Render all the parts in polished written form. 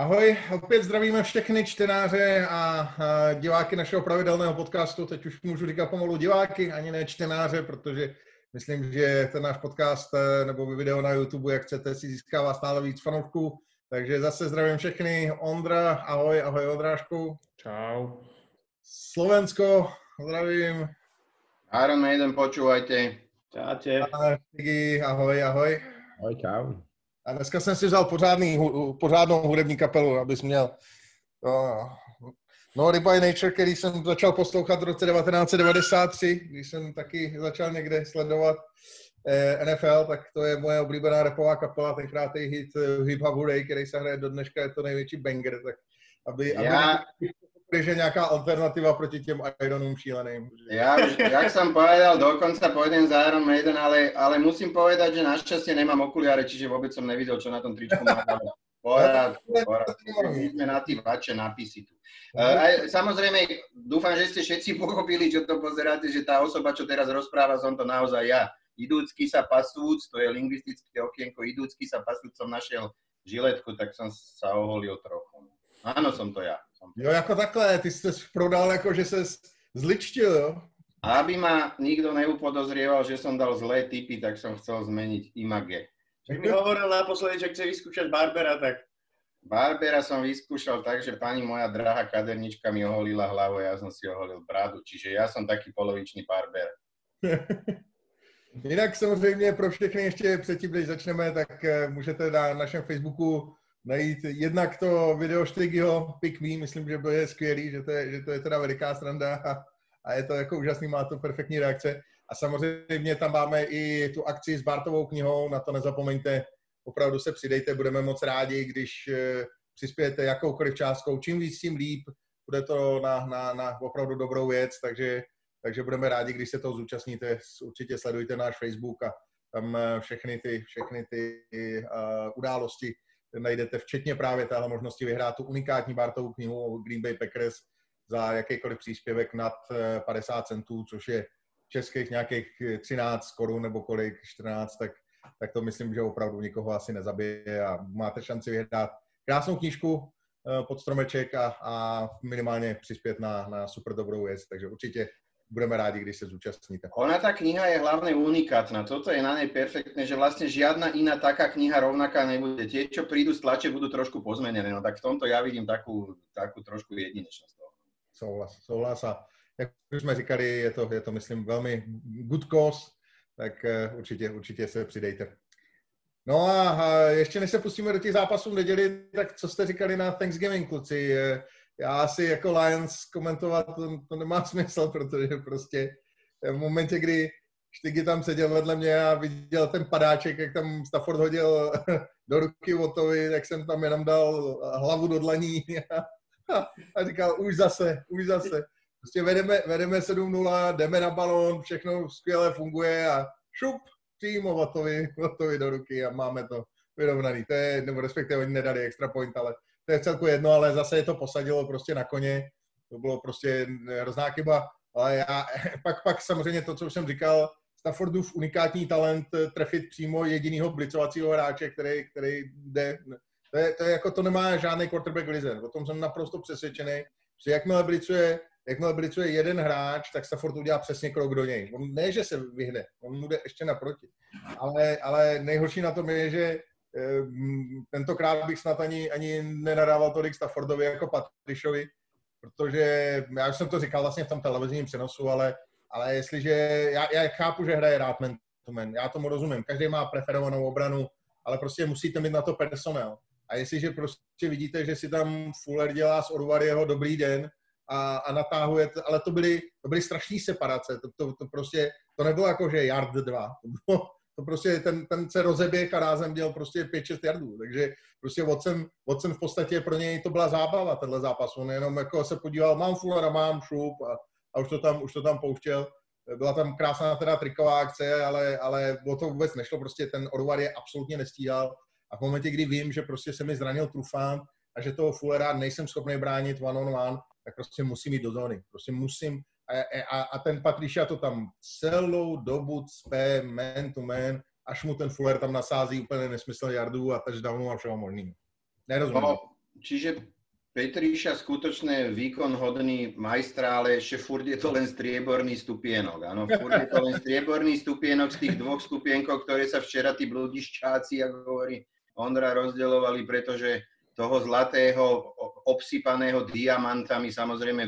Ahoj, opět zdravíme všechny čtenáře a diváky našeho pravidelného podcastu. Teď už můžu říkat pomalu diváky, ani ne čtenáře, protože myslím, že ten náš podcast nebo video na YouTube, jak chcete, si získává stále víc fanoušků. Takže zase zdravím všechny. Ondra, ahoj, ahoj Ondrášku. Čau. Slovensko, zdravím. Iron Maiden, počúvajte. Čaute. Tigi, ahoj, ahoj. Ahoj, čau. A dneska jsem si vzal pořádnou hudební kapelu, abys měl No by Nature, který jsem začal poslouchat v roce 1993, když jsem taky začal někde sledovat NFL, tak to je moje oblíbená rapová kapela, tenkrát je hit Hip Hop Hooray, který se hraje do dneška, je to největší banger, tak aby že nějaká alternativa proti těm Ironům šíleným. Ja už, jak som povedal, dokonca pôjdem za Iron Maiden, ale musím povedať, že našťastie nemám okuliare, čiže vôbec som nevidel, čo na tom tričku má. Porad. Sme na tí vače nápisy tu. Samozrejme, dúfam, že ste všetci pochopili, čo to pozeráte, že tá osoba, čo teraz rozpráva, som to naozaj ja. Idúcky sa pasúc, to je lingvistické okienko, idúcky sa pasúc som našiel žiletku, tak som sa oholil trochu. Áno, som to ja. Jo, jako takhle, ty jsi prodal jako, že ses zličtil, jo? Aby ma nikto neupodozrieval, že som dal zlé tipy, tak som chcel zmeniť image. Keď mi hovoril naposledy, že chce vyskúšať Barbera, tak... Barbera som vyskúšal tak, že pani moja drahá kadernička mi oholila hlavu a ja som si oholil bradu, čiže ja som taký polovičný Barber. Jinak samozřejmě pro všechny ještě předtím, než začneme, tak můžete na našem Facebooku najít jednak to video Štygyho Pick Me, myslím, že to je skvělý, že to je teda veliká sranda a je to jako úžasný, má to perfektní reakce. A samozřejmě tam máme i tu akci s Bartovou knihou, na to nezapomeňte, opravdu se přidejte, budeme moc rádi, když přispějete jakoukoliv částkou, čím víc, tím líp, bude to na opravdu dobrou věc, takže budeme rádi, když se toho zúčastníte, určitě sledujte náš Facebook a tam všechny ty události najdete, včetně právě téhle možnosti vyhrát tu unikátní Bartovu knihu o Green Bay Packers za jakýkoliv příspěvek nad 50 centů, což je českých nějakých 13 korun nebo kolik, 14, tak to myslím, že opravdu nikoho asi nezabije a máte šanci vyhrát krásnou knížku pod stromeček a minimálně přispět na super dobrou věc, takže určitě budeme rádi, když se zúčastníte. Ona tá kniha je hlavne unikátna. Toto je na nej perfektné, že vlastne žiadna iná taká kniha rovnaká nebude. Tie, čo prídu z tlače, budú trošku pozmenené. No tak v tomto ja vidím takú trošku jedinečnosť. Souhlas a jak už jsme říkali, je to myslím velmi good cause, tak určitě se přidejte. No a ještě než se pustíme do těch zápasů v neděli, tak co jste říkali na Thanksgiving, kluci? Já asi jako Lions komentovat to nemá smysl, protože prostě v momentě, kdy Štygy tam seděl vedle mě a viděl ten padáček, jak tam Stafford hodil do ruky Wattovi, tak jsem tam jenom dal hlavu do dlaní a říkal, už zase. Prostě vedeme 7-0, jdeme na balón, všechno skvěle funguje a šup, přímo Wattovi do ruky a máme to vyrovnaný. To je, nebo respektive oni nedali extra point, ale to je celku jedno, ale zase je to posadilo prostě na koně. To bylo prostě hrozná chyba. Ale pak samozřejmě to, co už jsem říkal, Staffordův unikátní talent trefit přímo jedinýho blicovacího hráče, který jde. To je jako to nemá žádný quarterback lize. O tom jsem naprosto přesvědčený, že jakmile blicuje jeden hráč, tak Stafford udělá přesně krok do něj. On ne, že se vyhne, on mu jde ještě naproti. Ale nejhorší na tom je, že tentokrát bych snad ani nenadával tolik Staffordovi jako Patrišovi, protože já už jsem to říkal vlastně v tom televizním přenosu, ale jestliže, já chápu, že hraje rád man to man, já tomu rozumím, každý má preferovanou obranu, ale prostě musíte mít na to personál. A jestliže prostě vidíte, že si tam Fuller dělá z Orvarieho dobrý den a natahuje, ale to byly strašný separace, to prostě, to nebylo jako, že yard 2, to prostě ten se rozeběh a rázem dělal prostě 5-6 yardů, takže prostě Watson v podstatě pro něj to byla zábava, tenhle zápas, on jenom jako se podíval, mám Fullera, mám šup a už to tam pouštěl, byla tam krásná teda triková akce, ale o to vůbec nešlo, prostě ten Orvar je absolutně nestíhal a v momentě, kdy vím, že prostě se mi zranil Trufant a že toho Fullera nejsem schopný bránit one-on-one, tak prostě musím jít do zóny, prostě musím. A ten Patricia to tam celou dobu cpe man to man, až mu ten Fuller tam nasází úplně nesmyslný yardů a touchdownu a všeho možného. Nerozumím. čiže Petriša skutočne výkon hodný majstra, ale ešte furt je to len strieborný stupienok. Áno, furt je to len strieborný stupienok z tých 2 stupienkov, ktoré sa včera tí bludiščáci, ako hovorí Ondra, rozdeľovali, pretože toho zlatého, obsypaného diamantami samozrejme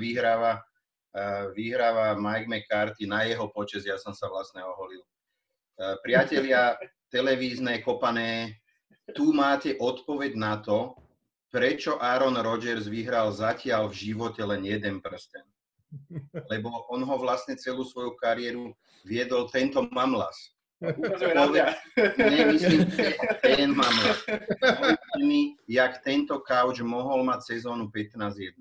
vyhráva Mike McCarthy. Na jeho počesť ja som sa vlastne oholil. Priatelia televízne, kopané, tu máte odpoveď na to, prečo Aaron Rodgers vyhral zatiaľ v živote len 1 prsten. Lebo on ho vlastne celú svoju kariéru viedol tento mamlas. Nemyslím, že ten mamlas. Povedzte mi, jak tento couch mohol mať sezónu 15-1.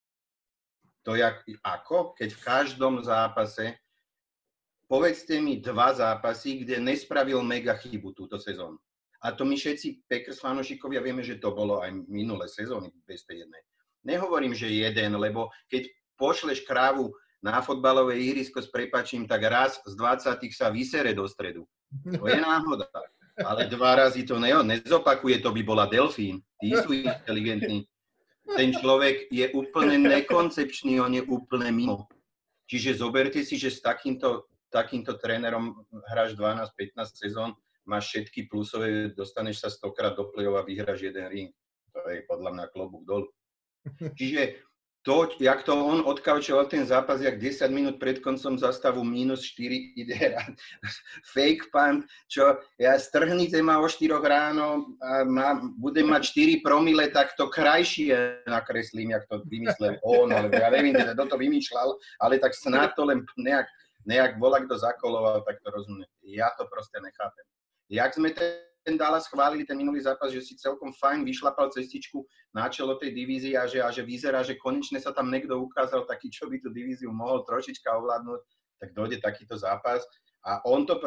To ako? Keď v každom zápase, povedzte mi 2 zápasy, kde nespravil mega chybu túto sezónu. A to my všetci Packers fanošikovia vieme, že to bolo aj minulé sezóny bez tej jednej. Nehovorím, že 1, lebo keď pošleš krávu na fotbalové ihrisko s prepáčim, tak raz z 20 sa vysere do stredu. To je náhoda. Ale 2 razy to nezopakuje, to by bola delfín. Tí sú inteligentní. Ten človek je úplne nekoncepčný, on je úplne mimo. Čiže zoberte si, že s takýmto trénerom hráš 12-15 sezón, máš všetky plusové, dostaneš sa 100-krát do play-off a vyhráš 1 ring. To je podľa mňa klobúk dolu. Čiže to, jak to on odkaučoval ten zápas, jak 10 minút pred koncom zastavu -4 ide hrať fake punt, čo ja strhnite ma o 4 ráno a budem mať 4 promile, tak to krajšie nakreslím, jak to vymyslel on, alebo ja neviem, kto to vymýšľal, ale tak snad to len nejak volá, kto zakoloval, tak to rozumie. Ja to proste nechápem. Jak sme ten Dallas chválili, ten minulý zápas, že si celkom fajn vyšlapal cestičku na čelo tej divízie a že vyzerá, že konečne sa tam niekto ukázal taký, čo by tú divíziu mohol trošička ovládnuť, tak dojde takýto zápas. A on to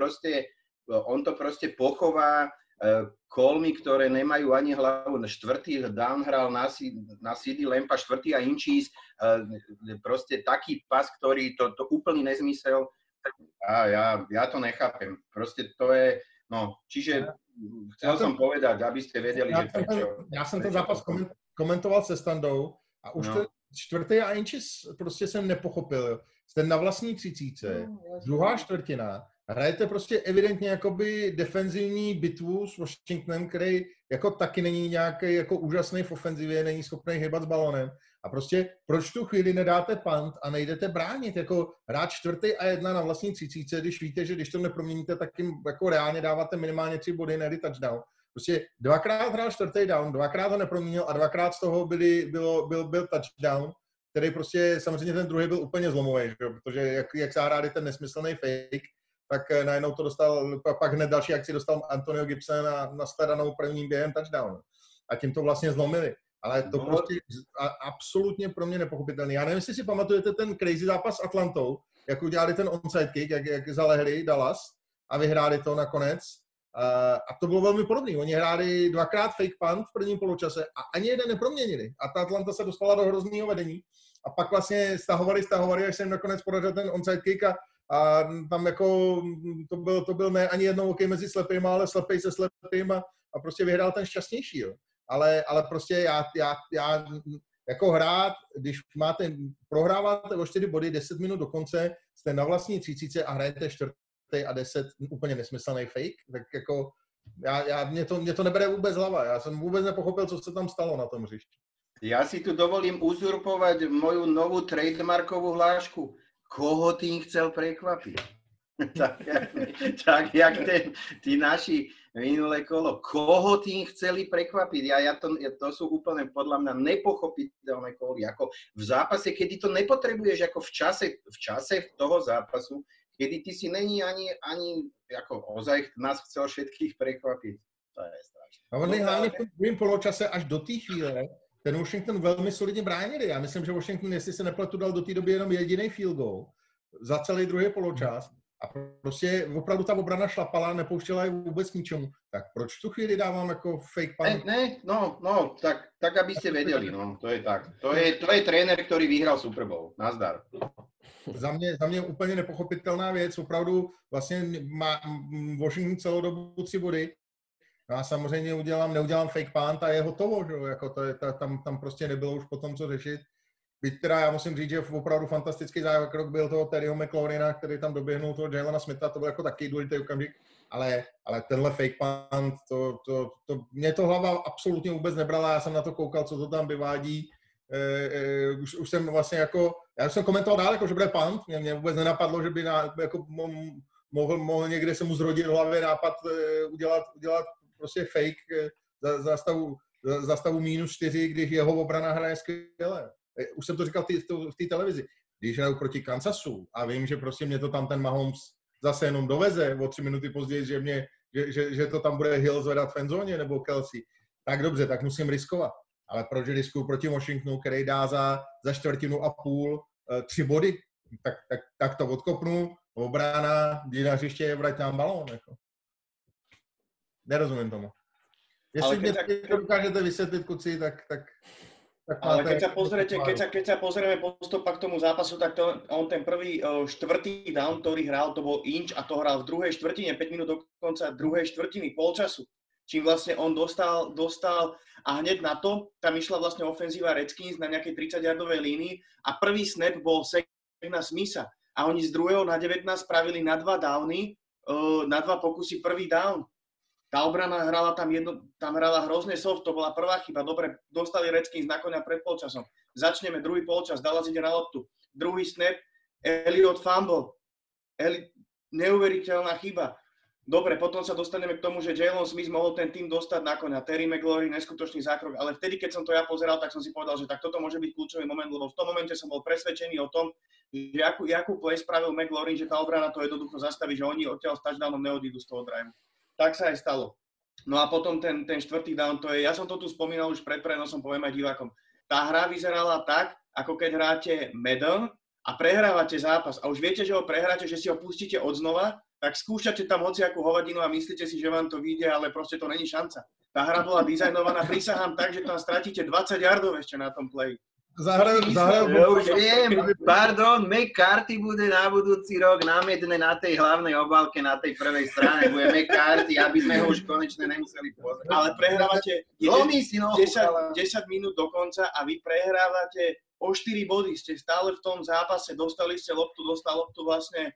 proste pochová kolmy, ktoré nemajú ani hlavu. 4. down hral na CD Lampa, 4. a inčís, proste taký pas, ktorý to úplný nezmysel. A ja to nechápem. Proste to je... No, čiže chcel som povedať, aby ste vedeli, že prečo. Já jsem ten zápas komentoval se Standou a už ten 4. a inčis prostě jsem nepochopil. Jste na vlastní 30, druhá čtvrtina, hrajete prostě evidentně jakoby defenzivní bitvu s Washingtonem, který jako taky není nějaký jako úžasný v ofenzivě, není schopný hýbat s balonem. A prostě proč tu chvíli nedáte punt a nejdete bránit, jako hrát 4. a 1 na vlastní 30, když víte, že když to neproměníte, tak jim jako reálně dáváte minimálně 3 body, ne touchdown. Prostě 2krát hrál 4. down, 2krát ho neproměnil a 2krát z toho byl touchdown, který prostě samozřejmě ten druhý byl úplně zlomový, protože jak se hráli ten nesmyslný fake, tak najednou to dostal, pak hned další akci dostal Antonio Gibson a nasledanou prvním během touchdown. A tím to vlastně zlomili. Ale to prostě absolutně pro mě nepochopitelný. Já nevím, jestli si pamatujete ten crazy zápas s Atlantou, jak udělali ten onside kick, jak zalehli Dallas a vyhráli to nakonec. A to bylo velmi podobné. Oni hráli 2krát fake punt v prvním poločase a ani jeden neproměnili. A ta Atlanta se dostala do hrozného vedení. A pak vlastně stahovali, až se jim nakonec podařil ten onside kick a tam jako to byl ne ani jednou okej mezi slepýma, ale slepej se slepým a prostě vyhrál ten šťastnější. Jo. Ale prostě já jako hrát, když prohráváte o 4 body 10 minut do konce, jste na vlastní 30 a hrajete 4. a 10 úplně nesmyslný fake, tak jako mě to nebere vůbec hlava. Já jsem vůbec nepochopil, co se tam stalo na tom hřišti. Ja si tu dovolím uzurpovať moju novú trademarkovú hlášku. Koho tým chcel prekvapiť? tak jak tí naši minulé kolo. Koho tým chceli prekvapiť? To sú úplne podľa mňa nepochopiteľné koly. Ako v zápase, kedy to nepotrebuješ, ako v čase toho zápasu, kedy ty si není ani ako ozaj nás chcel všetkých prekvapiť. To je strašné. A oni hlavne v tom druhém poločase až do té chvíle ten Washington velmi solidně bránili. Já myslím, že Washington, jestli se nepletu, dal do té doby jenom jediný field goal za celý druhý poločas. A prostě opravdu ta obrana šlapala, nepouštěla je vůbec k ničemu. Tak proč tu chvíli dávám jako fake punt? Tak aby ste vedeli, no, to je tak. To je tréner, ktorý vyhral Super Bowl. Nazdar. Za mě úplně nepochopitelná věc. Opravdu vlastně má Washington celou dobu 3 body. No a samozřejmě neudělám fake punt a je hotovo, že? Jako tam prostě nebylo už potom co řešit. Byť teda já musím říct, že opravdu fantastický zákrok byl toho Terryho McLaurina, který tam doběhnul toho Jalena Smitha, to byl jako taky důležitý okamžik, ale tenhle fake punt, mě to hlava absolutně vůbec nebrala, já jsem na to koukal, co to tam vyvádí, už jsem vlastně jako, já jsem komentoval dál, jako, že bude punt, mě vůbec nenapadlo, že by jako mohl někde se mu zrodit v hlavě nápad udělat prostě fake za stavu -4, když jeho obrana hraje skvěle. Už jsem to říkal v té televizi. Když hraju proti Kansasu a vím, že prostě mě to tam ten Mahomes zase jenom doveze o 3 minuty později, že to tam bude Hill zvedat v endzóně nebo Kelsey, tak dobře, tak musím riskovat. Ale proč riskuju proti Washingtonu, který dá za 1/4 3 body, tak to odkopnu, obrana, jdi na hřiště, vrať nám balón. Jako. Nerozumím tomu. Jestli mě to dokážete vysvětlit, kuci, tak ale keď sa pozrieme postupom k tomu zápasu, tak on ten prvý štvrtý down, ktorý hral, to bol inč a to hral v druhej štvrtine, 5 minút do konca druhej štvrtiny, polčasu. Čím vlastne on dostal a hneď na to, tam išla vlastne ofenzíva Redskins na nejakej 30-yardovej línii a prvý snap bol sack na Smitha. A oni z 2. na 19 spravili na 2 downy, na 2 pokusy prvý down. Tá obrana hrala tam hrala hrozne soft, to bola prvá chyba. Dobre, dostali Redskins na koňa pred polčasom. Začneme druhý polčas, Dallas ide na loptu. Druhý snap, Elliott fumble. Neuveriteľná chyba. Dobre, potom sa dostaneme k tomu, že Jalen Smith mohol ten tým dostať na koňa. Terry McLaurin, neskutočný zákrok. Ale vtedy, keď som to ja pozeral, tak som si povedal, že tak toto môže byť kľúčový moment, lebo v tom momente som bol presvedčený o tom, že akú play spravil McLaurin, že tá obrana to jednoducho zastaví, že oni odtiaľ s touchdownom neodídu z toho drive. Tak sa aj stalo. No a potom ten štvrtý down, to je, ja som to tu spomínal už pred prenosom, poviem aj divákom. Tá hra vyzerala tak, ako keď hráte Madden a prehrávate zápas a už viete, že ho prehráte, že si ho pustíte odznova, tak skúšate tam hociakú hovadinu a myslíte si, že vám to vyjde, ale proste to není šanca. Tá hra bola dizajnovaná, prisahám tak, že tam stratíte 20 yardov ešte na tom play. Ja už viem, pardon, McCarthy bude na budúci rok námedne na tej hlavnej obálke, na tej prvej strane, bude McCarthy, aby sme ho už konečne nemuseli pozrieť. Ale prehrávate 10 minút do konca a vy prehrávate o 4 body, ste stále v tom zápase, dostal loptu vlastne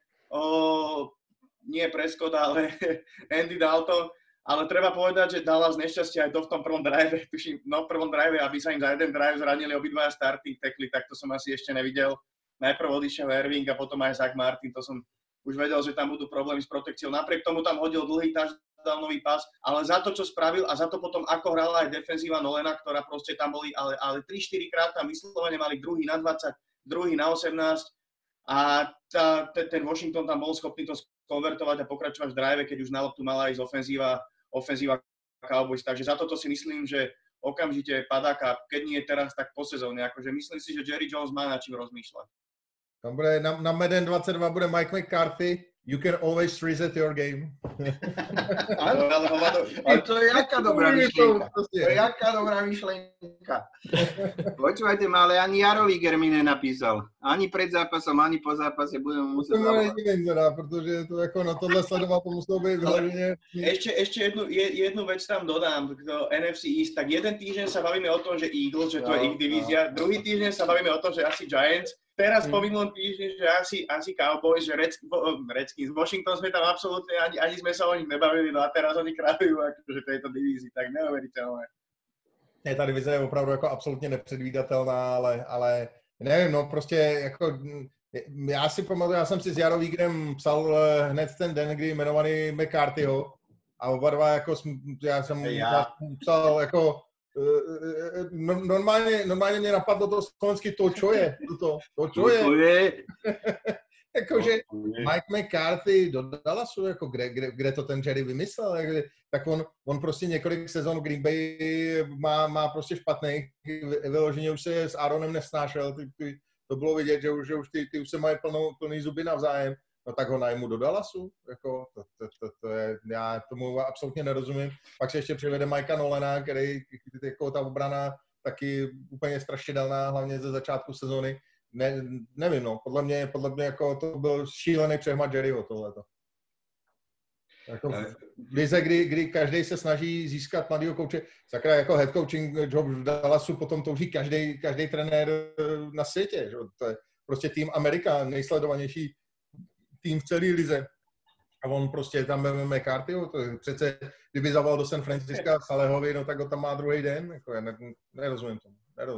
nie Prescott, ale Andy Dalton. Ale treba povedať, že Dallas nešťastie aj to v tom prvom drive, tuším, v prvom drive, aby sa im za jeden drive zranili obidvaja starting tackly, tak to som asi ešte nevidel. Najprv odišiel Irving a potom aj Zach Martin, to som už vedel, že tam budú problémy s protekciou. Napriek tomu tam hodil dlhý touchdownový pas, ale za to, čo spravil a za to potom, ako hrala aj defenzíva Nolena, ktorá proste tam boli, ale 3-4 krát tam vyslovene mali druhý na 20, druhý na 18 a ten Washington tam bol schopný to konvertovať a pokračovať v drive, keď už na loptu mala ísť ofenzíva Cowboys. Takže za toto si myslím, že okamžite padáka, keď nie teraz, tak po sezóne. Akože myslím si, že Jerry Jones má nad čím rozmýšľať. Tam bude na Madden 22 bude Mike McCarthy. You can always reset your game. Ale to je jaká dobrá myšlienka. To je jaká dobrá myšlienka. Počúvajte ma, ale ani Jaro Viger mi nenapísal. Ani pred zápasom, ani po zápase budeme musieť zavolať. Protože to ako na tohle sledovať, to muselo byť hlavne. Ešte jednu vec tam dodám do NFC East. Tak jeden týždeň sa bavíme o tom, že Eagles, že to je ich divízia. Druhý týždeň sa bavíme o tom, že asi Giants. Teraz po minulom týždni, že asi Cowboys, že Redskins, Washington sme tam absolútne, ani sme sa o nich nebavili, no a teraz oni kráľujú akože tejto divízii, tak neuveriteľné. Ne, ta divize je opravdu jako absolutně nepředvídatelná, ale nevím, no prostě jako, já si pamatuju, já jsem si s Jarou Vígrem psal hned ten den, kdy jmenovaný McCarthyho a oba dva jako, já jsem psal jako, normálně mě napadlo to slovensky to, čo je. Jakože Mike McCarthy do Dallasu, jako kde to ten Jerry vymyslel, tak on prostě několik sezon Green Bay má prostě špatný, vyloženě už se s Aaronem nesnášel, to bylo vidět, že už ty už se mají plný zuby navzájem, no tak ho najmu do Dallasu, jako to je, já tomu absolutně nerozumím. Pak se ještě přivede Mikea Nolena, který jako ta obrana taky úplně strašidelná, hlavně ze začátku sezóny. Nevím, no, podle mě jako to byl šílený přehmat Jerryho tohleto. Jako v lize, kdy každý se snaží získat mladýho kouče, sakra jako head coaching job v Dallasu potom touží každý trenér na světě. Že? To je prostě tým Amerika, nejsledovanější tým v celé lize. A on prostě tam vezme McCarthyho, to je přece, kdyby zavolal do San Francisca Salehovi, no tak ho tam má druhý den. Jako nerozumím tomu.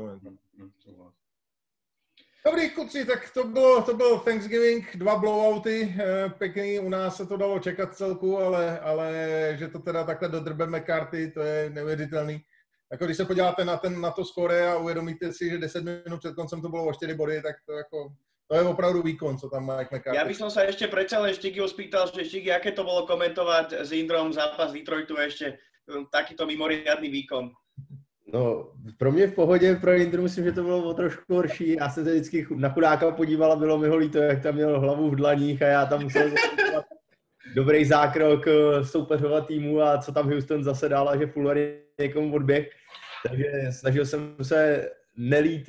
Dobrý, kluci, tak to bylo Thanksgiving, 2 blowouty, pěkný, u nás se to dalo čekat celku, ale že to teda takhle dodrbe McCarthy, to je neuvěřitelný. Jako když se podíváte na to skóre a uvědomíte si, že 10 minut před koncem to bylo o 4 body, tak to je opravdu výkon, co tam má Mike McCarthy. Ja by som sa ešte predsa len Štigyho spýtal, že Štigy, aké to bolo komentovať s Indrom zápas Detroitu ešte takýto mimoriadný výkon? No, pro mě v pohodě, pro Indru myslím, že to bylo o trošku horší. Já jsem se vždycky na chudáka podíval a bylo mi ho líto, jak tam měl hlavu v dlaních a já tam musel dobrý zákrok soupeřova týmu a co tam Houston zase dal a že Fuller někomu odběh. Takže snažil jsem se nelít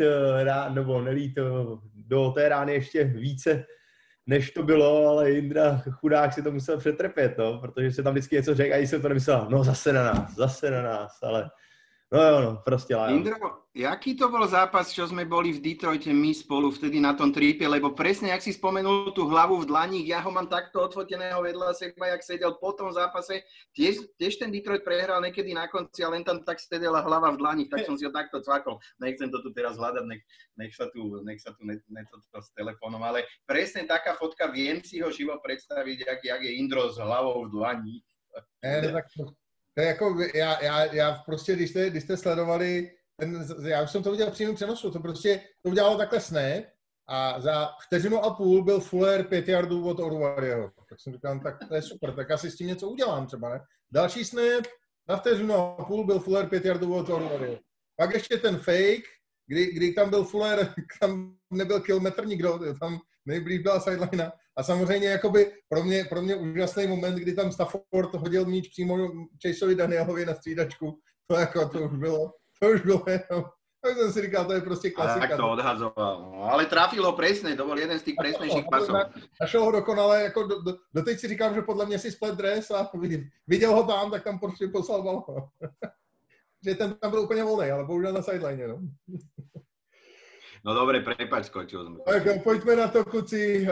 do té rány ještě více, než to bylo, ale Indra chudák si to musel přetrpět, no, protože se tam vždycky něco řekl a jsem to nemyslel, no zase na nás, ale no, prostě Lions. Indro, jaký to bol zápas, čo sme boli v Detroite my spolu vtedy na tom tripe, lebo presne, jak si spomenul tú hlavu v dlaních, ja ho mám takto odfoteného vedľa seba, jak sedel po tom zápase, tiež ten Detroit prehral niekedy na konci a len tam tak sedela hlava v dlaních, tak som si ho takto cvakol. Nechcem to tu teraz hľadať, nech sa tu s telefónom, ale presne taká fotka, viem si ho živo predstaviť, jak je Indro s hlavou v dlaních. To je jako, já prostě, když jste sledovali, já už jsem to viděl v přímém přenosu, to udělalo takhle snap a za 1,5 vteřiny byl Fuller 5 yardů od Oruwariho. Tak jsem říkal, tak to je super, tak asi s tím něco udělám třeba, ne? Další snap, na 1,5 vteřiny byl Fuller 5 yardů od Oruwariho. Pak ještě ten fake, kdy tam byl Fuller, tam nebyl kilometr nikdo, tam nejblíž byla sideline. A samozřejmě jakoby pro mě úžasný moment, kdy tam Stafford hodil míč přímo Chaseovi Danielovi na střídačku. To už bylo jenom. Tak jsem si říkal, to je prostě klasika. Tak to odhazoval. No, ale trafil ho presne, to bol jeden z tých presnejších pasov. Našel ho dokonale, jako doteď si říkám, že podle mě si splet dres a viděl ho tam, tak tam prostě poslal balón. Že ten tam byl úplně volný, ale bohužel na sideline, no. No dobre, prepáč, skočil sme. Tak pojďme na to, kluci.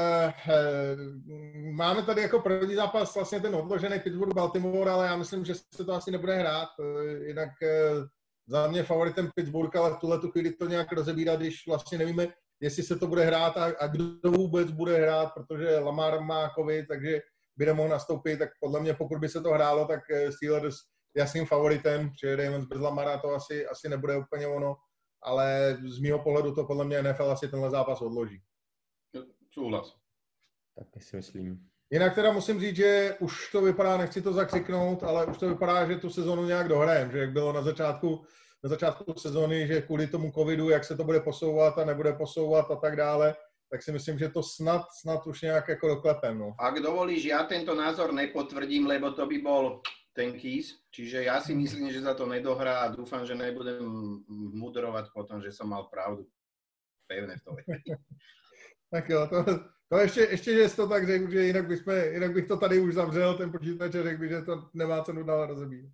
Máme tady jako první zápas vlastně ten odložený Pittsburgh-Baltimore, ale já myslím, že se to asi nebude hrát. Jinak za mě favoritem Pittsburgh, ale v tuhletu chvíli to nějak rozebírat, když vlastně nevíme, jestli se to bude hrát a kdo vůbec bude hrát, protože Lamar má covid, takže by nemohl nastoupit, tak podle mě, pokud by se to hrálo, tak Steelers jasným favoritem, že Ravens bez Lamara to asi nebude úplně ono. Ale z mýho pohledu to podle mě NFL asi tenhle zápas odloží. Súhlas. Tak si myslím. Jinak teda musím říct, že už to vypadá, nechci to zakřiknout, ale už to vypadá, že tu sezonu nějak dohrajeme, že jak bylo na začátku sezony, že kvůli tomu covidu, jak se to bude posouvat a nebude posouvat a tak dále, tak si myslím, že to snad už nějak jako doklepem. No. Ak dovolíš, ja tento názor nepotvrdím, lebo to by bol ten Keys, čiže ja si myslím, že sa to nedohrá a dúfam, že nebudem mudrovať potom, že som mal pravdu. Pevne v tom. Tak jo, to ještě, že jsi to tak řekl, že jinak bych to tady už zavřel, ten počítač, a řekl bych, že to nemá cenu dál rozebírat.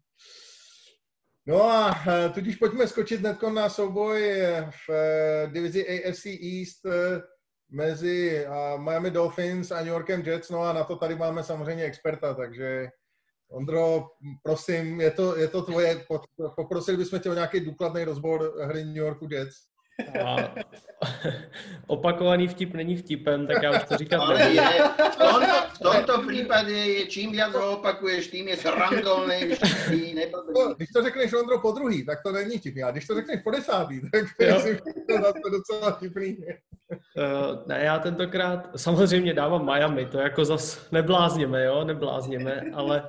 No a tudíž pojďme skočit hnedko na souboj v divizi AFC East mezi Miami Dolphins a New Yorkem Jets, no a na to tady máme samozřejmě experta, takže Ondro, prosím, je to tvoje, poprosili bychom tě o nějaký důkladný rozbor hry New Yorku Jets. A opakovaný vtip není vtipem, tak já už to říkat nevím. V tomto případě je čím viac ho opakuješ, tím je srandovnější. Když to řekneš, Ondro, po druhý, tak to není vtipný. A když to řekneš po desátý, tak to je docela vtipný. Ne, já tentokrát samozřejmě dávám Miami, to jako zas neblázněme, ale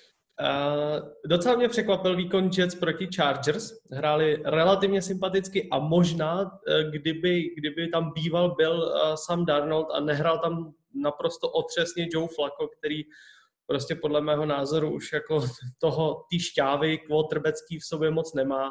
docela mě překvapil výkon Jets proti Chargers. Hráli relativně sympaticky a možná, kdyby tam byl Sam Darnold a nehrál tam naprosto otřesně Joe Flacco, který prostě podle mého názoru už jako ty šťávy quarterbacký v sobě moc nemá,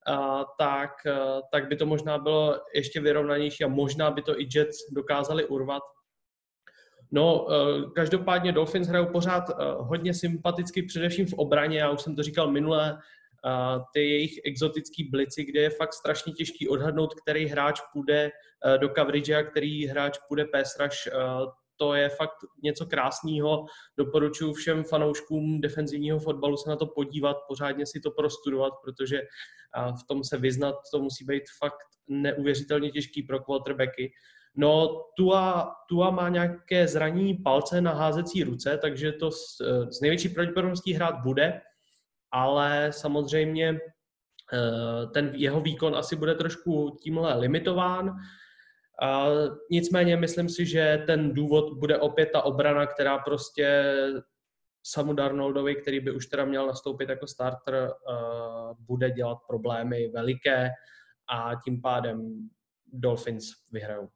tak by to možná bylo ještě vyrovnanější a možná by to i Jets dokázali urvat. No, každopádně Dolphins hrajou pořád hodně sympaticky, především v obraně, já už jsem to říkal minule, ty jejich exotický blici, kde je fakt strašně těžký odhadnout, který hráč půjde do coverage a který hráč půjde pass rush. To je fakt něco krásného. Doporučuji všem fanouškům defenzivního fotbalu se na to podívat, pořádně si to prostudovat, protože v tom se vyznat, to musí být fakt neuvěřitelně těžký pro quarterbacky. No, Tua má nějaké zranění palce na házecí ruce, takže to s největší pravděpodobností hrát bude, ale samozřejmě ten jeho výkon asi bude trošku tímhle limitován. Nicméně myslím si, že ten důvod bude opět ta obrana, která prostě Samu Darnoldovi, který by už teda měl nastoupit jako starter, bude dělat problémy veliké a tím pádem Dolphins vyhrajou.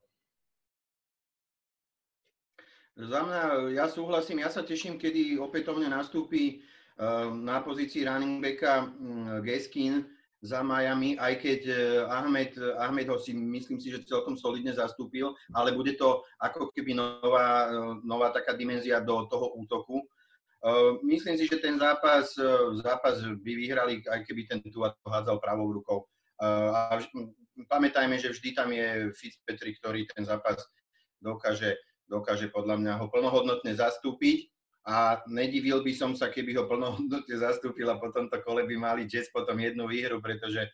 Za mňa, ja súhlasím, ja sa teším, kedy opätovne nastúpi na pozícii running backa Gaskin za Miami, aj keď Ahmed ho si myslím si, že celkom solidne zastúpil, ale bude to ako keby nová taká dimenzia do toho útoku. Myslím si, že ten zápas by vyhrali, aj keby ten Tua hádzal pravou rukou. A pamätajme, že vždy tam je Fitzpatrick, ktorý ten zápas dokáže podľa mňa ho plnohodnotne zastúpiť a nedivil by som sa, keby ho plnohodnotne zastúpil a po tomto kole by mali Jets potom jednu výhru, pretože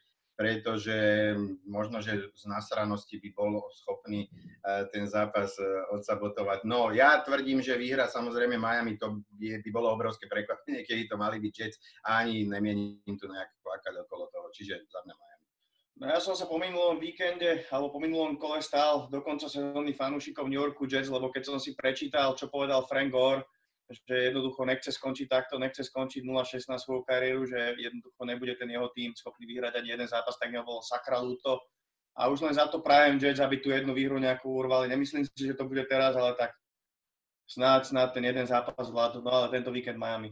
možno, že z nasranosti by bol schopný ten zápas odsabotovať. No, ja tvrdím, že výhra samozrejme Miami, to by bolo obrovské prekvapenie, keby to mali byť Jets a ani nemienim tu nejak plakať okolo toho, čiže za mňa Miami. No ja som sa po minulom víkende, alebo po minulom kole stál dokonca sezónnych fanúšikov New Yorku Jets, lebo keď som si prečítal, čo povedal Frank Gore, že jednoducho nechce skončiť takto, nechce skončiť 0-6 na svoju kariéru, že jednoducho nebude ten jeho tým schopný vyhrať ani jeden zápas, tak mi bolo sakra ľúto. A už len za to prajem Jets, aby tú jednu výhru nejakú urvali. Nemyslím si, že to bude teraz, ale tak snáď ten jeden zápas vládnu, no ale tento víkend Miami.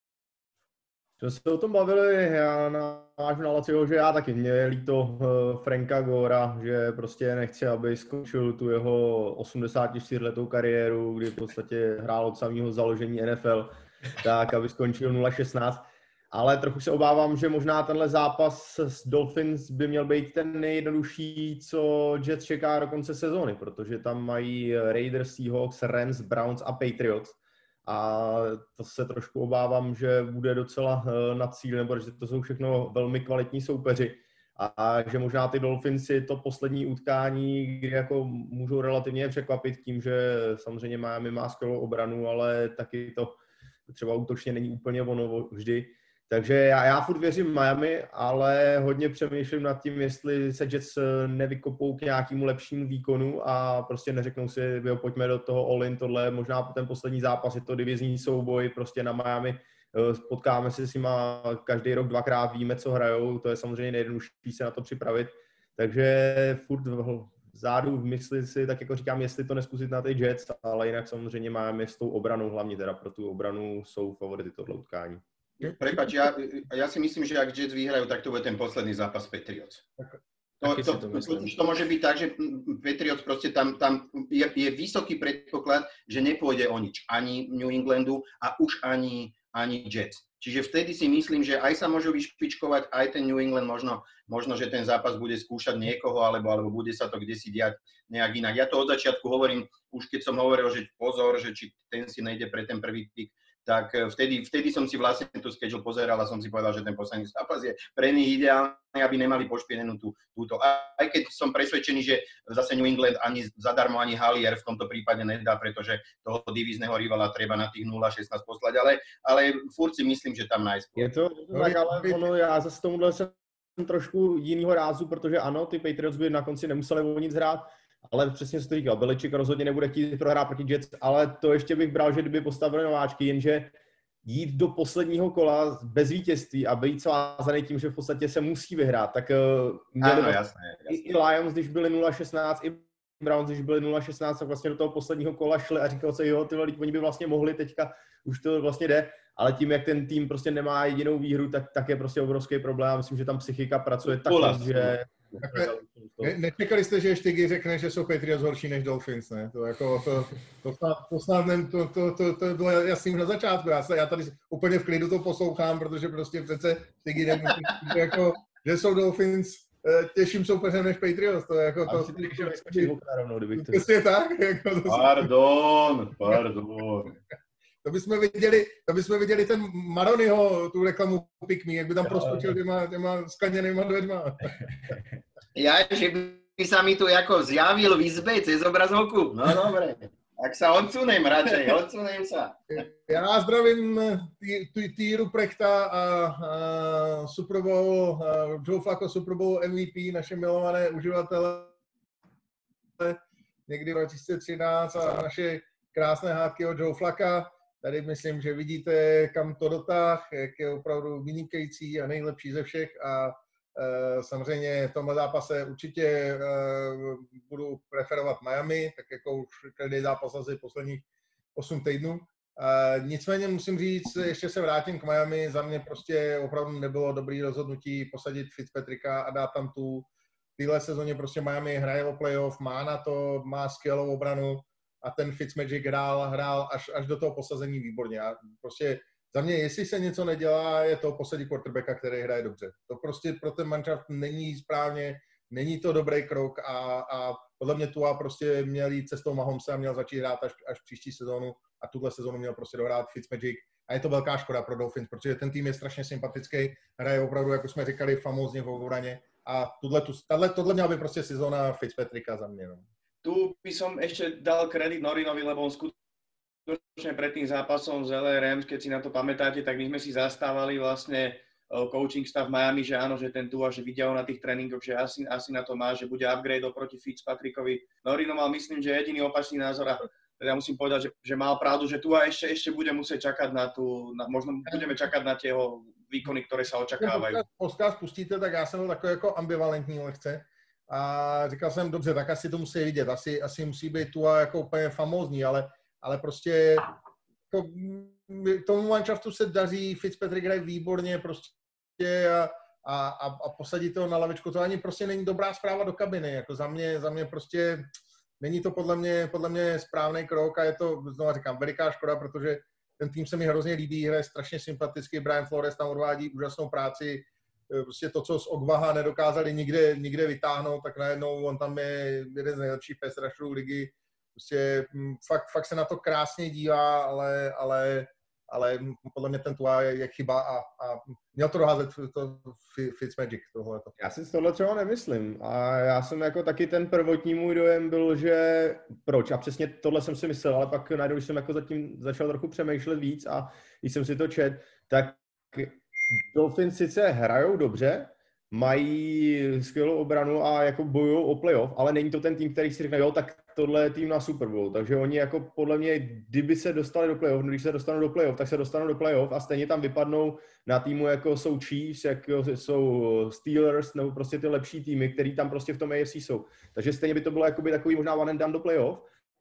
Jsme se o tom bavili, já navážu na Laciho, že já taky, mě je líto Franka Gora, že prostě nechci, aby skončil tu jeho 84letou kariéru, kdy v podstatě hrál od samého založení NFL, tak aby skončil 0-16. Ale trochu se obávám, že možná tenhle zápas s Dolphins by měl být ten nejjednodušší, co Jets čeká do konce sezóny, protože tam mají Raiders, Seahawks, Rams, Browns a Patriots. A to se trošku obávám, že bude docela na cíl, nebo že to jsou všechno velmi kvalitní soupeři a že možná ty Dolphins si to poslední utkání, kdy jako můžou relativně překvapit tím, že samozřejmě Miami má skvělou obranu, ale taky to třeba útočně není úplně ono vždy. Takže já furt věřím Miami, ale hodně přemýšlím nad tím, jestli se Jets nevykopou k nějakému lepšímu výkonu a prostě neřeknou si, jo, pojďme do toho all-in, tohle možná ten poslední zápas, je to divizní souboj, prostě na Miami, potkáme se s nima každý rok dvakrát, víme, co hrajou, to je samozřejmě nejjednodušší se na to připravit, takže furt vzadu v mysli si, tak jako říkám, jestli to neskusit na ty Jets, ale jinak samozřejmě Miami s tou obranou, hlavně teda pro tu obranu jsou favority tohle utkání. Prepáč, ja si myslím, že ak Jets vyhrajú, tak to bude ten posledný zápas Patriots. To môže byť tak, že Patriots proste tam je vysoký predpoklad, že nepôjde o nič. Ani New Englandu a už ani Jets. Čiže vtedy si myslím, že aj sa môžu vyšpičkovať, aj ten New England možno, že ten zápas bude skúšať niekoho, alebo bude sa to kdesi diať nejak inak. Ja to od začiatku hovorím, už keď som hovoril, že pozor, že či ten si nejde pre ten prvý pick, tak vtedy som si vlastne tú schedule pozeral a som si povedal, že ten posledný zápas je pre nich ideálny, aby nemali pošpienenú túto. Aj keď som presvedčený, že zase New England ani zadarmo, ani Halier v tomto prípade nedá, pretože toho divízneho rivala treba na tých 0-16 poslať, ale furt si myslím, že tam najskôr. Je to tak, ale já zase tomuhle jsem trošku jinýho rázu, protože ano, ty Patriots by na konci nemuseli o nic hrát, ale přesně jsi to říkal, Belichick rozhodně nebude chtít prohrát proti Jets, ale to ještě bych bral, že kdyby postavili nováčky, jenže jít do posledního kola bez vítězství a být svázaný tím, že v podstatě se musí vyhrát, tak měli jasné. I Lions, když byli 0-16, i Browns, když byli 0-16, tak vlastně do toho posledního kola šli a říkal se, jo, tyhle lidi, oni by vlastně mohli, teďka už to vlastně jde, ale tím, jak ten tým prostě nemá jedinou výhru, tak je prostě obrovský problém. Myslím, že tam psychika pracuje tak, že Nečekali jste, že Štygy řekne, že jsou Patriots horší než Dolphins, ne? To snad to bylo jasný na začátku. Já tady úplně v klidu to poslouchám, protože prostě přece Štygy nemůže jako, že jsou Dolphins těžším soupeřem než Patriots. To je jako to. Prostě tak. Jako to Pardon. To bychom viděli ten Maroniho, tu reklamu Pick Me, jak by tam proskočil těma skleněnýma dveřma. Že by sa mi tu ako zjavil v izbe cez obrazovku. No dobre, tak sa odsunem radšej, odsunem sa. Já zdravím Týru Prechta a Super Bowl, Joe Flacco Super Bowl MVP, naše milované uživatele někdy v 2013 a naše krásné hádky od Joe Flacca. Tady myslím, že vidíte, kam to dotáh, jak je opravdu vynikající a nejlepší ze všech a samozřejmě v tomhle zápase určitě budu preferovat Miami, tak jako už každý zápas asi posledních 8 týdnů. Nicméně musím říct, ještě se vrátím k Miami, za mě prostě opravdu nebylo dobrý rozhodnutí posadit Fitzpatricka a dát tam v téhle sezóně prostě Miami hraje o playoff, má na to, má skvělou obranu a ten Fitzmagic hrál až do toho posazení výborně. A prostě za mě, jestli se něco nedělá, je to posadit quarterbacka, který hraje dobře. To prostě pro ten manšaft není správně, není to dobrý krok a podle mě Tua prostě měl jít cestou Mahomesa a měl začít hrát až příští sezónu a tuhle sezónu měl prostě dohrát Fitzmagic. A je to velká škoda pro Dolphins, protože ten tým je strašně sympatický, hraje opravdu, jako jsme říkali, famózně v obraně a tohle měla by prostě sezóna Fitzpatricka za mě. No. Tu by som ešte dal kredit Norinovi, lebo on skutočne pred tým zápasom z LA Rams, keď si na to pamätáte, tak my sme si zastávali vlastne coaching stav Miami, že áno, že ten Tua, že vidia ho na tých tréningoch, že asi na to má, že bude upgrade oproti Fitzpatrickovi. Norino mal, myslím, že jediný opačný názor a teda musím povedať, že mal pravdu, že Tua ešte bude musieť čakať možno budeme čakať na tie jeho výkony, ktoré sa očakávajú. Podcast pustíte, tak já jsem byl takový jako ambivalentní lehce. A říkal jsem, dobře, tak asi to musí vidět, asi musí být Tua jako úplně famózní, ale prostě tomu manšaftu se daří, Fitzpatrick hraje výborně prostě a posadit to na lavičku, to ani prostě není dobrá zpráva do kabiny, jako za mě prostě není to podle mě správný krok a je to, znovu říkám, veliká škoda, protože ten tým se mi hrozně líbí, hraje strašně sympaticky, Brian Flores tam odvádí úžasnou práci, prostě to, co z Ogbaha nedokázali nikde vytáhnout, tak najednou on tam je jeden z nejlepších pass rusherů ligy. Prostě fakt se na to krásně dívá, ale podle mě ten Tua je chyba a měl to doházet to Fitzmagic tohleto. Já si tohle třeba nemyslím a já jsem jako taky ten prvotní můj dojem byl, že proč a přesně tohle jsem si myslel, ale pak najednou, když jsem jako zatím začal trochu přemýšlet víc a když jsem si to četl, tak Dolphins sice hrajou dobře, mají skvělou obranu a jako bojují o playoff, ale není to ten tým, který si řekne, jo, tak tohle je tým na Super Bowl. Takže oni jako podle mě, kdyby se dostali do playoff, když se dostanou do playoff, tak se dostanou do playoff a stejně tam vypadnou na týmu, jako jsou Chiefs, jako jsou Steelers, nebo prostě ty lepší týmy, který tam prostě v tom AFC jsou. Takže stejně by to bylo jakoby takový možná one and done do playoff.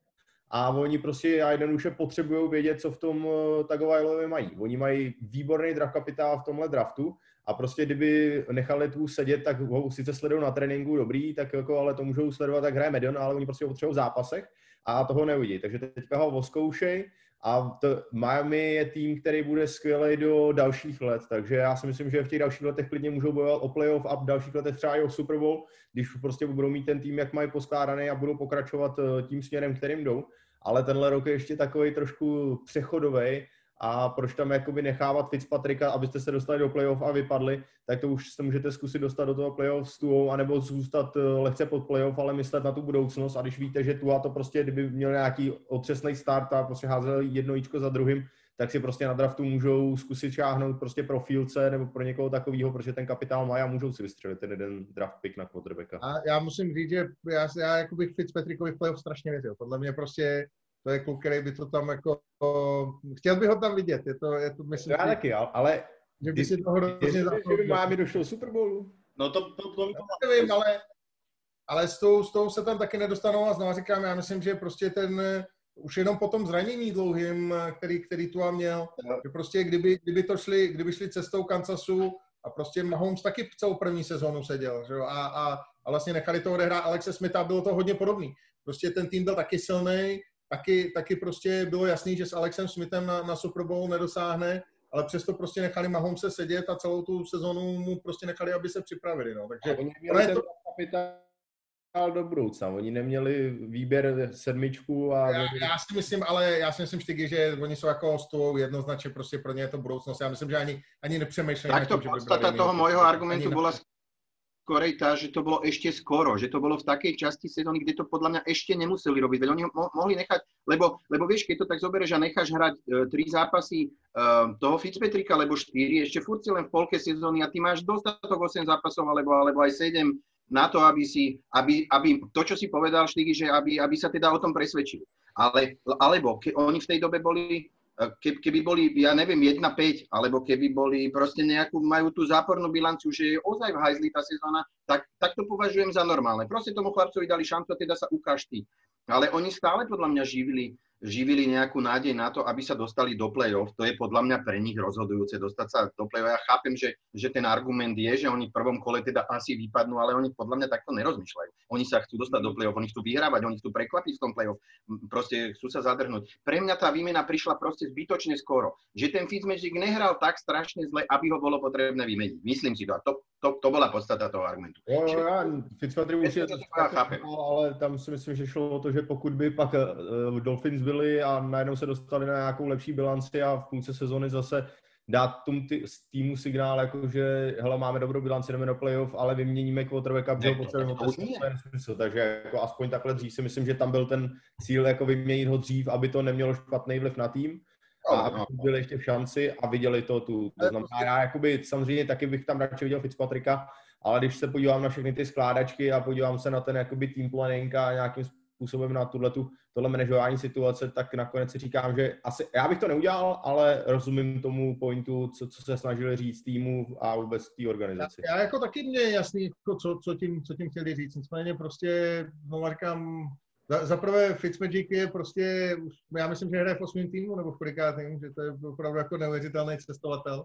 A oni prostě jednoduše potřebují vědět, co v tom Tagovailovi mají. Oni mají výborný draft kapitál v tomhle draftu a prostě kdyby nechali tu sedět, tak ho sice sledují na tréninku dobrý, tak jako, ale to můžou sledovat, tak hraje Medion, ale oni prostě ho potřebují v zápasech a toho neuvidí. Takže teďka ho oskoušej a Miami je tým, který bude skvělý do dalších let, takže já si myslím, že v těch dalších letech klidně můžou bojovat o playoff a v dalších letech třeba i o Super Bowl, když prostě budou mít ten tým, jak mají poskládaný a budou pokračovat tím směrem, kterým jdou. Ale tenhle rok je ještě takový trošku přechodový a proč tam jakoby nechávat Fitzpatricka, abyste se dostali do playoff a vypadli, tak to už se můžete zkusit dostat do toho playoff s Tuou, anebo zůstat lehce pod playoff, ale myslet na tu budoucnost a když víte, že Tua to prostě, kdyby měl nějaký otřesný start a prostě házel jedno jíčko za druhým, tak si prostě na draftu můžou zkusit šáhnout prostě pro Fieldse nebo pro někoho takového, protože ten kapitál má a můžou si vystřelit ten jeden draft pick na quarterbacka. A já musím říct, že já jako bych Fitzpatrickovi v playoff strašně věřil. Podle mě prostě to je kluk, který by to tam jako... Chtěl bych ho tam vidět, je to myslím... Já taky, ale... Že by si toho hrozně zapomněl. Že by Miami došel Super Bowlu? No to nevím, ale s tou se tam taky nedostanou a znovu říkám, já myslím, že prostě ten... Už jenom po tom zranění dlouhým, který Tua měl, že prostě kdyby šli cestou Kansasu a prostě Mahomes taky celou první sezónu seděl, že jo? A a vlastně nechali to odehrát Alexe Smitha a bylo to hodně podobný. Prostě ten tým byl taky silný, taky prostě bylo jasný, že s Alexem Smithem na Super Bowl nedosáhne, ale přesto prostě nechali Mahomese sedět a celou tu sezonu mu prostě nechali, aby se připravili. No. Takže oni měli ten kapitál do budoucna. Oni neměli výběr 7 a... Já si myslím, Štygy, že oni jsou jako stůl jednoznačně prostě pro ně je to budoucnost. Já myslím, že ani nepřemýšlejí. Tak to podstata toho môjho argumentu bola skorej tá, že to bolo ešte skoro, že to bolo v takej časti sezóny, kde to podľa mňa ešte nemuseli robiť. Veď oni mohli nechať, lebo vieš, keď to tak zoberieš a necháš hrať 3 zápasy toho Fitzpatricka, alebo 4, ešte furt si len v polke sezóny a ty máš dostatok 8 zápasov, alebo aj 7 na to, aby to, čo si povedal, Štygy, že aby sa teda o tom presvedčili. Alebo oni v tej dobe boli, keby boli, ja neviem, 1-5, alebo keby boli proste majú tú zápornú bilanciu, že je ozaj v hajzli tá sezóna, tak to považujem za normálne. Proste tomu chlapcovi dali šancu a teda sa ukáž ty. Ale oni stále podľa mňa živili nejakú nádej na to, aby sa dostali do play-off. To je podľa mňa pre nich rozhodujúce dostať sa do play-off. Ja chápem, že ten argument je, že oni v prvom kole teda asi vypadnú, ale oni podľa mňa takto nerozmýšľajú. Oni sa chcú dostať do play-off, oni chcú vyhrávať, oni chcú prekvapiť v tom play-off. Proste chcú sa zadrhnúť. Pre mňa tá výmena prišla proste zbytočne skoro. Že ten Fitzmagic nehral tak strašne zle, aby ho bolo potrebné vymeniť. Myslím si to. A to bola podstata toho argumentu. Já Fitzpatrick už je ale tam si myslím, že šlo o to, že pokud by pak Dolphins byli a najednou se dostali na nějakou lepší bilanci a v půlce sezóny zase dát tomu týmu signál, jako že hele, máme dobrou bilanci, jdeme do playoff, ale vyměníme quarterbacka, protože ho potřebujeme, takže jako aspoň takhle dřív si myslím, že tam byl ten cíl jako vyměnit ho dřív, aby to nemělo špatný vliv na tým. A aby byli ještě v šanci a viděli to tu. To znamená, já jakoby samozřejmě taky bych tam radši viděl Fitzpatricka, ale když se podívám na všechny ty skládačky a podívám se na ten jakoby team planning a nějakým způsobem na tohle manažování situace, tak nakonec si říkám, že asi já bych to neudělal, ale rozumím tomu pointu, co se snažili říct týmu a vůbec té organizaci. Já jako taky mě je jasný, jako co tím chtěli říct. Nicméně prostě, no říkám, za prvé Fitzmagic je prostě, já myslím, že hraje v 8. týmu nebo v kolikátém, že to je opravdu jako neuvěřitelný cestovatel.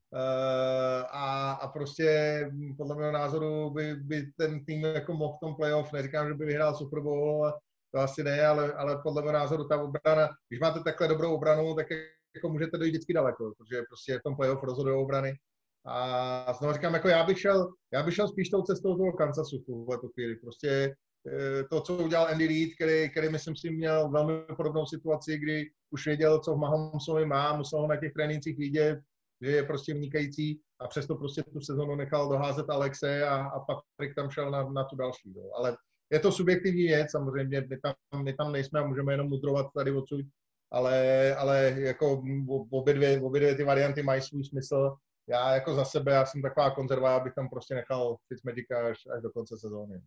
A prostě podle mého názoru by ten tým jako mohl v tom playoff, neříkám, že by vyhrál Super Bowl, to asi ne, ale podle mého názoru ta obrana, když máte takhle dobrou obranu, tak jako můžete dojít vždycky daleko, protože prostě v tom playoff rozhodují obrany. A znovu říkám, jako já bych šel spíš tou cestou toho Kansasu v tuhletu chvíli. Prostě to, co udělal Andy Reid, který myslím si měl velmi podobnou situaci, kdy už věděl, co v Mahomesovi má, musel ho na těch trénincích vidět, že je prostě vynikající a přesto prostě tu sezonu nechal doházet Alexe a Patrick tam šel na tu další. Jo. Ale je to subjektivní věc, samozřejmě my tam nejsme a můžeme jenom mudrovat tady odsud, ale jako obě dvě ty varianty mají svůj smysl. Já jako za sebe, já jsem taková konzerva, abych tam prostě nechal Fitzmagica až do konce sezóny.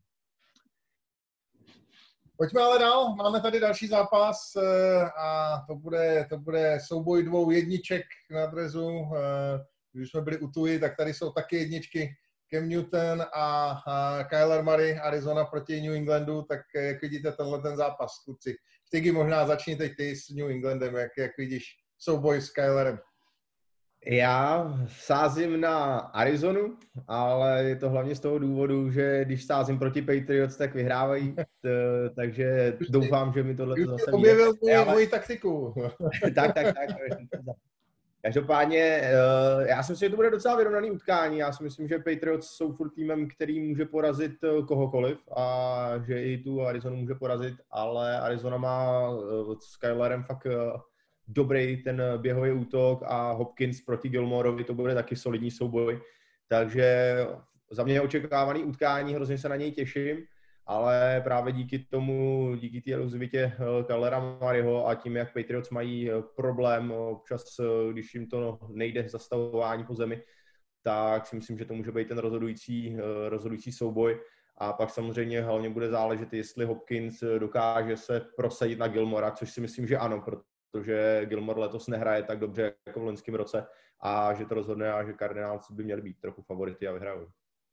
Pojďme ale dál, máme tady další zápas a to bude souboj 2 jedniček na drezu. Když jsme byli u Tuji, tak tady jsou taky jedničky Cam Newton a Kyler Murray, Arizona proti New Englandu, tak jak vidíte ten zápas, kluci. Štygy, možná začni teď ty s New Englandem, jak vidíš souboj s Kylerem. Já sázím na Arizonu, ale je to hlavně z toho důvodu, že když sázím proti Patriots, tak vyhrávají, takže doufám, že mi tohle zase objevil moji taktiku. tak. Každopádně, já si myslím, že to bude docela vyrovnaný utkání. Já si myslím, že Patriots jsou furt týmem, který může porazit kohokoliv a že i tu Arizonu může porazit, ale Arizona má s Kylerem fakt dobrý ten běhový útok a Hopkins proti Gilmoreovi, to bude taky solidní souboj. Takže za mě je očekávaný utkání, hrozně se na něj těším, ale právě díky té rozvitě Kylera Murrayho a tím, jak Patriots mají problém občas, když jim to nejde zastavování po zemi, tak si myslím, že to může být ten rozhodující souboj. A pak samozřejmě hlavně bude záležet, jestli Hopkins dokáže se prosadit na Gilmora, což si myslím, že ano, protože Gilmore letos nehraje tak dobře jako v loňském roce a že to rozhodne a že Cardinals by měli být trochu favority a vyhrajou.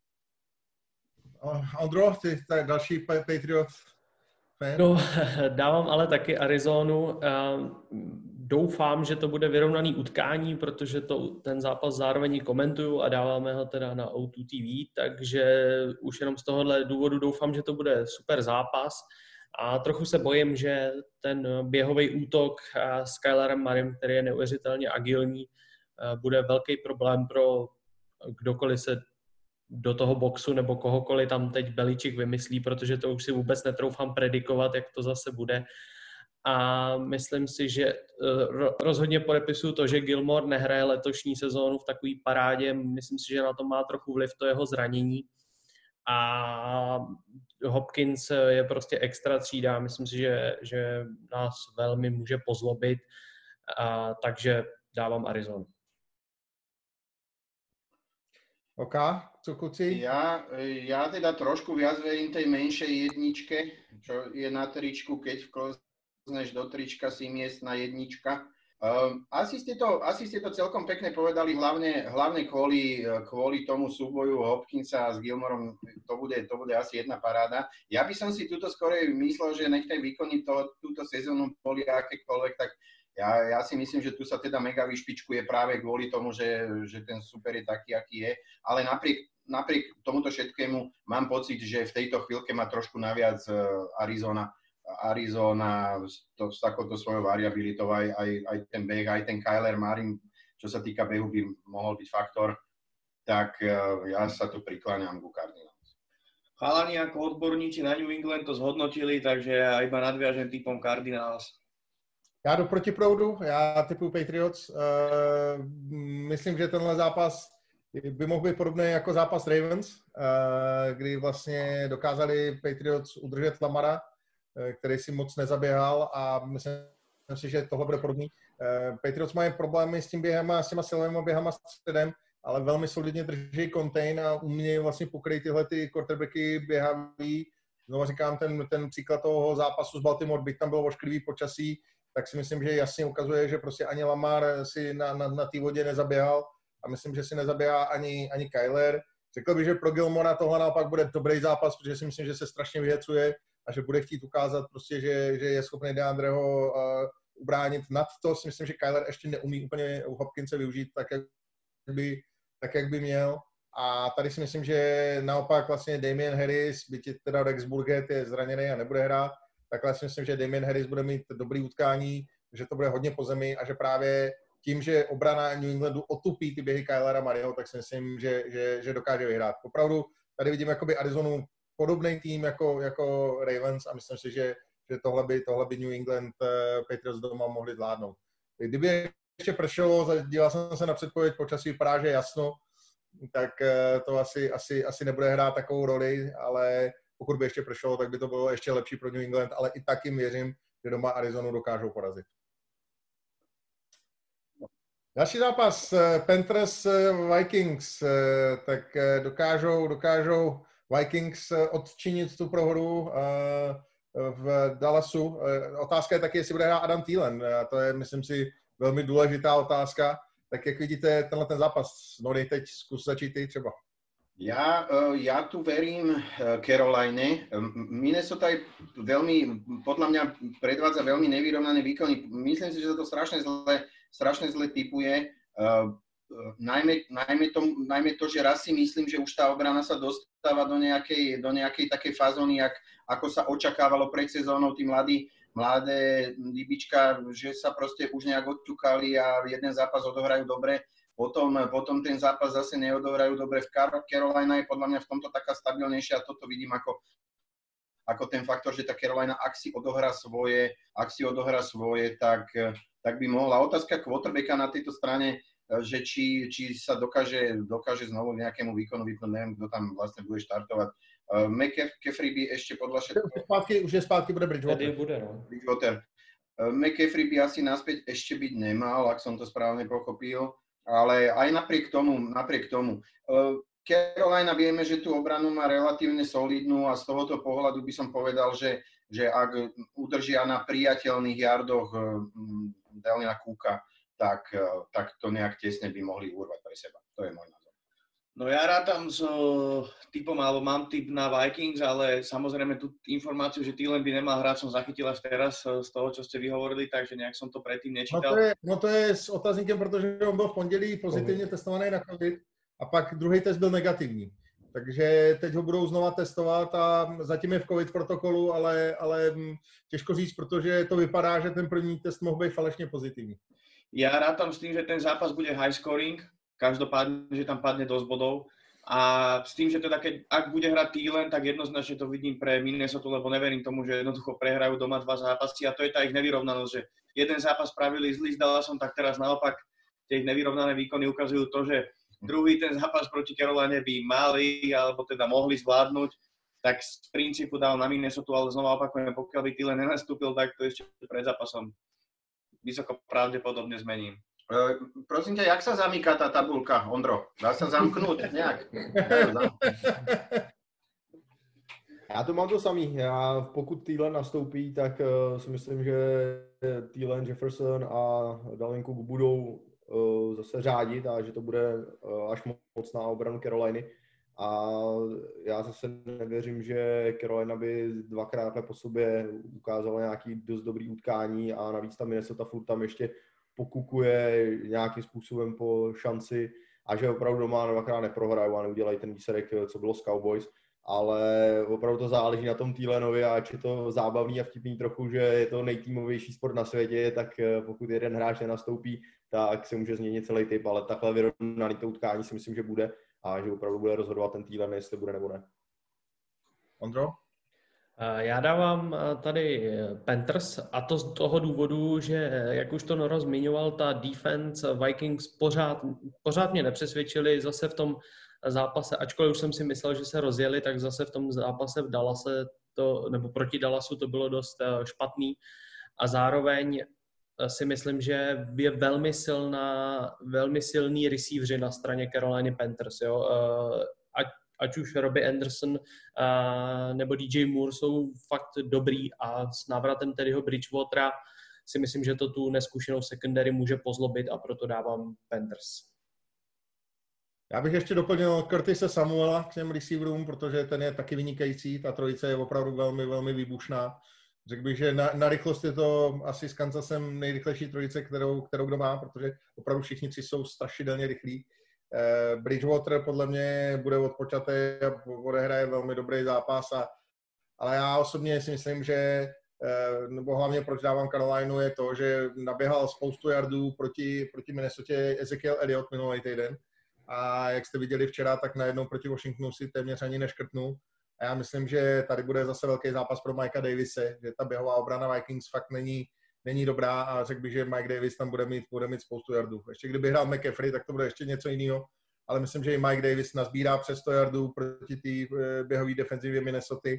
Ondro, ty další Patriot fan? No, dávám ale taky Arizonu. doufám, že to bude vyrovnaný utkání, protože ten zápas zároveň komentuju a dáváme ho teda na O2 TV, takže už jenom z tohohle důvodu doufám, že to bude super zápas. A trochu se bojím, že ten běhový útok s Kylerem Murraym, který je neuvěřitelně agilní, bude velký problém pro kdokoliv se do toho boxu nebo kohokoliv tam teď Beličík vymyslí, protože to už si vůbec netroufám predikovat, jak to zase bude. A myslím si, že rozhodně podepisuju to, že Gilmore nehraje letošní sezónu v takové parádě. Myslím si, že na to má trochu vliv to jeho zranění. A Hopkins je prostě extra třída. Myslím si, že nás velmi může pozlobit. Takže dávám Arizonu. OK, co kluci? Ja teda trošku viac verím tej menšej jedničke, čo je na tričku, keď vklozneš do trička si miestna jednička. Asi ste to celkom pekne povedali, hlavne kvôli tomu súboju Hopkinsa s Gilmorom, to bude asi jedna paráda. Ja by som si tuto skorej myslel, že nech tej výkony túto sezónu boli akékoľvek, tak ja si myslím, že tu sa teda mega vyšpičkuje práve kvôli tomu, že ten super je taký, aký je, ale napriek tomuto všetkému mám pocit, že v tejto chvíľke má trošku naviac Arizona s takouto svojou variabilitou, aj ten beh, aj ten Kyler Murray, čo sa týka behu, by mohol byť faktor, tak ja sa tu prikláňam ku Cardinals. Chalani ako odborníci na New England to zhodnotili, takže ja iba nadviažem typom Cardinals. Já jdu proti proudu, já typuju Patriots. Myslím, že tenhle zápas by mohl být podobný jako zápas Ravens, kdy vlastně dokázali Patriots udržet Lamara, který si moc nezaběhal, a myslím si, že tohle bude podobný. Patriots mají problémy s tím během, s těma silovými běhama středem, ale velmi solidně drží contain a umějí vlastně pokryt tyhle ty quarterbacky běhaví. Znovu říkám, ten příklad toho zápasu s Baltimore, byť tam bylo ošklivý počasí, tak si myslím, že jasně ukazuje, že prostě ani Lamar si na té vodě nezaběhal a myslím, že si nezaběhá ani Kyler. Řekl bych, že pro Gilmora tohle naopak bude dobrý zápas, protože si myslím, že se strašně vyhecuje a že bude chtít ukázat prostě, že je schopný DeAndreho ubránit. Nad to si myslím, že Kyler ještě neumí úplně u Hopkinse využít tak, jak by měl. A tady si myslím, že naopak vlastně Damien Harris, byť teda Rex Burkhead je zraněný a nebude hrát, takhle si myslím, že Damien Harris bude mít dobrý utkání, že to bude hodně po zemi a že právě tím, že obrana New Englandu otupí ty běhy Kylera Murrayho, tak si myslím, že dokáže vyhrát. Opravdu tady vidím jakoby Arizonu podobný tým jako Ravens a myslím si, že tohle by New England Patriots doma mohli zvládnout. Kdyby ještě pršelo, díval jsem se na předpověď počasí, vypadá, že jasno, tak to asi nebude hrát takovou roli, ale pokud by ještě pršelo, tak by to bylo ještě lepší pro New England, ale i tak jim věřím, že doma Arizonu dokážou porazit. Další zápas, Panthers Vikings, tak dokážou Vikings odčinit tu prohru v Dallasu. Otázka je taky, jestli bude hrát Adam Thielen. To je, myslím si, velmi důležitá otázka. Tak jak vidíte tenhle ten zápas? Nori, teď zkus začít ty třeba. Ja tu verím Caroline. Minnesota je veľmi, podľa mňa predvádza veľmi nevyrovnané výkony. Myslím si, že sa to strašne zle tipuje. Najmä to, že raz si myslím, že už tá obrana sa dostáva do nejakej takej fazóny, ako sa očakávalo pred sezónou, tí mladé líbička, že sa proste už nejak odťukali a jeden zápas odohrajú dobre. Potom ten zápas zase neodohrajú dobre. V Carolina je podľa mňa v tomto taká stabilnejšia a toto vidím ako ten faktor, že tá Carolina, ak si odohrá svoje, tak by mohla. Otázka quarterbacka na tejto strane, že či sa dokáže znovu nejakému výkonu vypnúť, neviem, kto tam vlastne bude štartovať. McCaffrey by ešte podľa všetkého... Už je spátky, bude Bridgewater. McCaffrey by asi naspäť ešte byť nemal, ak som to správne pochopil. Ale aj napriek tomu. Carolina vieme, že tú obranu má relatívne solidnú a z tohoto pohľadu by som povedal, že ak udržia na priateľných yardoch Dalvina Cooka, tak to nejak tesne by mohli urvať pre seba. To je môj názor. No ja rátam s typom, alebo mám typ na Vikings, ale samozrejme tú informáciu, že Thielen by nemal hrať, som zachytil až teraz z toho, čo ste vyhovorili, takže nejak som to predtým nečítal. No to je s otazníkem, protože on byl v pondělí pozitivně testovaný na COVID a pak druhý test byl negativní. Takže teď ho budou znova testovat a zatím je v COVID protokolu, ale těžko říct, protože to vypadá, že ten první test mohl být falešně pozitivní. Ja rátam s tým, že ten zápas bude high scoring, každopádne, že tam padne dosť bodov. A s tým, že teda ak bude hrať Thielen, tak jednoznačne to vidím pre Minnesota, lebo neverím tomu, že jednoducho prehrajú doma 2 zápasy a to je tá ich nevyrovnanosť, že jeden zápas spravili zlý s Dallasom, tak teraz naopak tie ich nevyrovnané výkony ukazujú to, že druhý ten zápas proti Caroline by mali, alebo teda mohli zvládnuť, tak z princípu dal na Minnesota, ale znova opakujem, pokiaľ by Thielen nenastúpil, tak to ešte pred zápasom vysoko pravdepodobne zmením. Prosím ťa, jak sa zamýka tá tabulka, Ondro? Dá sa zamknúť nejak? Já to mám to samý. Pokud Thielen nastoupí, tak si myslím, že Thielen, Jefferson a Dalvin Cook budou zase řádit a že to bude až moc na obranu Caroliny. A já zase nevěřím, že Carolina by dvakrát po sobě ukázala nějaký dost dobrý utkání a navíc tam Minnesota furt tam ještě pokukuje nějakým způsobem po šanci a že opravdu doma dvakrát neprohrajou a neudělají ten výsledek, co bylo s Cowboys. Ale opravdu to záleží na tom Thielenovi a ač je to zábavný a vtipný trochu, že je to nejtýmovější sport na světě, tak pokud jeden hráč nenastoupí, tak se může změnit celý typ, ale takhle vyrovnaný to utkání si myslím, že bude a že opravdu bude rozhodovat ten Thielen, jestli bude nebo ne. Ondro? Já dávám tady Panthers a to z toho důvodu, že jak už to Noro zmiňoval, ta defense Vikings pořád mě nepřesvědčili zase v tom zápase, ačkoliv už jsem si myslel, že se rozjeli, tak zase v tom zápase v Dallase nebo proti Dallasu to bylo dost špatný a zároveň si myslím, že je velmi silný receiveři na straně Carolina Panthers. Jo? Ať už Robbie Anderson nebo DJ Moore jsou fakt dobrý a s návratem Teddyho Bridgewatera si myslím, že to tu neskušenou secondary může pozlobit a proto dávám Panthers. Já bych ještě doplnil Curtise Samuela k těm receiverům, protože ten je taky vynikající. Ta trojice je opravdu velmi, velmi výbušná. Řekl bych, že na rychlost je to asi s Kansasem nejrychlejší trojice, kterou kdo má, protože opravdu všichni tři jsou strašidelně rychlí. Bridgewater podle mě bude odpočatý a odehraje velmi dobrý zápas, ale já osobně si myslím, že nebo hlavně proč dávám Carolinu je to, že naběhal spoustu yardů proti Minnesotě Ezekiel Elliott minulý týden a jak jste viděli včera, tak najednou proti Washingtonu si téměř ani neškrtnul. A já myslím, že tady bude zase velký zápas pro Mikea Davise, že ta běhová obrana Vikings fakt není dobrá a řekl bych, že Mike Davis tam bude mít spoustu yardů. Ještě kdyby hrál McCaffrey, tak to bude ještě něco jiného, ale myslím, že i Mike Davis nazbírá přes 100 yardů proti té běhové defenzivě Minnesota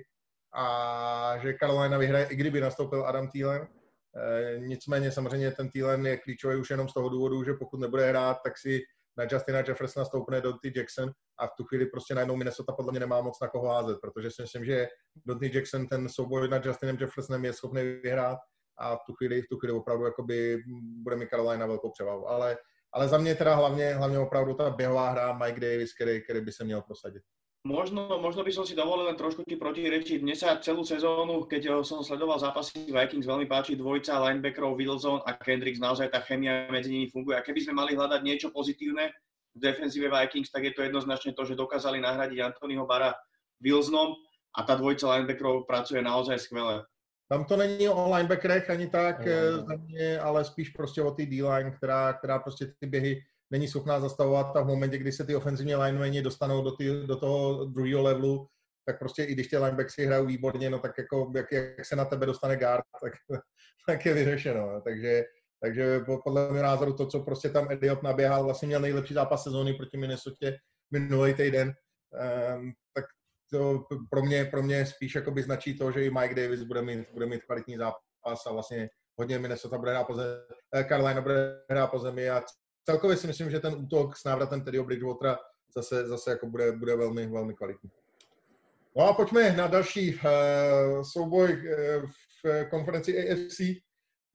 a že Carolina vyhraje, i kdyby nastoupil Adam Thielen. Nicméně samozřejmě ten Thielen je klíčový už jenom z toho důvodu, že pokud nebude hrát, tak si na Justina Jeffersona stoupne Donty Jackson a v tu chvíli prostě najednou Minnesota podle mě nemá moc na koho házet, protože si myslím, že Donty Jackson ten souboj nad Justinem Jeffersonem je schopný vyhrát a v tu chvíli opravdu jakoby bude mi Carolina velkou převahu. Ale za mě teda hlavně opravdu ta běhová hra Mike Davis, který by se měl prosadit. Možno by som si dovolil len trošku ti protirečiť. Mne sa celú sezónu, keď som sledoval zápasy Vikings, veľmi páči dvojica linebackerov Wilson a Kendricks. Naozaj tá chémia medzi nimi funguje. A keby sme mali hľadať niečo pozitívne v defenzíve Vikings, tak je to jednoznačne to, že dokázali nahradiť Anthonyho Barra Wilsonom a tá dvojica linebackerov pracuje naozaj skvelé. Tam to není o linebackerech ani tak za mě, ale spíš prostě o té D-line, která prostě ty běhy není schopná zastavovat a v momentě, kdy se ty ofenzivní linemeni dostanou do toho druhého levelu, tak prostě i když ty linebackers hrajou výborně, no tak jako jak se na tebe dostane guard, tak je vyřešeno. Takže podle mého názoru to, co prostě tam Elliott naběhal, vlastně měl nejlepší zápas sezóny proti Minnesotě minulý týden, tak to pro mě spíš jakoby značí to, že i Mike Davis bude mít kvalitní zápas a vlastně hodně Minnesota bude hrát po zemi, Carolina bude hrát po zemi a celkově si myslím, že ten útok s návratem Teddyho Bridgewatera zase jako bude velmi, velmi kvalitní. No a pojďme na další souboj v konferenci AFC.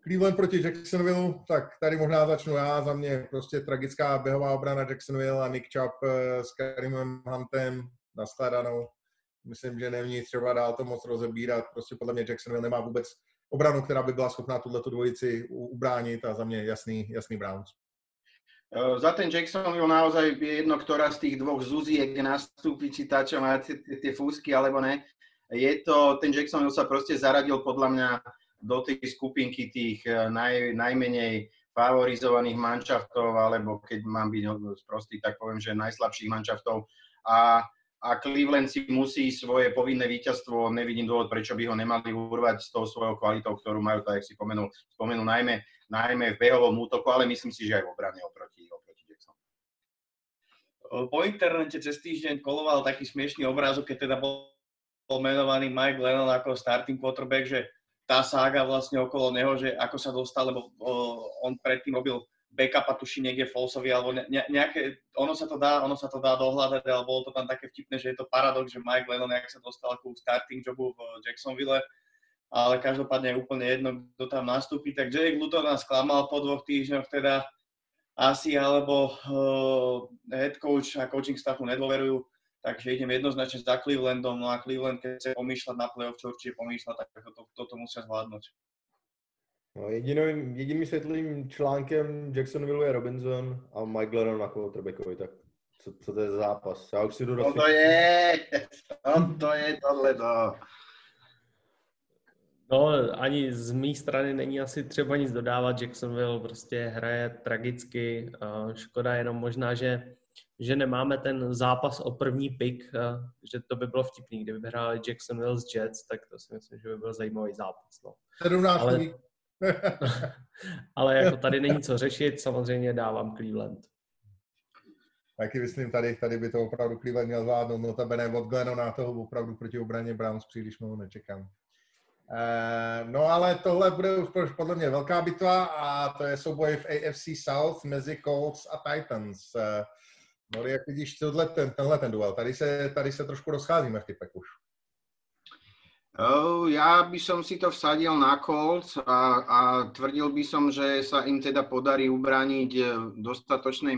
Cleveland proti Jacksonville, tak tady možná začnu já. Za mě prostě tragická běhová obrana Jacksonville a Nick Chubb s Kareemem Huntem naskladanou. Myslím, že není třeba dál to moc rozebírat. Prostě podle mě Jacksonville nemá vůbec obranu, která by byla schopná tuhletu dvojici ubránit a za mě jasný Browns. Za ten Jacksonville naozaj je jedno, ktorá z tých dvoch Zuziek nastúpi, či tá, čo má tie fúzky, alebo ne. Ten Jacksonville sa proste zaradil podľa mňa do tej skupinky tých najmenej favorizovaných manšaftov, alebo keď mám byť sprostý, tak poviem, že najslabších manšaftov. A Cleveland si musí svoje povinné víťazstvo, nevidím dôvod, prečo by ho nemali urvať s tou svojou kvalitou, ktorú majú, tak jak si spomenul najmä v behovom útoku, ale myslím si, že aj v obrane oproti Jackson. Po internete cez týždeň koloval taký smiešný obrázok, keď teda bol menovaný Mike Lennon ako starting quarterback, že tá sága vlastne okolo neho, že ako sa dostal, lebo on predtým robil backupa, tuším niekde Folsovi, alebo nejaké, ono sa to dá dohľadať, ale bolo to tam také vtipné, že je to paradox, že Mike Lennon, jak sa dostal ku starting jobu v Jacksonville, ale každopádne je úplne jedno, kto tam nastúpi. Tak Jake Luton nás klamal po 2 týždňoch teda asi, alebo head coach a coaching staffu nedôverujú, takže idem jednoznačne za Clevelandom, no a Cleveland, keď chce pomýšľať na playoff, čo určite pomýšľať, tak toto musia zvládnuť. No, jediným světlým článkem Jacksonville je Robinson a Mike Lennon na quarterbackovi, tak co to je za zápas? Já už si jdu do to je tohleto. No, ani z mé strany není asi třeba nic dodávat. Jacksonville prostě hraje tragicky. Škoda jenom možná, že nemáme ten zápas o první pick, že to by bylo vtipný, kdyby hráli Jacksonville s Jets, tak to si myslím, že by byl zajímavý zápas. No. 17. Ale jako tady není co řešit, samozřejmě dávám Cleveland. Taky myslím, tady by to opravdu Cleveland měl zvládnout, notabene od Glennona toho opravdu proti obraně Browns příliš mnoho nečekám. No ale tohle bude už podle mě velká bitva a to je souboj v AFC South mezi Colts a Titans. No, jak vidíš tenhle duel? Tady se trošku rozcházíme v typech už. Ja by som si to vsadil na Colts a tvrdil by som, že sa im teda podarí ubrániť v dostatočnej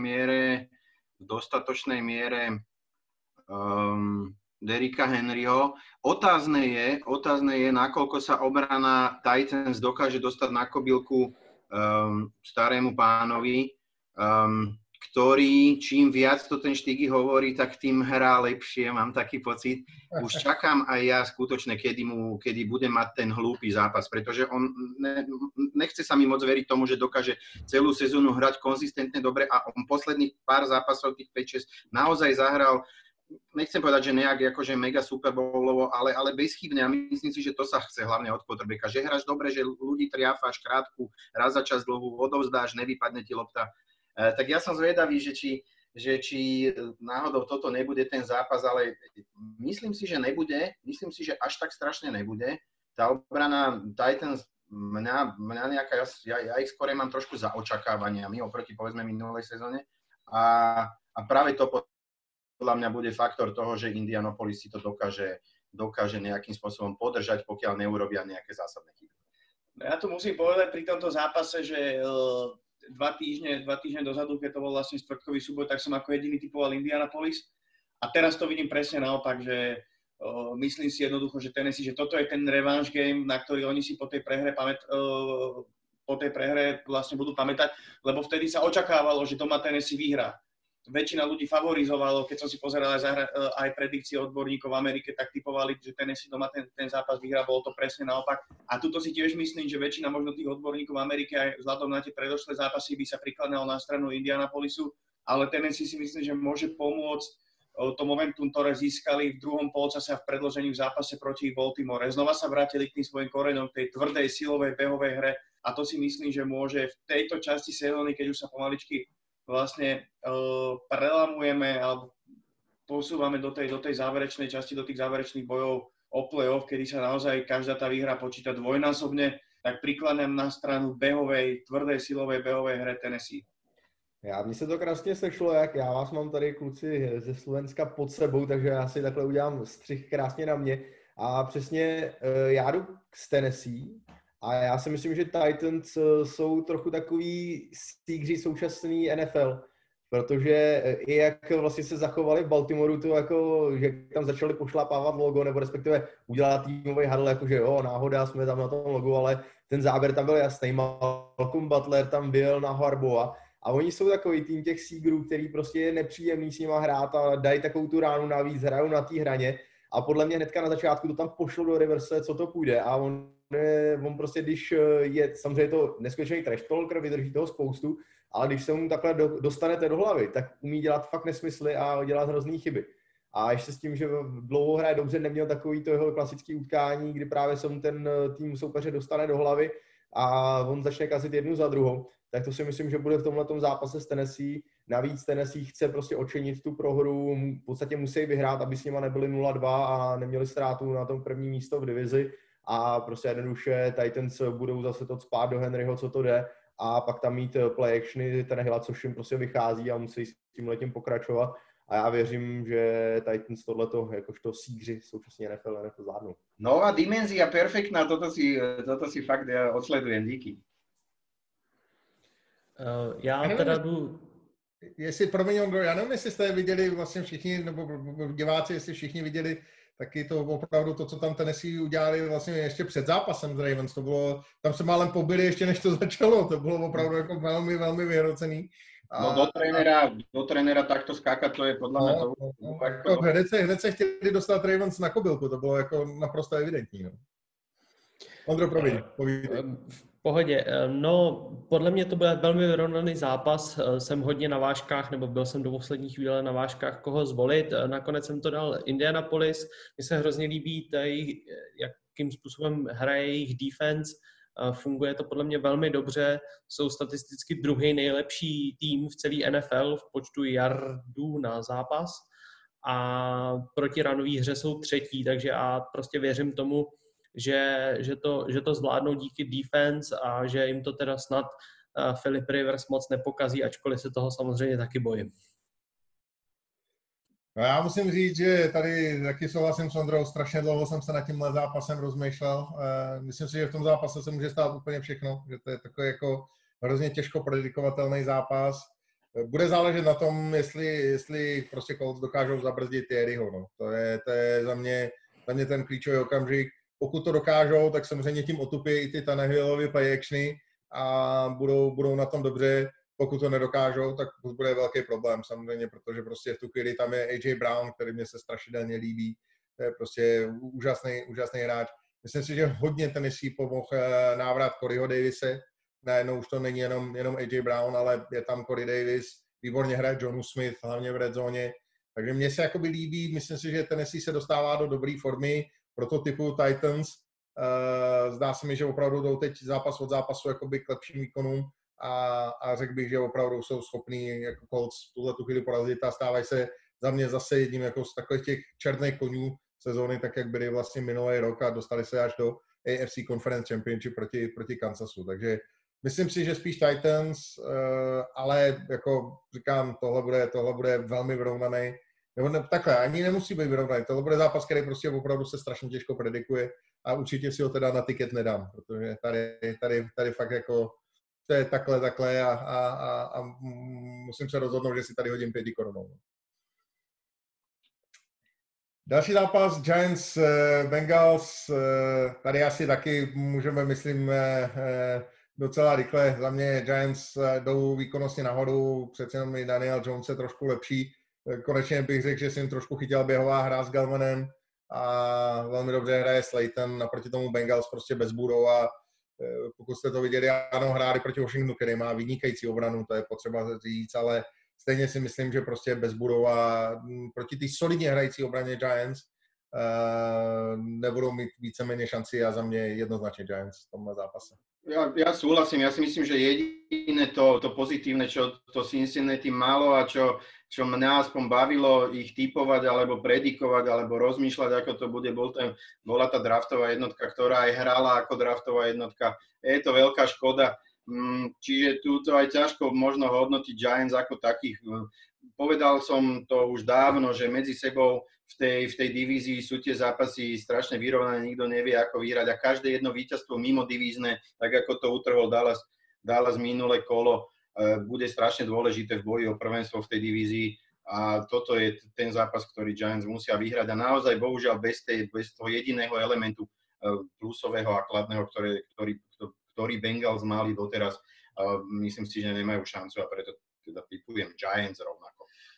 miere Derricka Henryho. Otázne je, nakoľko sa obrana Titans dokáže dostať na kobylku starému pánovi, ktorý čím viac to ten Štigy hovorí, tak tým hrá lepšie, mám taký pocit. Už čakám aj ja skutočne, kedy bude mať ten hlúpy zápas, pretože on nechce sa mi moc veriť tomu, že dokáže celú sezónu hrať konzistentne dobre a on posledných pár zápasov, tých 5-6, naozaj zahral, nechcem povedať, že nejak akože mega Super Bowlovo, ale bezchybne a myslím si, že to sa chce hlavne od quarterbacka, že hráš dobre, že ľudí triafáš krátku, raz za čas dlhú, odovzdáš, nevypadne ti lopta. Tak ja som zvedavý, že či náhodou toto nebude ten zápas, ale myslím si, že nebude. Myslím si, že až tak strašne nebude. Tá obrana Titans, mňa nejaká, ja ich skôr mám trošku za očakávaniami oproti povedzme minulej sezóne a práve to podľa mňa bude faktor toho, že Indianapolis si to dokáže nejakým spôsobom podržať, pokiaľ neurobia nejaké zásadné chyby. Ja tu musím povedať pri tomto zápase, že 2 týždne dozadu, keď to bol vlastne štvrtkový súboj, tak som ako jediný typoval Indianapolis. A teraz to vidím presne naopak, že myslím si jednoducho, že Tennessee, že toto je ten revanche game, na ktorý oni si po tej prehre vlastne budú pamätať, lebo vtedy sa očakávalo, že doma Tennessee vyhrá. Väčšina ľudí favorizovalo, keď som si pozeral aj predikcie odborníkov v Amerike, tak typovali, že Tennessee doma ten zápas vyhrá, bolo to presne naopak. A tuto si tiež myslím, že väčšina možno tých odborníkov v Amerike aj vzhľadom na tie predošlé zápasy by sa prikladalo na stranu Indianapolisu, ale Tennessee si myslím, že môže pomôcť to momentum, ktoré získali v druhom polčase a v predĺžení v zápase proti Baltimore. Znova sa vrátili k tým svojim koreňom, tej tvrdej, silovej, behovej hre a to si myslím, že môže v tejto časti sezóny, keď už sa pomaličky vlastne prelamujeme alebo posúvame do tej záverečnej časti, do tých záverečných bojov o play-off, kedy sa naozaj každá tá výhra počíta dvojnásobne, tak prikladám na stranu behovej, tvrdej silovej behovej hre Tennessee. Mně se to krásně sešlo, jak já vás mám tady kluci ze Slovenska pod sebou, takže já si takhle udělám střih krásně na mě. A přesně já jdu z Tennessee A já si myslím, že Titans jsou trochu takový stígři současný NFL, protože i jak vlastně se zachovali v Baltimoru, to jako, že tam začali pošlapávat logo, nebo respektive udělat týmový huddle, jakože jo, náhoda, jsme tam na tom logu, ale ten záběr tam byl jasný. Malcolm Butler tam byl na Harbaugha a oni jsou takový tým těch Seagrů, který prostě je nepříjemný s nima hrát a dají takovou tu ránu navíc, hrajou na té hraně a podle mě hnedka na začátku to tam pošlo do reverse, co to půjde a on prostě, když je, samozřejmě to neskutečný trash talker, vydrží toho spoustu, ale když se mu takhle dostanete do hlavy, tak umí dělat fakt nesmysly a dělat hrozný chyby. A ještě s tím, že dlouho hraje dobře, neměl takový to jeho klasický utkání, kdy právě se mu ten tým soupeře dostane do hlavy a on začne kazit jednu za druhou, tak to si myslím, že bude v tomhletom zápase s Tennessee. Navíc Tennessee chce prostě odčinit tu prohru, v podstatě musí vyhrát, aby s nima nebyli 0-2 a neměli ztrátu na tom první místo v divizi a prostě jednoduše Titans budou zase to cpát do Henryho, co to jde a pak tam mít play actiony Tannehilla, což jim prostě vychází a musí s tímhletím pokračovat. A já věřím, že Titans tohleto, jakožto sígři současně NFL zvládnou. Nová dimenzia, perfektná, toto si fakt odsledujem, díky. Já teda jdu... Ondro, já nevím, jestli jste viděli vlastně všichni, nebo diváci, jestli všichni viděli taky to opravdu to, co tam Tennessee udělali vlastně ještě před zápasem s Ravens. To bylo, tam se málem pobili ještě než to začalo, to bylo opravdu jako velmi, velmi vyhrocený. No do trenéra takto skákat, to je podľa mňa to... Hned se chtěli dostat Ravens na kobylku, to bylo jako naprosto evidentní. No. Ondro, povídej. V pohodě. No, podle mě to byl velmi vyrovnaný zápas. Jsem hodně na vážkách, nebo byl jsem do poslední chvíle na vážkách, koho zvolit. Nakonec jsem to dal Indianapolis. Mně se hrozně líbí tady, jakým způsobem hraje jejich defense. Funguje to podle mě velmi dobře. Jsou statisticky druhý nejlepší tým v celé NFL v počtu yardů na zápas. A proti runové hře jsou třetí, takže já prostě věřím tomu, že to zvládnou díky defense a že jim to teda snad Philip Rivers moc nepokazí, ačkoliv se toho samozřejmě taky bojím. No já musím říct, že tady taky souhlasím s Ondrou, strašně dlouho jsem se nad tímhle zápasem rozmýšlel. Myslím si, že v tom zápase se může stát úplně všechno, že to je takový jako hrozně těžko predikovatelný zápas. Bude záležet na tom, jestli prostě Colts dokážou zabrzdit Thierryho. No. To je za mě ten klíčový okamžik. Pokud to dokážou, tak samozřejmě tím otupí i ty Tannehillovy play actiony a budou na tom dobře. Pokud to nedokážou, tak bude velký problém samozřejmě, protože prostě v tu chvíli tam je AJ Brown, který mě se strašidelně líbí. To je prostě úžasný hráč. Myslím si, že hodně Tennessee pomohl návrat Coreyho Davise. Najednou už to není jenom AJ Brown, ale je tam Corey Davis, výborně hraje Jonu Smith, hlavně v red zóně. Takže mně se jakoby líbí, myslím si, že Tennessee se dostává do dobré formy prototypu Titans. Zdá se mi, že opravdu jdou teď zápas od zápasu jakoby k lepším výkonům a řekl bych, že opravdu jsou schopní jako Colts tu chvíli porazit a stávají se za mě zase jedním jako z takových těch černých konňů sezóny, tak jak byli vlastně minulý rok a dostali se až do AFC Conference Championship proti Kansasu. Takže myslím si, že spíš Titans, ale jako říkám, tohle bude velmi vyrovnaný. Nebo takhle, ani nemusí být vyrovnaný. Tohle bude zápas, který prostě opravdu se strašně těžko predikuje a určitě si ho teda na tiket nedám, protože tady fakt jako to je takhle a musím se rozhodnout, že si tady hodím 5 korunou. Další zápas Giants Bengals, tady asi taky můžeme, myslím, docela rychle. Za mě Giants jdou výkonnostně nahoru, přece jenom i Daniel Jones je trošku lepší. Konečně bych řekl, že si jim trošku chytila běhová hra s Galmanem a velmi dobře hraje Slayton, naproti tomu Bengals prostě bez Burrow a pokud jste to viděli, ano, hráli proti Washingtonu, který má vynikající obranu, to je potřeba říct, ale stejně si myslím, že prostě bez Burrow a proti té solidně hrající obraně Giants nebudou mít víceméně šanci a za mě jednoznačně Giants v tomhle zápase. Ja súhlasím, ja si myslím, že jediné to pozitívne, čo to Cincinnati malo a čo mňa aspoň bavilo ich typovať alebo predikovať alebo rozmýšľať, ako to bude, bola tá draftová jednotka, ktorá aj hrala ako draftová jednotka. Je to veľká škoda, čiže túto aj ťažko možno hodnotiť Giants ako takých. Povedal som to už dávno, že medzi sebou v tej divízii sú tie zápasy strašne vyrovnané, nikto nevie, ako vyhrať a každé jedno víťazstvo mimo divízne, tak ako to utrhol Dallas minulé kolo, bude strašne dôležité v boji o prvenstvo v tej divízii a toto je ten zápas, ktorý Giants musia vyhrať a naozaj bohužiaľ bez toho jediného elementu plusového a kladného, ktorý Bengals mali doteraz, myslím si, že nemajú šancu a preto teda typujem Giants rovnako.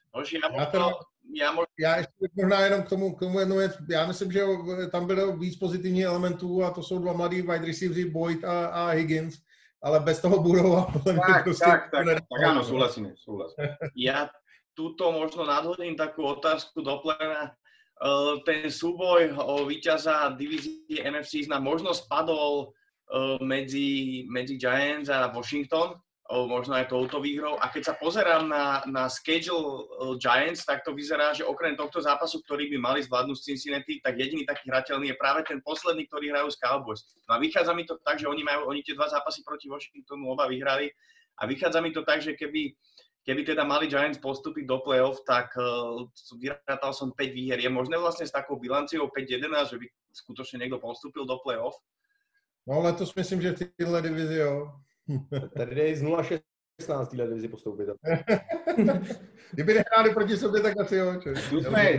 Já ještě možná jenom k tomu jednu věc. Já myslím, že tam bylo víc pozitivních elementů a to jsou dva mladí wide receivers, Boyd a Higgins, ale bez toho Burrowa tak áno, súhlasím. Ja túto možno nadhodím takú otázku do plena. Ten súboj o víťaza divízie NFC nám možno spadol medzi Giants a Washington, možno aj touto výhrou. A keď sa pozerám na schedule Giants, tak to vyzerá, že okrem tohto zápasu, ktorý by mali zvládnuť z Cincinnati, tak jediný taký hrateľný je práve ten posledný, ktorý hrajú s Cowboys. No a vychádza mi to tak, že oni tie dva zápasy proti Washingtonu oba vyhrali a vychádza mi to tak, že keby teda mali Giants postúpiť do play-off, tak vyrátal som 5 výher. Je možné vlastne s takou bilanciou 5-11, že by skutočne niekto postúpil do play-off? No letos myslím, že v téhle divizi, jo. Tady jde z 0-16 téhle divizi postoupit. Kdyby nehráli proti sobě, tak asi jo. Tu sme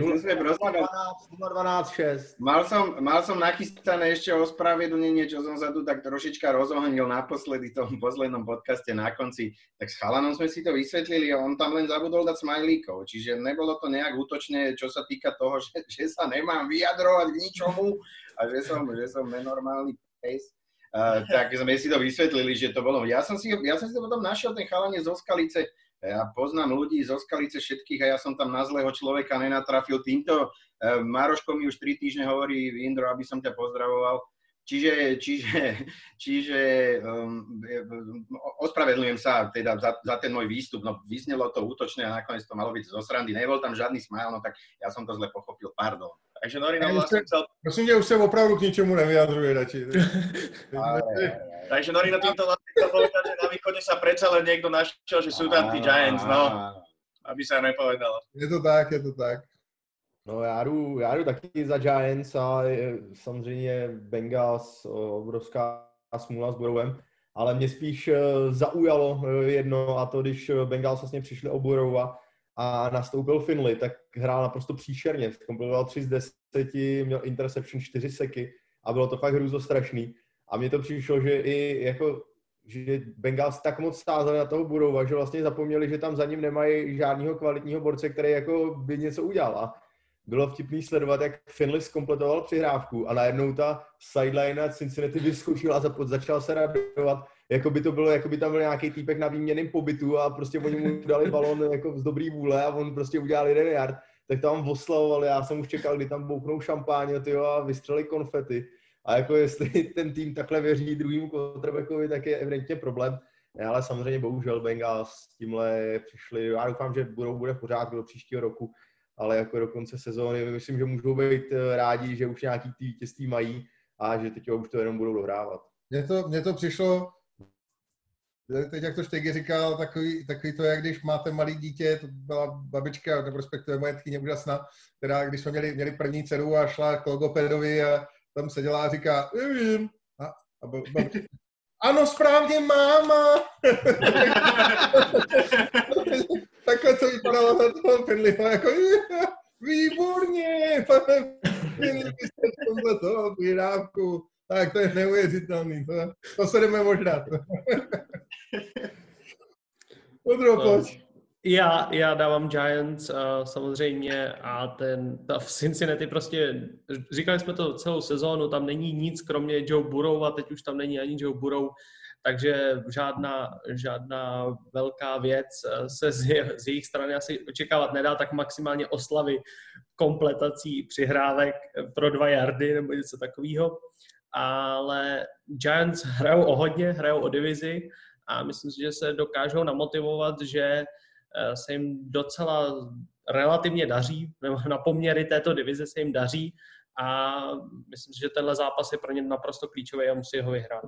0-12-6. Mal som nachystané ešte ospravedlnenie, čo som sa tu tak trošička rozohnil naposledy v tom poslednom podcaste na konci. Tak s chalanom sme si to vysvetlili a on tam len zabudol dať smajlíkov. Čiže nebolo to nejak útočné, čo sa týka toho, že sa nemám vyjadrovať k ničomu a že som nenormálny pes. Tak sme si to vysvetlili, že to bolo. Ja som si to potom našiel, ten chalanie zo Skalice. Ja poznám ľudí zo Skalice všetkých a ja som tam na zlého človeka nenatrafil. Týmto Maroško mi už 3 týždne hovorí, Indro, aby som ťa pozdravoval. Čiže ospravedlňujem sa teda za ten môj výstup. No vyznelo to útočné a nakoniec to malo byť zo srandy. Nebol tam žiadny smile, no tak ja som to zle pochopil, pardon. Takže Norina vlastne chcel... Prosím ťa, už sa opravdu k ničomu nevyjadruje radši. Takže Norina týmto vlastne chcel povedať, že na východe sa predsa len niekto našiel, že sú tam tí Giants, no. Aby sa nepovedalo. Je to tak. No já jdu taky za Giants a samozřejmě Bengals, obrovská smůla s Burrowem, ale mě spíš zaujalo jedno a to, když Bengals vlastně přišli o Burrowa a nastoupil Finley, tak hrál naprosto příšerně, kompletoval 3 z 10, měl interception 4 seky a bylo to fakt hrůzostrašný. A mně to přišlo, že i jako že Bengals tak moc stázali na toho Burrowa, že vlastně zapomněli, že tam za ním nemají žádného kvalitního borce, který jako by něco udělal. A bylo vtipný sledovat, jak Finley zkompletoval přihrávku a najednou ta sideline Cincinnati vyskočila a začal se radovat, jako by tam byl nějaký týpek na výměnném pobytu a prostě oni mu dali balón jako z dobrý vůle a on prostě udělal 1 yard. Tak tam oslavovali, já jsem už čekal, kdy tam bouknou šampáně a vystřelili konfety. A jako jestli ten tým takhle věří druhým quarterbackovi, tak je evidentně problém. Ale samozřejmě bohužel Bengals s tímhle přišli. Já doufám, že bude v pořádku do příštího roku, ale jako do konce sezóny myslím, že můžou být rádi, že už nějaký ty vítězství mají a že teď už to jenom budou dohrávat. Mně to přišlo, teď jak to Štegi říkal, takový to, jak když máte malý dítě, to byla babička, nebo respektive moje tchýně úžasná, která když jsme měli první dceru a šla k logopedovi a tam seděla a říká, nevím. A ano, správně, máma. Takhle to vypadalo za toho Finleyho, jako výborně, pane Finley, jste v tomhle toho výrávku. Tak to je neuvěřitelný, to se jdeme možná. Já dávám Giants samozřejmě a v Cincinnati prostě, říkali jsme to celou sezónu, tam není nic kromě Joe Burrow a teď už tam není ani Joe Burrow, takže žádná velká věc se z jejich strany asi očekávat nedá, tak maximálně oslavy kompletací přihrávek pro 2 yardy nebo něco takového. Ale Giants hrajou o hodně, hrajou o divizi a myslím si, že se dokážou namotivovat, že se jim docela relativně daří, nebo na poměry této divize se jim daří a myslím si, že tenhle zápas je pro ně naprosto klíčový a musí ho vyhrát.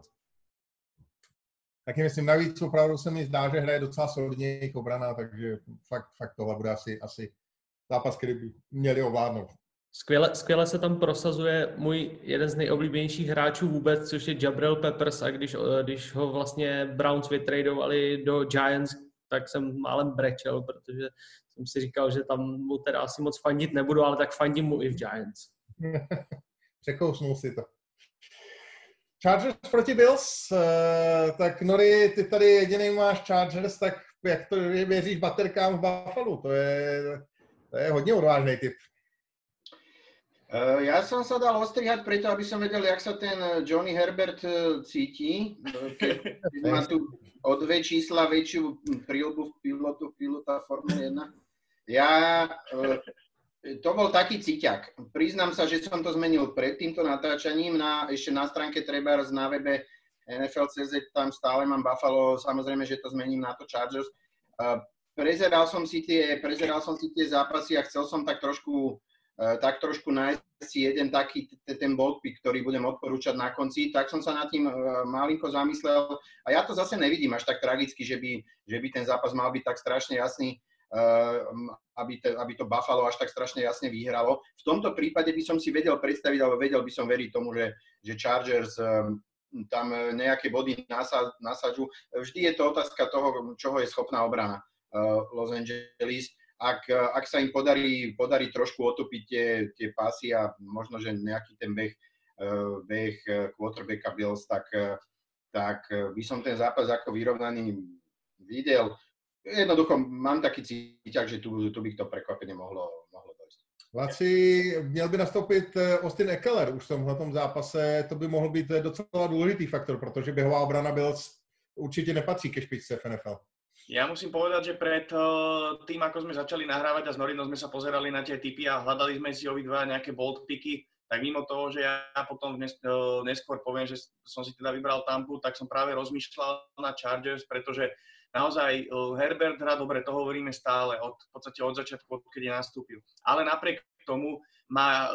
Taky myslím, navíc opravdu se mi zdá, že hraje docela solidně jejich obrana, takže fakt tohle bude asi zápas, který by měli ovládnout. Skvěle se tam prosazuje můj jeden z nejoblíbenějších hráčů vůbec, což je Jabril Peppers, a když ho vlastně Browns vytradovali do Giants, tak jsem málem brečel, protože jsem si říkal, že tam mu teda asi moc fandit nebudu, ale tak fandím mu i v Giants. Překousnul si to. Chargers proti Bills, tak Nori, ty tady jediný máš Chargers, tak jak to věříš baterkám v Buffalo? To je hodně odvážný typ. Ja som sa dal ostrihať preto, aby som vedel, jak sa ten Johnny Herbert cíti. Keď má tu o 2 čísla väčšiu príľbu v pilota Formule 1. To bol taký cíťak. Priznám sa, že som to zmenil pred týmto natáčaním. Ešte na stránke trebárs na webe NFL.cz, tam stále mám Buffalo. Samozrejme, že to zmením na to Chargers. Prezeral som si tie zápasy a chcel som tak trošku nájsť si jeden taký ten bold pick, ktorý budem odporúčať na konci, tak som sa nad tým malinko zamyslel a ja to zase nevidím až tak tragicky, že by ten zápas mal byť tak strašne jasný, aby to Buffalo až tak strašne jasne vyhralo. V tomto prípade by som si vedel predstaviť, alebo vedel by som veriť tomu, že Chargers tam nejaké body nasadžú. Vždy je to otázka toho, čoho je schopná obrana Los Angeles. Ak sa im podarí trošku otopiť tie pásy a možno, že nejaký ten beh quarterbacka Bills, tak by som ten zápas ako vyrovnaný videl. Jednoducho mám taký cíťak, že tu by to prekvapenie mohlo dojsť. Laci, měl by nastoupit Austin Ekeler už v tomhletom zápase, to by mohl být docela důležitý faktor, protože běhová obrana Bills určite nepatří ke špičce v NFL. Ja musím povedať, že pred tým, ako sme začali nahrávať a s Norinom sme sa pozerali na tie tipy a hľadali sme si obidva nejaké bold picky, tak mimo toho, že ja potom neskôr poviem, že som si teda vybral Tampu, tak som práve rozmýšľal na Chargers, pretože naozaj Herbert hrá dobre, to hovoríme stále, v podstate od začiatku, odkedy nastúpil. Ale napriek tomu má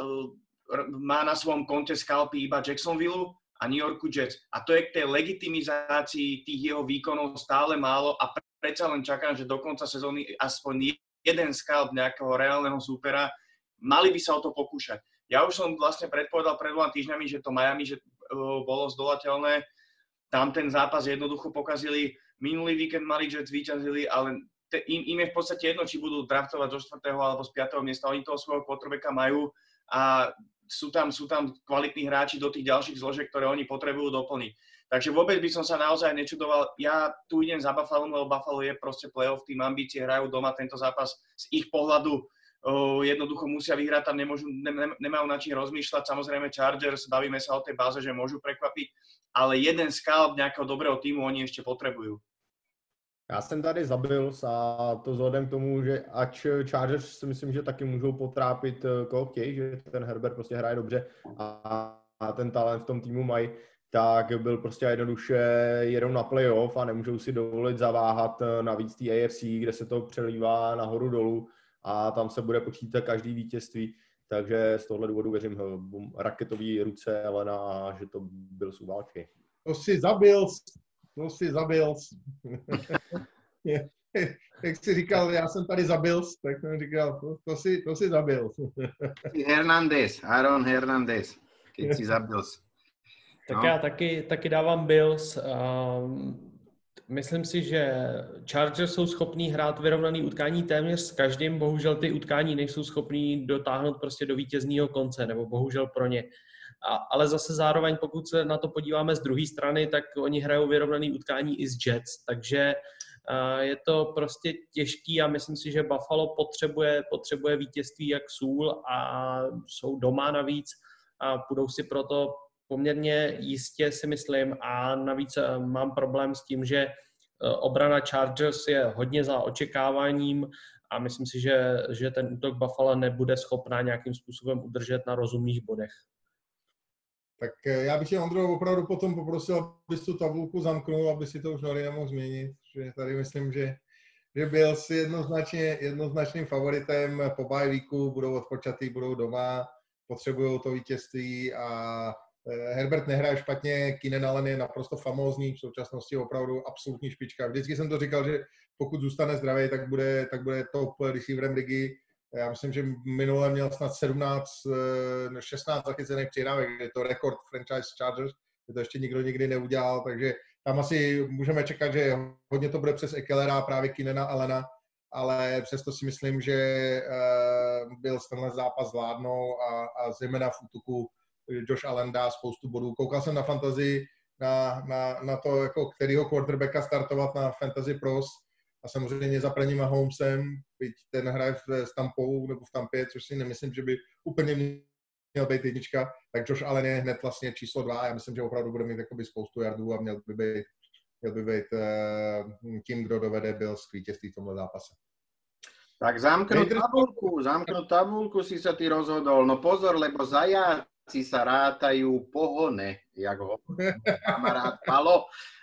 na svojom konte skalpy iba Jacksonville a New Yorku Jets. A to je k tej legitimizácii tých jeho výkonov stále málo a predsa len čakám, že do konca sezóny aspoň jeden scalp nejakého reálneho súpera, mali by sa o to pokúšať. Ja už som vlastne predpovedal pred 2 týždňami, že to Miami bolo zdolateľné. Tam ten zápas jednoducho pokazili. Minulý víkend mali Jets víťazili, ale im je v podstate jedno, či budú draftovať zo 4. alebo z 5. miesta. Oni toho svojho quarterbacka majú a sú tam kvalitní hráči do tých ďalších zložiek, ktoré oni potrebujú doplniť. Takže vôbec by som sa naozaj nečudoval. Ja tu idem za Buffalo, lebo Buffalo je proste playoff, tým ambície, hrajú doma tento zápas z ich pohľadu. Jednoducho musia vyhrať, tam nemajú na čím rozmýšľať. Samozrejme Chargers, bavíme sa o tej báze, že môžu prekvapiť, ale jeden scalp nejakého dobrého týmu oni ešte potrebujú. Já jsem tady za Bills a to vzhledem k tomu, že ač Chargers si myslím, že taky můžou potrápit koho chtějí, že ten Herbert prostě hraje dobře a ten talent v tom týmu mají, tak byl prostě jednoduše jedou na playoff a nemůžou si dovolit zaváhat navíc té AFC, kde se to přelívá nahoru dolů a tam se bude počítat každý vítězství. Takže z tohle důvodu věřím raketový ruce Elena, že to Bills uválčí. To si zabil. Jak jsi říkal, já jsem tady zabil, tak jsem říkal, to si zabil. Aaron Hernandez, keď si zabil. Tak já taky dávám Bills. Myslím si, že Chargers jsou schopní hrát vyrovnaný utkání téměř s každým, bohužel ty utkání nejsou schopní dotáhnout prostě do vítězního konce, nebo bohužel pro ně. Ale zase zároveň, pokud se na to podíváme z druhé strany, tak oni hrajou vyrovnaný utkání i s Jets, takže je to prostě těžký a myslím si, že Buffalo potřebuje vítězství jak sůl a jsou doma navíc a půjdou si proto poměrně jistě, si myslím, a navíc mám problém s tím, že obrana Chargers je hodně za očekáváním a myslím si, že ten útok Buffalo nebude schopná nějakým způsobem udržet na rozumných bodech. Tak já bych tě, Ondro, opravdu potom poprosil, abys tu tabulku zamknul, aby si to už Nori nemohl změnit. Že tady myslím, že byl si jednoznačným favoritem po bye weeku, budou odpočatý, budou doma, potřebují to vítězství a Herbert nehraje špatně, Keenan Allen je naprosto famózní, v současnosti opravdu absolutní špička. Vždycky jsem to říkal, že pokud zůstane zdravý, tak bude top receiverem ligy. Já myslím, že minule měl snad 16 zachycených přihrávek, je to rekord franchise Chargers, že to ještě nikdo nikdy neudělal, takže tam asi můžeme čekat, že hodně to bude přes Ekelera, právě Keenana Allena, ale přesto si myslím, že byl tenhle zápas zvládnou a zejména v útoku Josh Allen dá spoustu bodů. Koukal jsem na fantasy, na to, jako kterýho quarterbacka startovat na Fantasy Pros a samozřejmě za Patrick Mahomesem, byť ten hraje v Tampou nebo v Tampě, což si nemyslím, že by úplně měl být jednička, tak Josh Allen je hned vlastně číslo 2 a já myslím, že opravdu bude mít jakoby spoustu yardů a měl by být tím, kdo dovede Bills k vítězství v tomhle zápase. Tak zamknúť tabulku si sa ty rozhodol. No pozor, lebo zajaci sa rátajú pohone, jak ho kamarát Palo.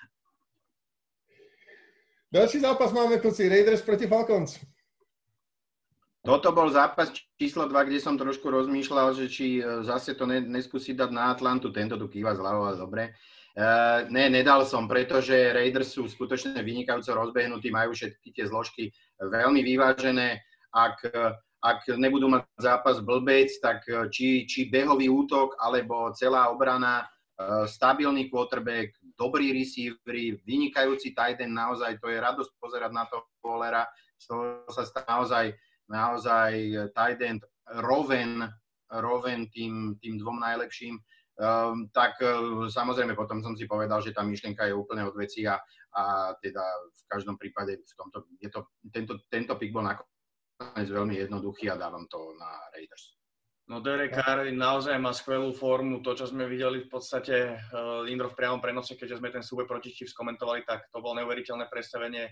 Další zápas máme, kluci, Raiders proti Falcons. Toto bol zápas číslo 2, kde som trošku rozmýšľal, že či zase to neskúsiť dať na Atlantu. Tento tu kýva zľavo, ale dobre. Nedal som, pretože Raiders sú skutočne vynikajúco rozbehnutí, majú všetky tie zložky veľmi vyvážené. Ak nebudú mať zápas blbec, tak či behový útok, alebo celá obrana, stabilný quarterback, dobrý receivery, vynikajúci tight end, naozaj to je radosť pozerať na to Wallera, z toho sa stá naozaj tight end roven tým dvom najlepším. Tak samozrejme potom som si povedal, že tá myšlienka je úplne od veci a teda v každom prípade tento pick bol nakoniec veľmi jednoduchý a dávam to na Raiders. No Derek Carr naozaj má skvelú formu, to čo sme videli v podstate Lindro v priamom prenose, keďže sme ten súboj proti Chiefs komentovali, tak to bolo neuveriteľné predstavenie.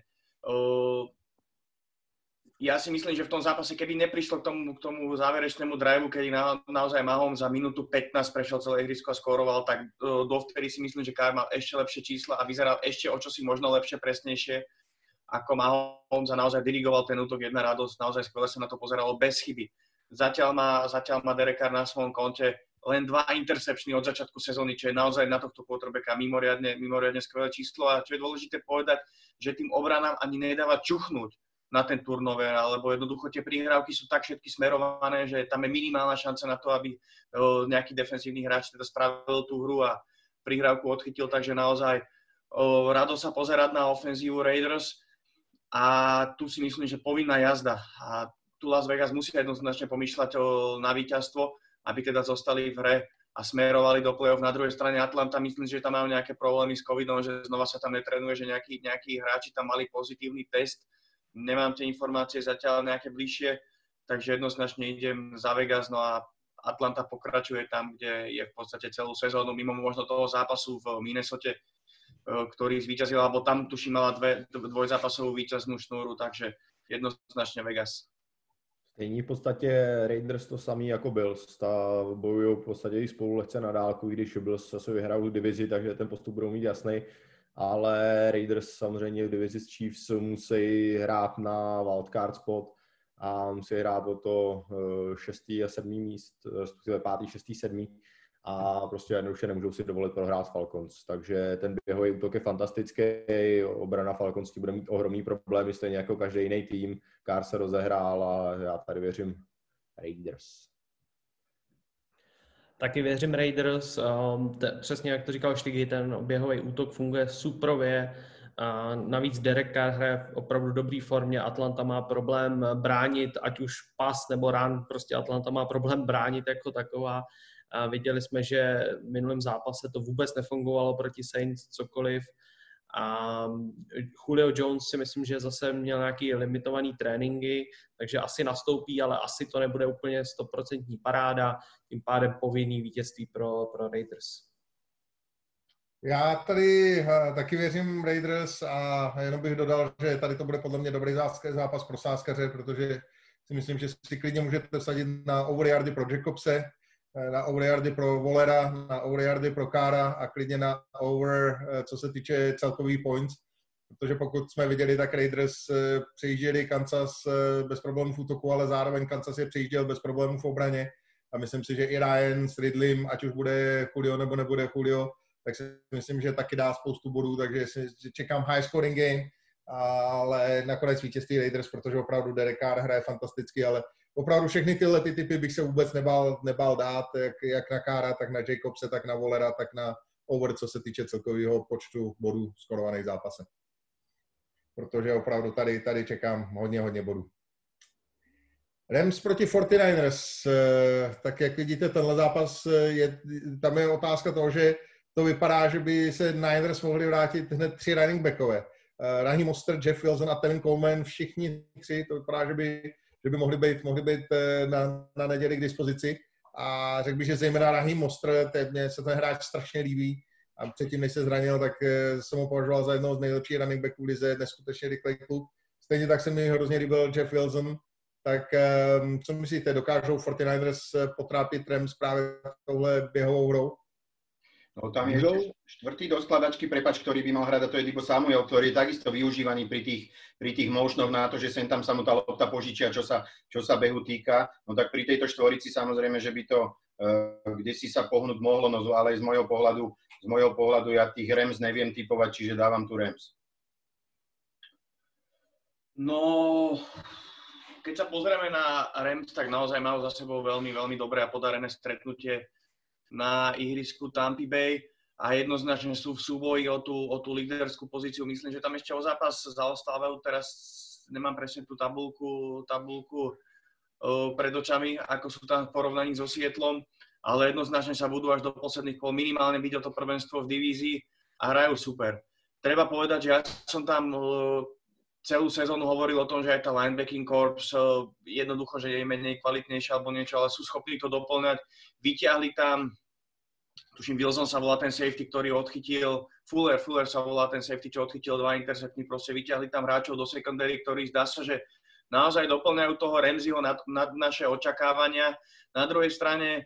Ja si myslím, že v tom zápase, keby neprišlo k tomu záverečnému driveu, kedy naozaj Mahomes za minútu 15 prešiel celé ihrisko a skóroval, tak dovtedy si myslím, že Carr mal ešte lepšie čísla a vyzeral ešte o čosi možno lepšie, presnejšie ako Mahomes a naozaj dirigoval ten útok, jedna radosť, naozaj skvelé sa na to pozeralo bez chyby. Zatiaľ má Derek Carr na svojom konte len 2 interceptiony od začiatku sezóny, čo je naozaj na tohto quarterbacka mimoriadne skvelé číslo a čo je dôležité povedať, že tým obranám ani nedáva čuchnúť na ten turnover, alebo jednoducho tie prihrávky sú tak všetky smerované, že tam je minimálna šanca na to, aby nejaký defensívny hráč teda spravil tú hru a prihrávku odchytil, takže naozaj rado sa pozerať na ofenzívu Raiders a tu si myslím, že povinná jazda a tu Las Vegas musí jednoznačne pomýšľať na víťazstvo, aby teda zostali v hre a smerovali do play-off. Na druhej strane Atlanta, myslím, že tam majú nejaké problémy s covidom, že znova sa tam netrenuje, že nejakí hráči tam mali pozitívny test. Nemám tie informácie zatiaľ nejaké bližšie, takže jednoznačne idem za Vegas, no a Atlanta pokračuje tam, kde je v podstate celú sezónu, mimo možno toho zápasu v Minnesote, ktorý zvíťazil, alebo tam tuším mala dvojzápasovú víťaznú šnúru, takže jednoznačne Vegas. Stejně v podstatě Raiders to samý jako Bills, bojují v podstatě i spolu lehce na dálku, i když Bills se vyhrajou divizi, takže ten postup budou mít jasný. Ale Raiders samozřejmě v divizi s Chiefs musí hrát na wildcard spot a musí hrát o to 6. a 7. míst, respektive 5., 6., 7. a prostě jednoduše nemůžou si dovolit prohrát Falcons. Takže ten běhový útok je fantastický, obrana Falcons bude mít ohromný problémy, stejně jako každý jiný tým. Carr se rozehrál a já tady věřím Raiders. Taky věřím Raiders, přesně jak to říkal Štygy, ten běhový útok funguje suprově, navíc Derek Carr hraje v opravdu dobrý formě, Atlanta má problém bránit, ať už pas nebo run, prostě Atlanta má problém bránit jako taková. A viděli jsme, že v minulém zápase to vůbec nefungovalo proti Saints, cokoliv. A Julio Jones si myslím, že zase měl nějaký limitovaný tréninky, takže asi nastoupí, ale asi to nebude úplně 100% paráda, tím pádem povinný vítězství pro Raiders. Já tady taky věřím Raiders a jenom bych dodal, že tady to bude podle mě dobrý zápas pro sázkaře, protože si myslím, že si klidně můžete vsadit na overyardy pro Jacobse, na overyardy pro Wallera, na overyardy pro Carra a klidně na over, co se týče celkový points, protože pokud jsme viděli, tak Raiders přejížděli Kansas bez problémů v útoku, ale zároveň Kansas je přejížděl bez problémů v obraně a myslím si, že i Ryan s Ridleym, ať už bude Julio nebo nebude Julio, tak si myslím, že taky dá spoustu bodů, takže čekám high scoring game ale nakonec vítězství Raiders, protože opravdu Derek Carr hraje fantasticky, ale opravdu všechny tyhle typy bych se vůbec nebál dát, jak na Carra, tak na Jacobse, tak na Wallera, tak na over, co se týče celkového počtu bodů skorovaných v zápase. Protože opravdu tady čekám hodně bodů. Rams proti 49ers, tak jak vidíte, tenhle zápas, tam je otázka toho, že to vypadá, že by se Niners mohli vrátit hned 3 running backové. Raheem Mostert, Jeff Wilson a Tevin Coleman, všichni 3, to vypadá, že by mohli být na neděli k dispozici. A řekl bych, že zejména Raheem Mostert, mně se ten hráč strašně líbí. A předtím, než se zranil, tak jsem ho považoval za jednoho z nejlepších running backů v lize, neskutečně rychlý kluk. Stejně tak se mi hrozně líbil Jeff Wilson. Tak co myslíte, dokážou 49ers potrápit Rams právě touhle běhovou hrou? No tam je ešte štvrtý do skladačky, prepáč, ktorý by mal hrať, a to je Deebo Samuel, ktorý je takisto využívaný pri tých motionoch na to, že sem tam sa mu tá lopta požičia, čo sa behu týka. No tak pri tejto štvorici samozrejme, že by to kdesi sa pohnúť mohlo, no ale z môjho pohľadu ja tých Rams neviem typovať, čiže dávam tu Rams. No, keď sa pozrieme na Rams, tak naozaj majú za sebou veľmi, veľmi dobré a podarené stretnutie na ihrisku Tampa Bay a jednoznačne sú v súboji o tú líderskú pozíciu. Myslím, že tam ešte o zápas zaostávajú. Teraz nemám presne tú tabulku pred očami, ako sú tam v porovnaní so Seattlom, ale jednoznačne sa budú až do posledných kôl minimálne byť o to prvenstvo v divízii a hrajú super. Treba povedať, že ja som tam celú sezónu hovoril o tom, že aj tá linebacking corps jednoducho, že je menej kvalitnejšia alebo niečo, ale sú schopní to doplňať. Vyťahli tam, tuším, Wilson sa volá ten safety, ktorý odchytil, Fuller sa volá ten safety, čo odchytil 2 intercepty, proste vyťahli tam hráčov do secondary, ktorí zdá sa, že naozaj doplňajú toho Ramseyho nad naše očakávania. Na druhej strane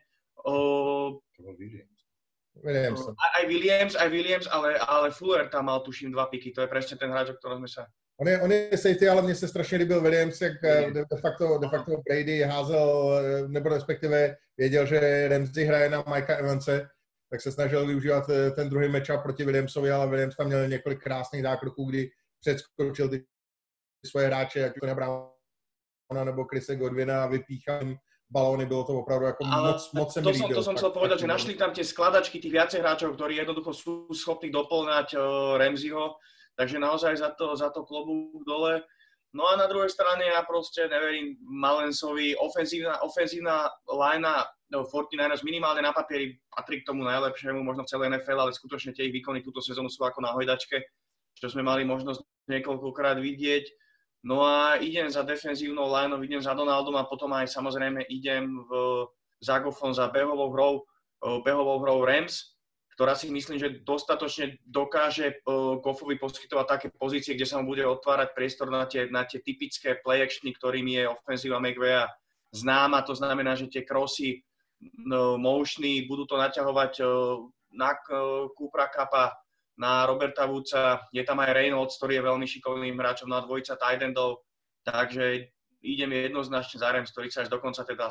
aj Williams, ale Fuller tam mal, tuším, 2 piky, to je presne ten hráč, o ktorom sme sa... On je safety, ale mně se strašně líbil Williams, jak de facto Brady házel, nebo respektive věděl, že Ramsey hraje na Mikea Evanse, tak se snažil využívat ten druhý matchup proti Williamsovi, ale Williams tam měl několik krásných zákroků, kdy předskočil ty svoje hráče, jak to Browna nebo Chrisa Godwina a vypíchal balóny, bylo to opravdu jako moc se mi líbilo. To som chcel povedať, že našli tam tie skladačky tých viacej hráčov, ktorí jednoducho sú schopní doplňať Ramseyho. Takže naozaj za to klobúk dole. No a na druhej strane ja proste neverím Malensovi. Ofenzívna linea 49ers minimálne na papieri patrí k tomu najlepšiemu, možno v celej NFL, ale skutočne tie ich výkony túto sezónu sú ako na hojdačke, čo sme mali možnosť niekoľkokrát vidieť. No a idem za defenzívnou lineou, idem za Donaldom a potom aj samozrejme idem za Goffom za behovou hrou Rams, ktorá si myslím, že dostatočne dokáže Goffovi poskytovať také pozície, kde sa mu bude otvárať priestor na tie typické play actiony, ktorými je ofenzíva McVaya známa. To znamená, že tie crossy, motiony budú to naťahovať na Coopera Cuppa, na Roberta Woodsa. Je tam aj Reynolds, ktorý je veľmi šikovným hráčom na dvojica tight endov. Takže idem jednoznačne za Rams, ktorý sa až do konca teda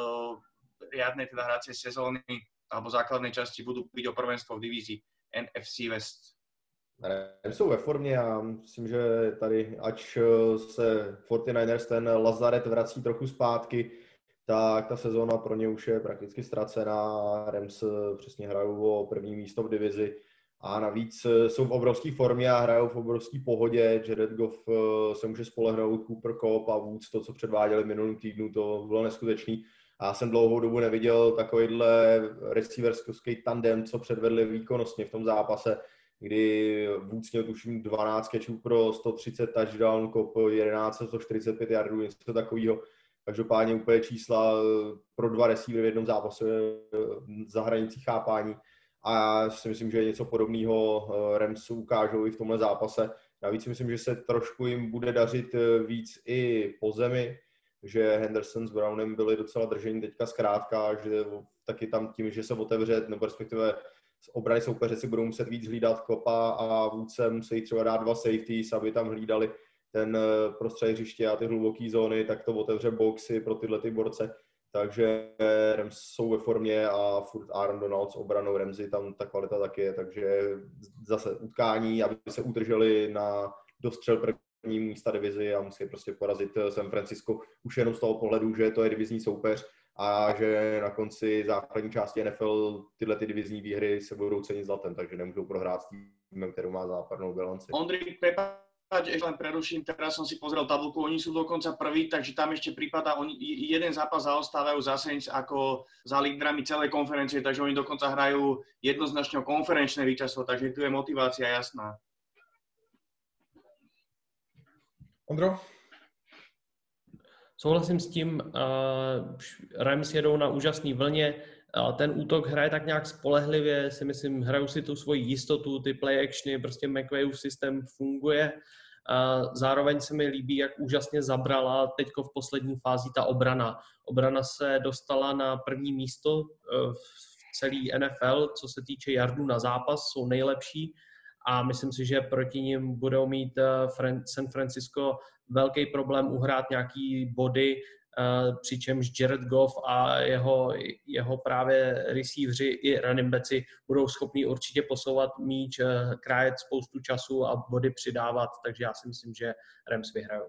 riadnej teda hracej sezóny alebo základnej časti budú byť o prvenstvo v divízii NFC West. Rams jsou ve formě a myslím, že tady, ač se 49ers ten Lazaret vrací trochu zpátky, tak ta sezóna pro ně už je prakticky ztracená. Rams přesně hrajou o první místo v divizi a navíc jsou v obrovské formě a hrajou v obrovské pohodě. Jared Goff se může spolehnout, Cooper Kupp a Woods, to, co předváděli v minulém týdnu, to bylo neskutečný. A já jsem dlouhou dobu neviděl takovýhle receiverský tandem, co předvedli výkonnostně v tom zápase, kdy Woods měl tuším 12 catchů pro 130 touchdown, Kupp 11, 145 yardů, něco takového. Každopádně úplně čísla pro 2 receivery v jednom zápase za hranicí chápání. A já si myslím, že něco podobného Rams ukážou i v tomhle zápase. Navíc si myslím, že se trošku jim bude dařit víc i po zemi, že Henderson s Brownem byli docela držení teďka zkrátka, že taky tam tím, že se otevře, nebo respektive z obrany soupeře si budou muset víc hlídat Koppa a Woodsem musí třeba dát 2 safeties, aby tam hlídali ten prostřed hřiště a ty hluboké zóny, tak to otevře boxy pro tyhle ty borce. Takže Rams jsou ve formě a furt Aaron Donald s obranou Ramsey, tam ta kvalita taky je, takže zase utkání, aby se udrželi na dostřel první místa divizi a musí prostě porazit San Francisco už jenom z toho pohledu, že to je divizní soupeř a že na konci základní části NFL tyhle ty divizní výhry se budou cenit zlatem, takže nemůžou prohrát s týmem, který má západnou bilanci. Ondřej, prepáč, ešte len preruším, teraz som si pozrel tabulku, oni sú dokonca prví, takže tam ešte prípada, oni jeden zápas zaostávajú za Saints ako za lídrami celej konferencie, takže oni dokonca hrajú jednoznačne konferenčné víťazstvo, takže tu je motivácia jasná. Ondro? Souhlasím s tím, Rams jedou na úžasný vlně, ten útok hraje tak nějak spolehlivě, si myslím, hrajou si tu svoji jistotu, ty play actiony, prostě McVayův systém funguje. Zároveň se mi líbí, jak úžasně zabrala teďko v poslední fázi ta obrana. Obrana se dostala na první místo v celý NFL, co se týče yardů na zápas, jsou nejlepší a myslím si, že proti nim budou mít San Francisco velký problém uhrát nějaký body, přičemž Jared Goff a jeho právě receivři i running backi budou schopni určitě posouvat míč, krájet spoustu času a body přidávat, takže já si myslím, že Rams vyhrajou.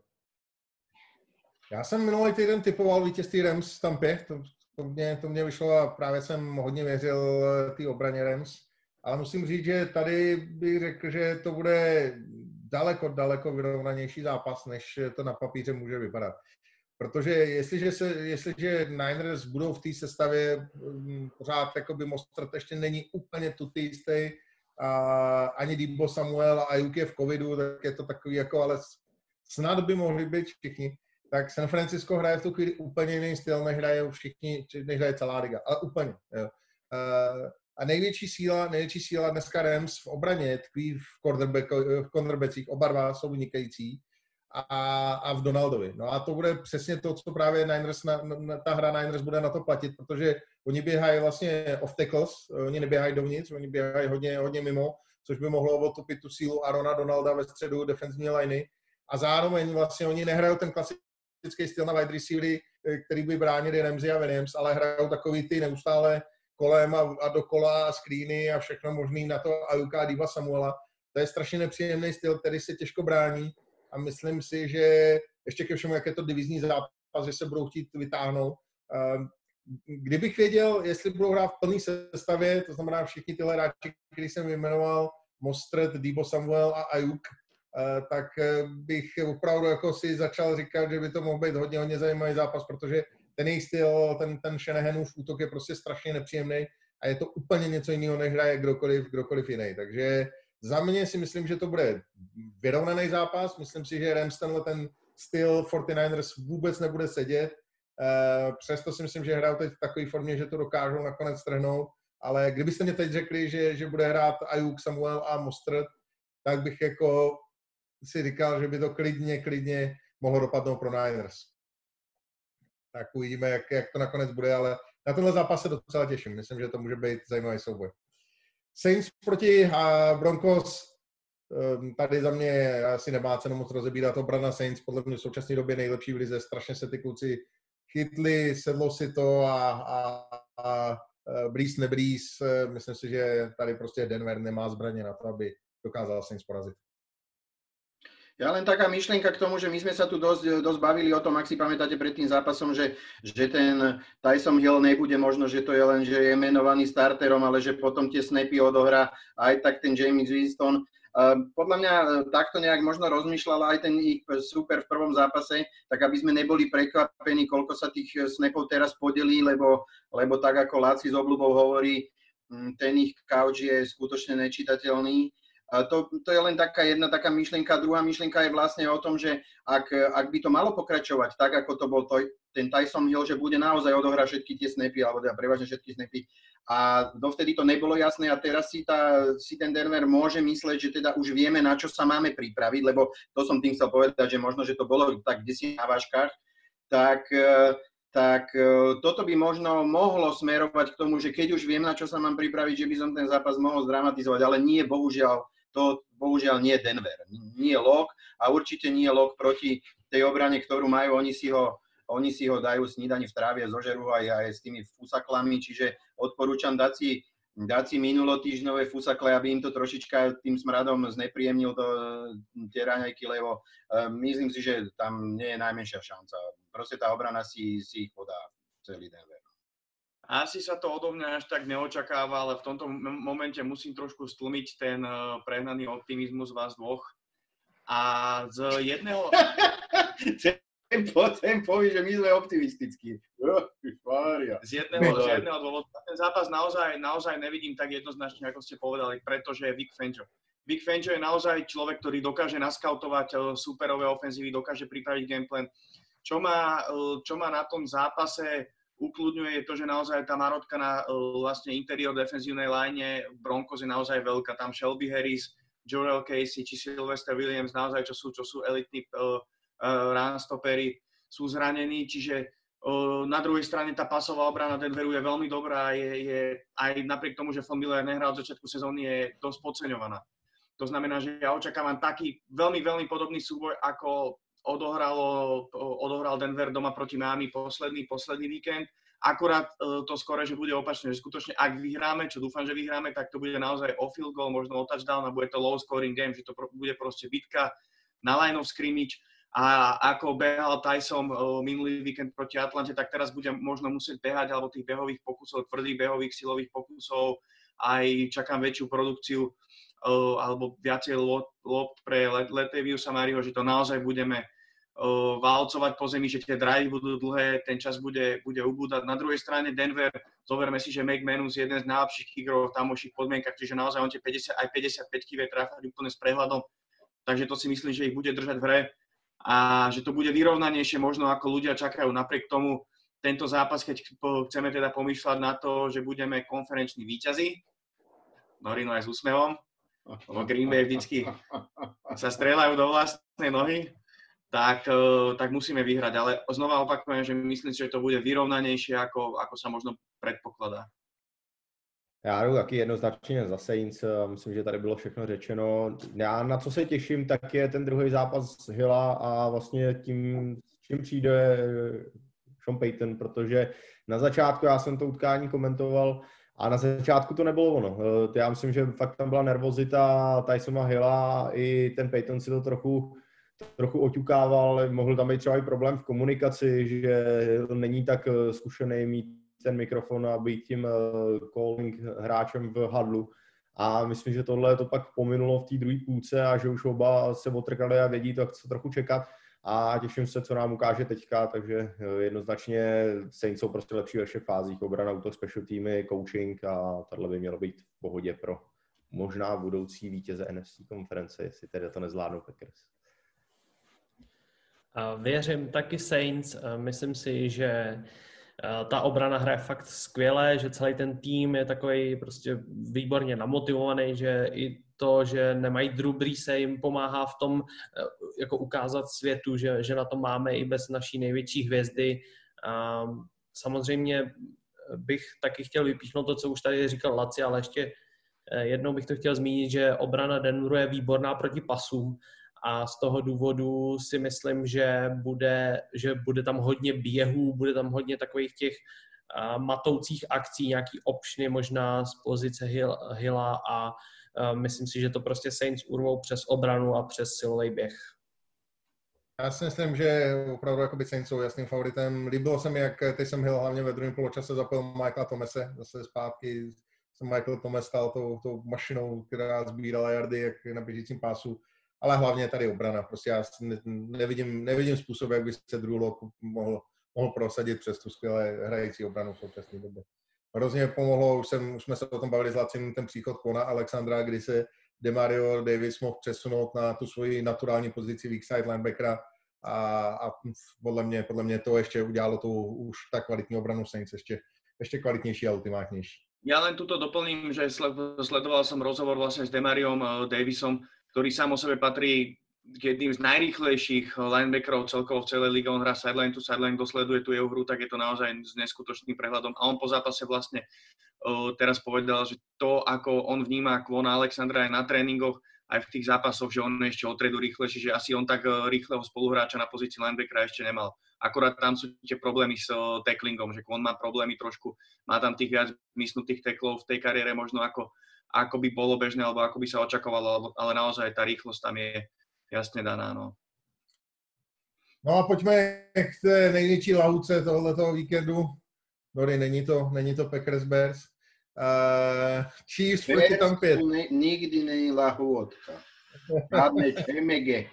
Já jsem minulý týden typoval vítězství Rams v Tampě, to mě vyšlo a právě jsem hodně věřil té obraně Rams, ale musím říct, že tady bych řekl, že to bude daleko vyrovnanější zápas, než to na papíře může vypadat. Protože jestliže Niners budou v té sestavě pořád, jakoby Mostert ještě není úplně tutý, ani Deebo Samuel a Ayuk je v covidu, tak je to takový jako, ale snad by mohli být všichni. Tak San Francisco hraje v tu chvíli úplně jiný styl, než hraje celá liga. Ale úplně. Jo. A největší síla dneska Rams v obraně tkví v cornerbackích, oba dva jsou vynikající. A v Donaldovi. No a to bude přesně to, co právě Niners, ta hra Niners bude na to platit, protože oni běhají vlastně off tackles, oni neběhají dovnitř, oni běhají hodně mimo, což by mohlo otopit tu sílu Arona Donalda ve středu defenzivní liney. A zároveň vlastně oni nehrajou ten klasický styl na wide receivery, který by bránili Ramsey a Williams, ale hrajou takový ty neustále kolem a dokola a screeny a všechno možný na to Ayuka a Deeba Samuela. To je strašně nepříjemný styl, který se těžko brání. A myslím si, že ještě ke všemu, jak je to divizní zápas, že se budou chtít vytáhnout. Kdybych věděl, jestli budou hrát v plné sestavě, to znamená všichni tyhle hráči, který jsem vyjmenoval, Mostert, Deebo Samuel a Ayuk, tak bych opravdu jako si začal říkat, že by to mohl být hodně zajímavý zápas, protože ten jejich styl, ten Shanahanův útok je prostě strašně nepříjemný a je to úplně něco jiného, než hraje kdokoliv jiný. Takže za mě si myslím, že to bude vyrovnaný zápas. Myslím si, že Rams ten styl 49ers vůbec nebude sedět. Přesto si myslím, že hrajou teď v takové formě, že to dokážou nakonec strhnout. Ale kdybyste mě teď řekli, že bude hrát Ayuk, Samuel a Mostert, tak bych jako si říkal, že by to klidně mohlo dopadnout pro Niners. Tak uvidíme, jak to nakonec bude, ale na tenhle zápas se docela těším. Myslím, že to může být zajímavý souboj. Saints proti Broncos, tady za mě asi nemá cenu moc rozebírat. Obrana Saints podle mě v současné době nejlepší v lize. Strašně se ty kluci chytli, sedlo si to a Breeze nebreeze. Myslím si, že tady prostě Denver nemá zbraně na to, aby dokázal Saints porazit. Ja len taká myšlienka k tomu, že my sme sa tu dosť bavili o tom, ak si pamätáte pred tým zápasom, že ten Tyson Hill nebude možno, že to je len, že je menovaný starterom, ale že potom tie snapy odohrá aj tak ten James Winston. Podľa mňa takto nejak možno rozmýšľal aj ten ich super v prvom zápase, tak aby sme neboli prekvapení, koľko sa tých snapov teraz podelí, lebo tak ako Laci s obľubou hovorí, ten ich couch je skutočne nečitateľný. To je len jedna taká myšlienka. Druhá myšlienka je vlastne o tom, že ak by to malo pokračovať tak, ako to bol ten Tyson Hill, že bude naozaj odohrať všetky tie snapy, alebo teda prevažne všetky snapy. A dovtedy to nebolo jasné a teraz si ten Denver môže mysleť, že teda už vieme, na čo sa máme pripraviť, lebo to som tým chcel povedať, že možno, že to bolo tak kdesi na vážkach, tak toto by možno mohlo smerovať k tomu, že keď už viem, na čo sa mám pripraviť, že by som ten zápas mohol zdramatizovať, ale nie, bohužiaľ nie Denver. Nie Lock a určite nie Lock proti tej obrane, ktorú majú. Oni si ho dajú snídani v tráve, zožerú aj s tými fusaklami, čiže odporúčam dať si dať si minulotýždňové fusakle, aby im to trošička tým smradom znepríjemnil tie raňajky, lebo myslím si, že tam nie je najmenšia šanca. Proste tá obrana si ich podá celý Denver. Asi sa to odo mňa až tak neočakáva, ale v tomto momente musím trošku stlmiť ten prehnaný optimizmus vás dvoch. A z jedného... Ten povie, že my sme optimistickí. Z jedného dôvodu. Ten zápas naozaj nevidím tak jednoznačne, ako ste povedali, pretože je Vic Fangio. Vic Fangio je naozaj človek, ktorý dokáže naskautovať superové ofenzívy, dokáže pripraviť gameplan. Čo ma na tom zápase ukľudňuje, je to, že naozaj tá marotka na vlastne interior defenzívnej line Broncos je naozaj veľká. Tam Shelby Harris, Jorel Casey či Sylvester Williams naozaj, čo sú elitní runstoppery, sú zranení, čiže na druhej strane tá pasová obrana Denveru je veľmi dobrá, je aj napriek tomu, že Von Miller nehral od začiatku sezóny, je dosť podceňovaná. To znamená, že ja očakávam taký veľmi, veľmi podobný súboj, ako odohral Denver doma proti Miami posledný víkend. Akurát to skore, že bude opačne, že skutočne ak vyhráme, čo dúfam, že vyhráme, tak to bude naozaj o field goal, možno o touchdown a bude to low scoring game, že to bude proste bitka na line of scrimmage. A ako behal Tyson minulý víkend proti Atlante, tak teraz bude možno musieť behať, alebo tých behových pokusov, tvrdých behových silových pokusov, aj čakám väčšiu produkciu alebo viacej lopt pre Lataviusa Murrayho, že to naozaj budeme valcovať po zemi, že tie drive budú dlhé, ten čas bude ubúdať. Na druhej strane Denver, zoberme si, že McManus je jeden z najlepších kickerov v tamoších podmienkach, čiže naozaj on tie 50 aj 55 vie trafať úplne s prehľadom, takže to si myslím, že ich bude držať v hre a že to bude vyrovnanejšie možno ako ľudia čakajú. Napriek tomu tento zápas, keď chceme teda pomýšľať na to, že budeme konferenční víťazi, Norino aj s úsmevom, lebo Green Bay vždycky sa strieľajú do vlastnej nohy, tak musíme vyhrať. Ale znova opakujem, že myslím si, že to bude vyrovnanejšie, ako sa možno predpokladá. Já jdu taky jednoznačně za Saints, myslím, že tady bylo všechno řečeno. Já na co se těším, tak je ten druhý zápas Hilla a vlastně tím, s čím přijde Sean Payton, protože na začátku já jsem to utkání komentoval a na začátku to nebylo ono. Já myslím, že fakt tam byla nervozita Tysona Hilla, i ten Payton si to trochu oťukával, mohl tam být třeba i problém v komunikaci, že není tak zkušený mít ten mikrofon a být tím calling hráčem v hadlu. A myslím, že tohle to pak pominulo v té druhé půlce a že už oba se otrkali a vědí to, co trochu čekat. A těším se, co nám ukáže teďka, takže jednoznačně Saints jsou prostě lepší ve všech fázích. Obrana, útok, special týmy, coaching a tohle by mělo být v pohodě pro možná budoucí vítěze NFC konference, jestli tedy to nezvládnou Packers. Věřím taky Saints. Myslím si, že ta obrana hraje fakt skvěle, že celý ten tým je takový prostě výborně namotivovaný, že i to, že nemají Drew Breese, jim pomáhá v tom jako ukázat světu, že na to máme i bez naší největší hvězdy. Samozřejmě bych taky chtěl vypíchnout to, co už tady říkal Laci, ale ještě jednou bych to chtěl zmínit, že obrana Denveru je výborná proti pasům. A z toho důvodu si myslím, že bude tam hodně běhů, bude tam hodně takových těch matoucích akcí, nějaký optiony možná z pozice Hilla a myslím si, že to prostě Saints urvou přes obranu a přes silový běh. Já si myslím, že opravdu jakoby Saints jsou jasným favoritem. Líbilo se mi, jak Taysom Hill hlavně ve druhém poločase zapojil Michaela Thomase. Zase zpátky se Michael Thomas stal tou mašinou, která sbírala yardy jak na běžícím pásu. Ale hlavně tady obrana. Prostě já nevidím způsob, jak by se Drew Lock mohl prosadit přes tu skvěle hrající obranu v současné době. Hrozně pomohlo, už jsme se o tom bavili s Lacim, ten příchod Kona Alexandra, kdy se Demario Davis mohl přesunout na tu svoji naturální pozici weak side linebackera a podle mě to ještě udělalo tu už tak kvalitní obranu Saints ještě kvalitnější a ultimátnější. Ja len tuto doplním, že sledoval som rozhovor vlastne s Demariom Davisom, ktorý sám o sebe patrí k jedným z najrýchlejších linebackerov celkovo v celej lige. On hrá sideline to sideline, kto sleduje tú jeho hru, tak je to naozaj s neskutočným prehľadom. A on po zápase vlastne teraz povedal, že to, ako on vníma Kwona Alexandra aj na tréningoch, aj v tých zápasoch, že on je ešte o triedu rýchlejší, že asi on tak rýchleho spoluhráča na pozícii linebackera ešte nemal. akorát tam sú tie problémy s tacklingom, že on má problémy trošku, má tam tých viac mysnutých tacklov v tej kariére možno ako by bolo bežné, alebo ako by sa očakávalo, ale naozaj tá rýchlosť tam je jasne daná, no. No a pojďme k té největší lahuce tohletoho víkendu. Dory, není to Packers Bears. Chiefs proti Tampě. Nikdy není lahůdka. Žádné ČMG.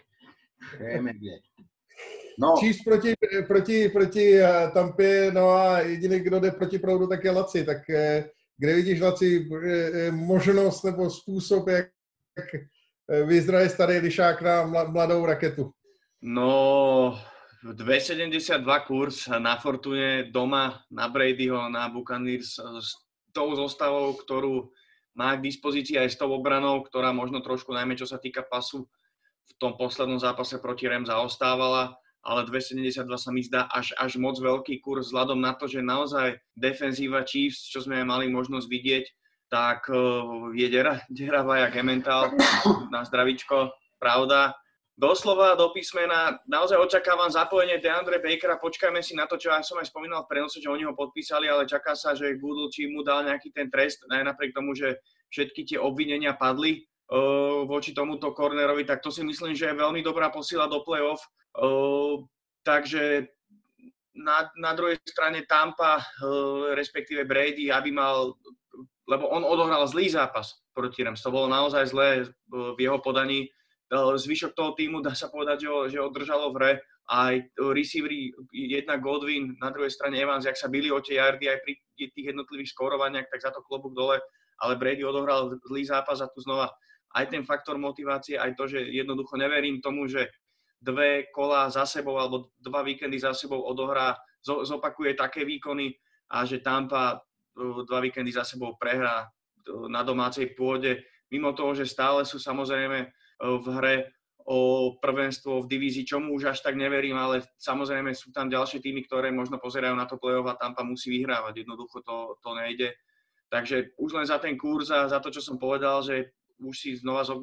No. Chiefs proti Tampě, no a jediný, kdo jde proti proudu, tak je Laci. Tak kde vidíš, Laci, možnost nebo způsob, jak vyzraje starý lišák na mladou raketu? No, 2,72 kurz na Fortune doma, na Bradyho, na Buccaneers s tou zostavou, ktorú má k dispozícii aj s tou obranou, ktorá možno trošku, najmä čo sa týka pasu, v tom poslednom zápase proti Rams zaostávala, ale 2,72 sa mi zdá až moc veľký kurz vzhľadom na to, že naozaj defenzíva Chiefs, čo sme mali možnosť vidieť, tak je deravá jak Emmental na zdravičko, pravda. Doslova, do písmena, naozaj očakávam zapojenie DeAndre Bakera, počkajme si na to, čo ja som aj spomínal v prenose, že oni ho podpísali, ale čaká sa, že Goodell či mu dal nejaký ten trest, aj napriek tomu, že všetky tie obvinenia padli voči tomuto cornerovi, tak to si myslím, že je veľmi dobrá posila do play-off. Takže na druhej strane Tampa, respektíve Brady, aby mal, lebo on odohral zlý zápas proti Rams, to bolo naozaj zlé v jeho podaní. Zvyšok toho týmu, dá sa povedať, že ho držalo v hre. Aj receivery, jednak Godwin, na druhej strane Evans, jak sa bili o tie yardy aj pri tých jednotlivých skórovaniach, tak za to klobúk dole. Ale Brady odohral zlý zápas a tu znova aj ten faktor motivácie, aj to, že jednoducho neverím tomu, že 2 kola za sebou alebo 2 víkendy za sebou odohrá, zopakuje také výkony a že Tampa 2 víkendy za sebou prehrá na domácej pôde. Mimo toho, že stále sú samozrejme v hre o prvenstvo v divízii, čomu už až tak neverím, ale samozrejme sú tam ďalšie týmy, ktoré možno pozerajú na to play-off a Tampa musí vyhrávať. Jednoducho to nejde. Takže už len za ten kurz a za to, čo som povedal, že už si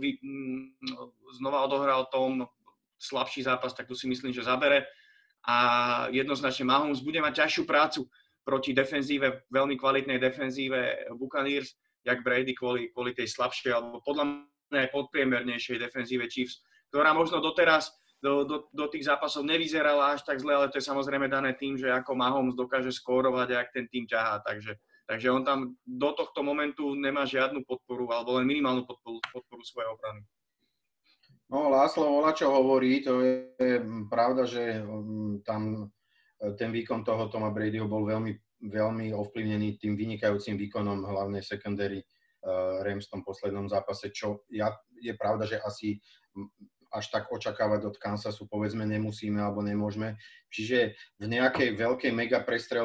znova odohral tom slabší zápas, tak tu si myslím, že zabere. A jednoznačne Mahomes bude mať ťažšiu prácu proti defenzíve, veľmi kvalitnej defenzíve Buccaneers, jak Brady kvôli tej slabšej, alebo podľa aj podpriemernejšej defenzíve Chiefs, ktorá možno doteraz do tých zápasov nevyzerala až tak zle, ale to je samozrejme dané tým, že ako Mahomes dokáže skórovať a jak ten tým ťahá. Takže on tam do tohto momentu nemá žiadnu podporu, alebo len minimálnu podporu svojej obrany. No, Láslo Volačo hovorí, to je pravda, že tam ten výkon toho Toma Bradyho bol veľmi, veľmi ovplyvnený tým vynikajúcim výkonom hlavnej secondary Rams v tom poslednom zápase, čo je pravda, že asi až tak očakávať od Kansasu povedzme nemusíme alebo nemôžeme. Čiže v nejakej veľkej mega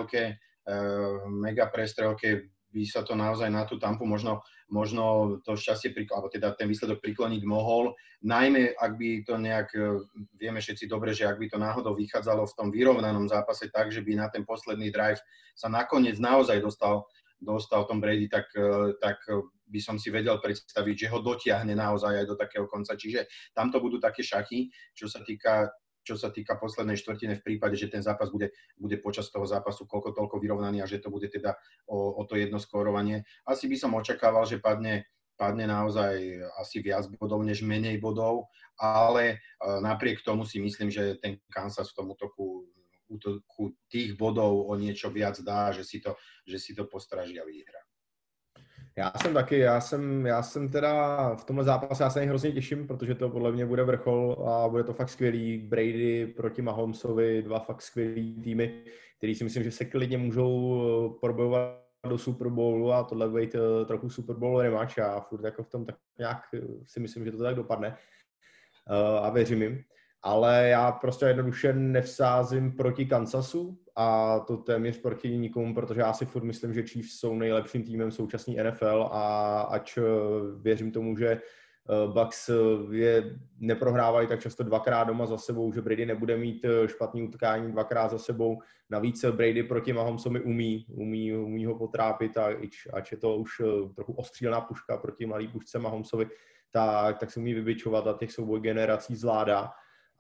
prestrelke by sa to naozaj na tú Tampu možno to šťastie, alebo teda ten výsledok prikloniť mohol. Najmä, ak by to nejak, vieme všetci dobre, že ak by to náhodou vychádzalo v tom vyrovnanom zápase tak, že by na ten posledný drive sa nakoniec naozaj dostal Tom Brady, tak by som si vedel predstaviť, že ho dotiahne naozaj aj do takého konca. Čiže tamto budú také šachy, čo sa týka poslednej štvrtiny v prípade, že ten zápas bude počas toho zápasu koľko toľko vyrovnaný a že to bude teda o to jedno skórovanie. Asi by som očakával, že padne naozaj asi viac bodov než menej bodov, ale napriek tomu si myslím, že ten Kansas v tom útoku tých bodov o niečo viac dá, že si to postraží a vyhrá. Já jsem teda v tomhle zápase, já se na něj hrozně těším, protože to podle mě bude vrchol a bude to fakt skvělý. Brady proti Mahomesovi, 2 fakt skvělý týmy, který si myslím, že se klidně můžou probojovat do Super Bowlu a tohle bude trochu Super Bowl rematch a furt jako v tom tak nějak si myslím, že to tak dopadne a věřím jim. Ale já prostě jednoduše nevsázím proti Kansasu a to téměř proti nikomu, protože já si furt myslím, že Chiefs jsou nejlepším týmem současný NFL a ač věřím tomu, že Bucks je neprohrávají tak často 2krát doma za sebou, že Brady nebude mít špatný utkání 2krát za sebou. Navíc Brady proti Mahomesovi umí ho potrápit a ač je to už trochu ostřílená puška proti mladý pušce Mahomesovi, tak se umí vybičovat a těch souboj generací zvládá.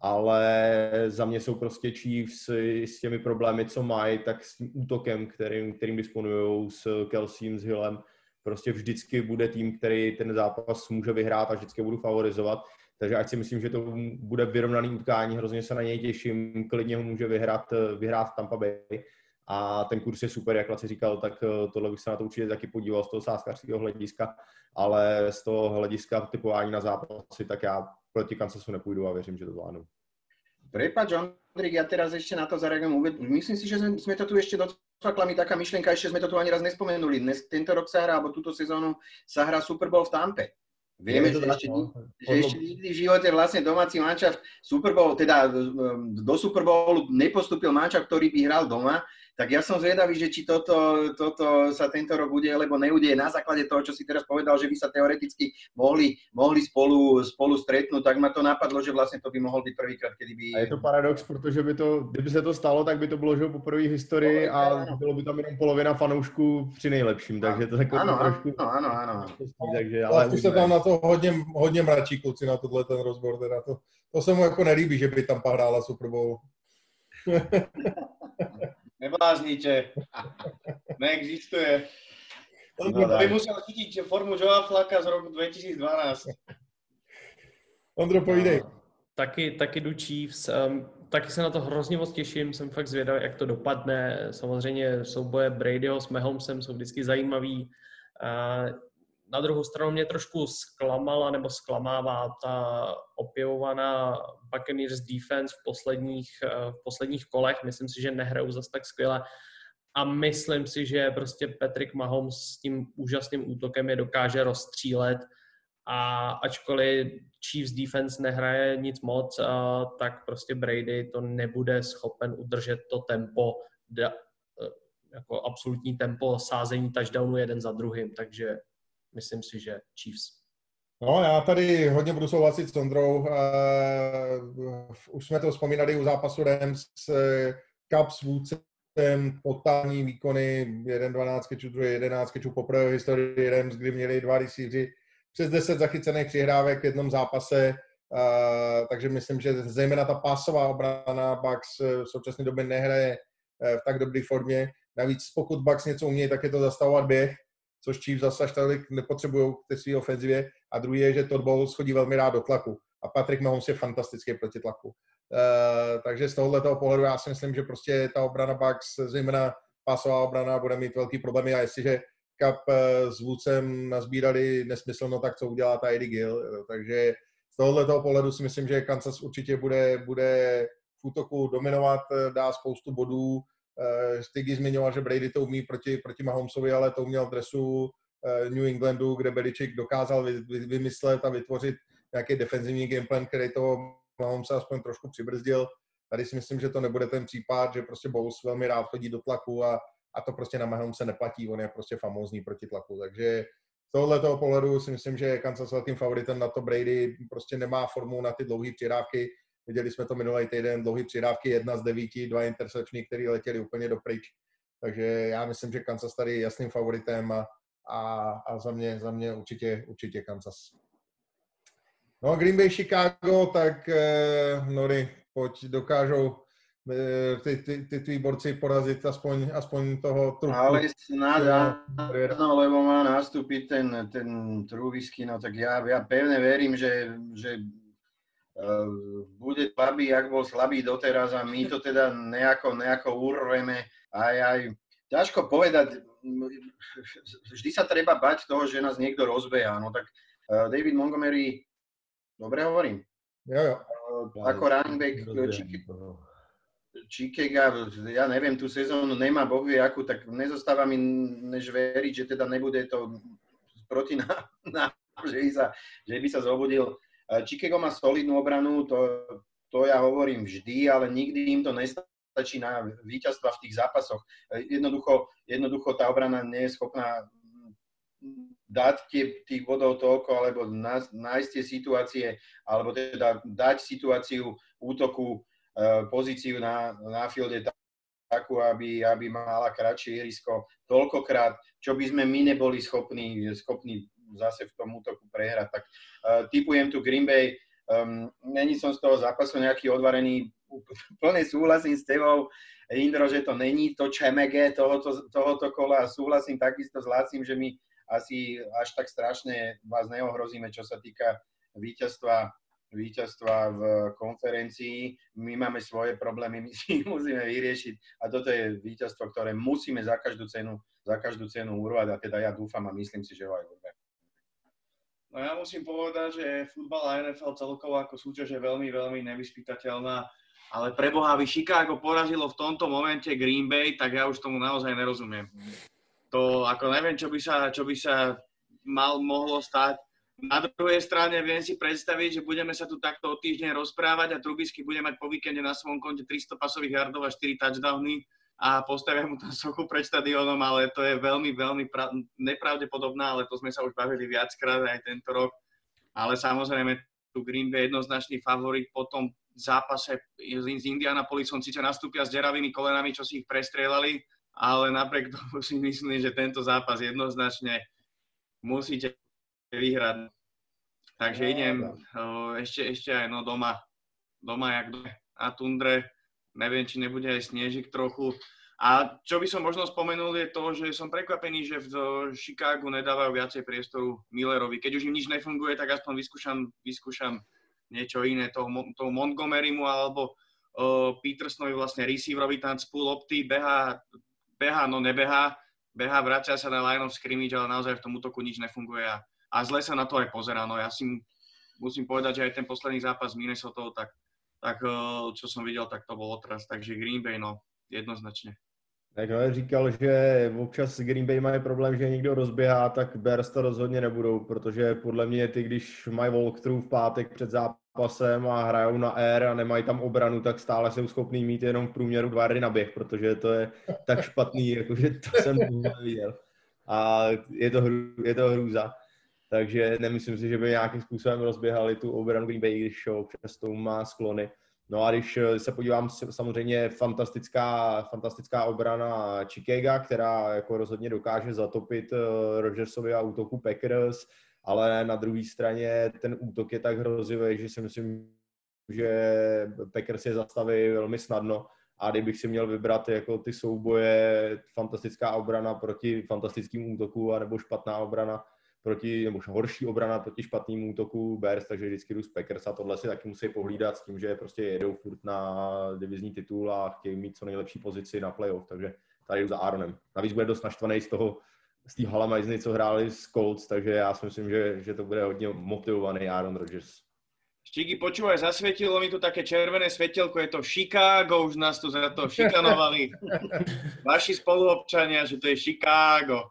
ale za mě jsou prostě Chiefs s těmi problémy, co mají, tak s tím útokem, kterým disponujou, s Kelsem, s Hillem, prostě vždycky bude tým, který ten zápas může vyhrát a vždycky budu favorizovat. Takže ať si myslím, že to bude vyrovnaný utkání, hrozně se na něj těším, klidně ho může vyhrát Tampa Bay. A ten kurz je super, jak Laci říkal, tak tohle bych se na to určitě taky podíval z toho sázkařského hlediska, ale z toho hlediska typování na zápasy, tak já proti Kansasu nepůjdu a věřím, že to zvládnu. Prepáč, Ondrik, ja teraz ešte na to zareagujem. Myslím si, že sme to tu ešte docvakla mi taká myšlienka, ešte sme to tu ani raz nespomenuli. Tento rok sa hrá, alebo túto sezónu sa hrá Super Bowl v Tampe. Vieme, že ešte nikdy v živote vlastne domáci mančaft Super Bowl, teda do Super Bowlu nepostúpil mančaft, ktorý by hral doma. Tak ja som zvedavý, že či toto sa tento rok udeje, alebo neudeje na základe toho, čo si teraz povedal, že by sa teoreticky mohli spolu stretnúť, tak ma to napadlo, že vlastne to by mohol byť prvýkrát, kedy by... A je to paradox, protože kdyby se to stalo, tak by to bylo, že poprvé v historii a bylo by tam jenom polovina fanoušků při nejlepším, takže to takové trošku... Áno. Takže, ale už se tam na to hodně mračí kluci na tohle ten rozbor, teda to se mu jako nelíbí, že by tam hrála Super Bowl. Nebláznite. Neexistuje. By musel chytiť formu Joea Flacka z roku 2012. Ondro, povídej. Taky jdu Chiefs. Taky se na to hrozně moc těším, jsem fakt zvědavý, jak to dopadne. Samozřejmě souboje Bradyho s Mahomesem jsou vždycky zajímavý. Na druhou stranu mě trošku zklamala nebo zklamává ta opěvovaná Buccaneers defense v posledních kolech. Myslím si, že nehrajou zas tak skvěle a myslím si, že prostě Patrick Mahomes s tím úžasným útokem je dokáže rozstřílet a ačkoliv Chiefs defense nehraje nic moc, tak prostě Brady to nebude schopen udržet to tempo, jako absolutní tempo sázení touchdownu jeden za druhým, takže myslím si, že Chiefs. No, já tady hodně budu souhlasit s Ondrou. Už jsme to vzpomínali u zápasu Rams, Cup s vůdcem, totální výkony, 1-12 kečů, druhý 11 kečů, poprvé v historii Rams, kdy měli 2 receiveři, přes 10 zachycených přihrávek v jednom zápase, takže myslím, že zejména ta pásová obrana Bucks v současné době nehraje v tak dobré formě. Navíc pokud Bucks něco umějí, tak je to zastavovat běh, což Chiefs zase až tolik nepotřebují v té své ofenzivě. A druhý je, že Todd Bowles chodí velmi rád do tlaku. A Patrick Mahomes je fantastický proti tlaku. Takže z tohoto pohledu já si myslím, že prostě ta obrana Bucks, zejména pásová obrana, bude mít velký problémy. A jestliže Cup s vůdcem nazbírali nesmyslno, tak co udělá ta Eddie Gill. Takže z tohoto pohledu si myslím, že Kansas určitě bude v útoku dominovat, dá spoustu bodů. Stygy zmiňoval, že Brady to umí proti Mahomesovi, ale to uměl v dresu New Englandu, kde Belichick dokázal vymyslet a vytvořit nějaký defenzivní gameplan, který toho Mahomesa aspoň trošku přibrzdil. Tady si myslím, že to nebude ten případ, že prostě Bowles velmi rád chodí do tlaku a to prostě na Mahomese neplatí, on je prostě famózní proti tlaku. Takže z tohoto pohledu si myslím, že Kansas velkým favoritem na to. Brady prostě nemá formu na ty dlouhé přihrávky. Viděli jsme to minulý týden, dlouhé přihrávky, 1 z 9, 2 intercepční, které letěly úplně dopryč. Takže já myslím, že Kansas tady je jasným favoritem a za mě určitě Kansas. No, Green Bay, Chicago, tak Nori, pojď, dokážou ty tví borci porazit aspoň toho Trubku. Ale snad áno, lebo má nastúpiť ten Trubisky, no tak ja pevne verím, že bude slabý, jak bol slabý doteraz a my to teda nejako urveme. Aj ťažko povedať, vždy sa treba bať toho, že nás niekto rozbeja. No tak David Montgomery, dobre hovorím? Jo. Ako running back Chicago, ja neviem, tú sezónu nemá Boh vie akú, tak nezostáva mi než veriť, že teda nebude to proti nám, že by sa zobudil. Chicago má solidnú obranu, to ja hovorím vždy, ale nikdy im to nestačí na víťazstva v tých zápasoch. Jednoducho tá obrana nie je schopná dať tých bodov toľko, alebo nájsť tie situácie, alebo teda dať situáciu útoku, pozíciu na fielde takú, aby mala kratšie ihrisko toľkokrát, čo by sme my neboli schopní zase v tom útoku prehrať. Tak tipujem tu Green Bay, Není som z toho zápasu nejaký odvarený, plne súhlasím s tebou, Indro, že to není to čemege tohoto kola a súhlasím takisto s Lácim, že my asi až tak strašne vás neohrozíme, čo sa týka víťazstva v konferencii. My máme svoje problémy, my si ich musíme vyriešiť a toto je víťazstvo, ktoré musíme za každú cenu urvať a teda ja dúfam a myslím si, že ho aj urvať. No ja musím povedať, že futbal a NFL celkovo ako súťaž je veľmi, veľmi nevyspytateľná, ale preboha, by Chicago porazilo v tomto momente Green Bay, tak ja už tomu naozaj nerozumiem. To ako neviem, čo by sa mohlo stať. Na druhej strane viem si predstaviť, že budeme sa tu takto o týždeň rozprávať a Trubisky bude mať po víkende na svojom konte 300 pasových yardov a 4 touchdowny a postavia mu tam sochu pred štadiónom, ale to je veľmi, veľmi nepravdepodobná, ale to sme sa už bavili viackrát aj tento rok. Ale samozrejme tu Green Bay jednoznačný favorit po tom zápase s Indianapolisom, síce nastúpia s deravými kolenami, čo si ich prestrieľali, ale napriek tomu si myslím, že tento zápas jednoznačne musíte vyhrať. Takže idem ešte aj doma jak na tundre. Neviem, či nebude aj snežik trochu. A čo by som možno spomenul je to, že som prekvapený, že v Chicagu nedávajú viacej priestoru Millerovi. Keď už im nič nefunguje, tak aspoň vyskúšam niečo iné. Toho Montgomerymu alebo Petersonovi vlastne receiverovi tam z pull lopty behá, vracia sa na line of scrimmage, ale naozaj v tom útoku nič nefunguje a zle sa na to aj pozerá. No ja si musím povedať, že aj ten posledný zápas s Minnesota, tak čo som videl, tak to bol otras. Takže Green Bay, no, jednoznačne. Tak říkal, že občas Green Bay mají problém, že někdo rozběhá, tak Bears to rozhodně nebudou, protože podle mě ty, když mají walkthrough v pátek před zápasem a hrajou na air a nemají tam obranu, tak stále jsou schopný mít jenom v průměru 2 yardy na běh, protože to je tak špatný, jakože to jsem neviděl. A je to hrůza. Takže nemyslím si, že by nějakým způsobem rozběhali tu obranu Green Bay, když občas tomu má sklony. No a když se podívám, samozřejmě fantastická obrana Chicaga, která jako rozhodně dokáže zatopit Rodgersovi a útoku Packers, ale na druhé straně ten útok je tak hrozivý, že si myslím, že Packers je zastaví velmi snadno. A kdybych si měl vybrat jako ty souboje, fantastická obrana proti fantastickým útoku, anebo špatná obrana nebo horší obrana proti špatnému útoku Bears, takže vždycky jdu z Packers a tohle si taky musí pohlídat s tím, že prostě jedou furt na divizní titul a chtějí mít co nejlepší pozici na playoff, takže tady jdu za Aaronem. Navíc bude dost naštvaný z té halamajzny, co hráli s Colts, takže já si myslím, že to bude hodně motivovaný Aaron Rodgers. Štiky, počúvaj, zasvietilo mi tu také červené svetielko, je to Chicago, už nás tu za to šikanovali. Vaši spoluobčania, že to je Chicago.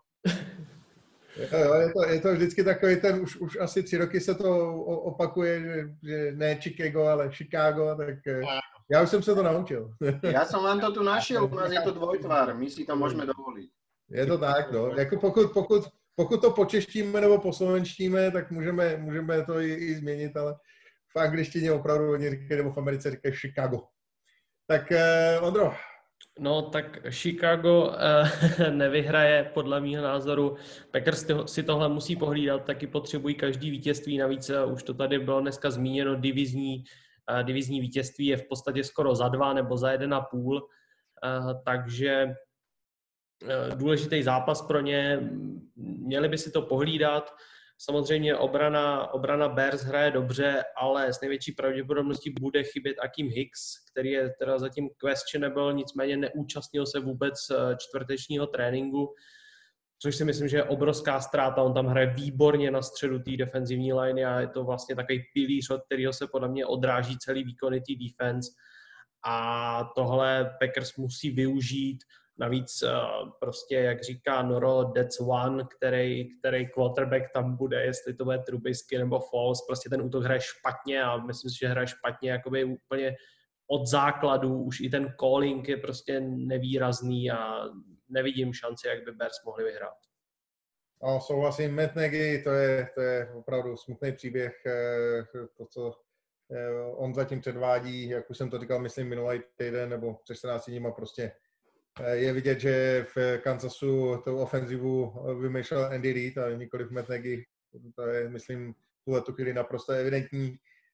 Je to vždycky takový ten, už asi 3 roky se to opakuje, že ne Chicago, ale Chicago, tak já už jsem se to naučil. Já jsem vám to tu našel, u nás je to dvojtvar, my si to můžeme dovolit. Je to tak, no. Jako pokud to počeštíme nebo poslovenštíme, tak můžeme to i změnit, ale v angličtině opravdu oni říkají, nebo v Americe říkají Chicago. Tak Ondro. No tak Chicago nevyhraje podle mýho názoru. Packers si tohle musí pohlídat, taky potřebují každý vítězství. Navíc už to tady bylo dneska zmíněno, divizní vítězství je v podstatě skoro za 2 nebo za 1,5. Takže důležitý zápas pro ně. Měli by si to pohlídat. Samozřejmě obrana Bears hraje dobře, ale s největší pravděpodobností bude chybět Akeem Hicks, který je teda zatím questionable, nicméně neúčastnil se vůbec čtvrtečního tréninku, což si myslím, že je obrovská ztráta. On tam hraje výborně na středu té defenzivní liney a je to vlastně takový pilíř, od kterého se podle mě odráží celý výkony té defense. A tohle Packers musí využít. Navíc prostě, jak říká Noro, that's one, který quarterback tam bude, jestli to bude Trubisky nebo Foles, prostě ten útok hraje špatně a myslím si, že hraje špatně jakoby úplně od základu, už i ten calling je prostě nevýrazný a nevidím šanci, jak by Bears mohli vyhrát. No, souhlasím, Matt Nagy, to je opravdu smutný příběh, to, co on zatím předvádí, jak už jsem to říkal, myslím, minulý týden nebo před 14 dníma prostě je vidět, že v Kansasu tou ofenzivu vymýšlel Andy Reid a nikoliv Matt Nagy. To je, myslím, v tuhletu chvíli naprosto evidentní.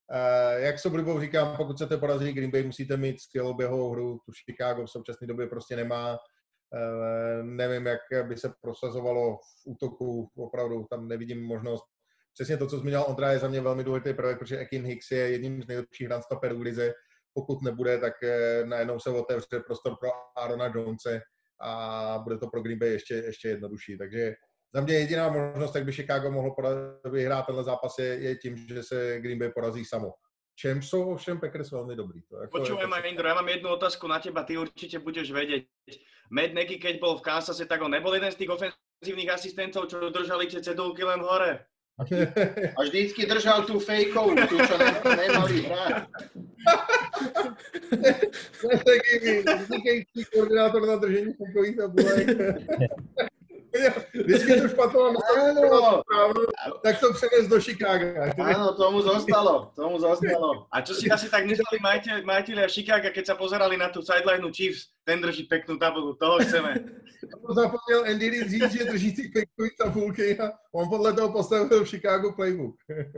Jak se oblibou říkám, pokud chcete porazit Green Bay, musíte mít skvělou běhovou hru, tu Chicago v současné době prostě nemá. Nevím, jak by se prosazovalo v útoku, opravdu tam nevidím možnost. Přesně to, co zmínil Ondra, je za mě velmi důležitý prvek, protože Akiem Hicks je jedním z nejlepších runstopperů v lize. Pokud nebude, tak najednou se otevře prostor pro Aarona Jonese a bude to pro Green Bay ještě jednodušší. Takže za mě jediná možnost, jak by Chicago mohlo vyhrát tenhle zápas, je tím, že se Green Bay porazí samo. Čem jsou ovšem Packers veľmi dobrý. Počúvaj ma, Indro, ja mám jednu otázku na teba, ty určite budeš vedieť. Matt Nagy, keď bol v Kansase, tak on nebol jeden z tých ofenzívnych asistentov, čo držali tie cedulky len hore. A vždycky držal tú fejkovú, tú, čo nemali hrať. Vznikající koordinátor na držení fejkových tabulek. Vždycky to špatlo na správnu, tak to přenes do Chicaga. Áno, tomu zostalo. A čo si asi tak mysleli majiteľia Chicaga, keď sa pozerali na tú sideline Chiefs, ten drží peknú tabulu, toho chceme. To zapomněl Andy Reid říct, že drží ty fejkové tabulky a on podle toho postavil v Chicago playbook.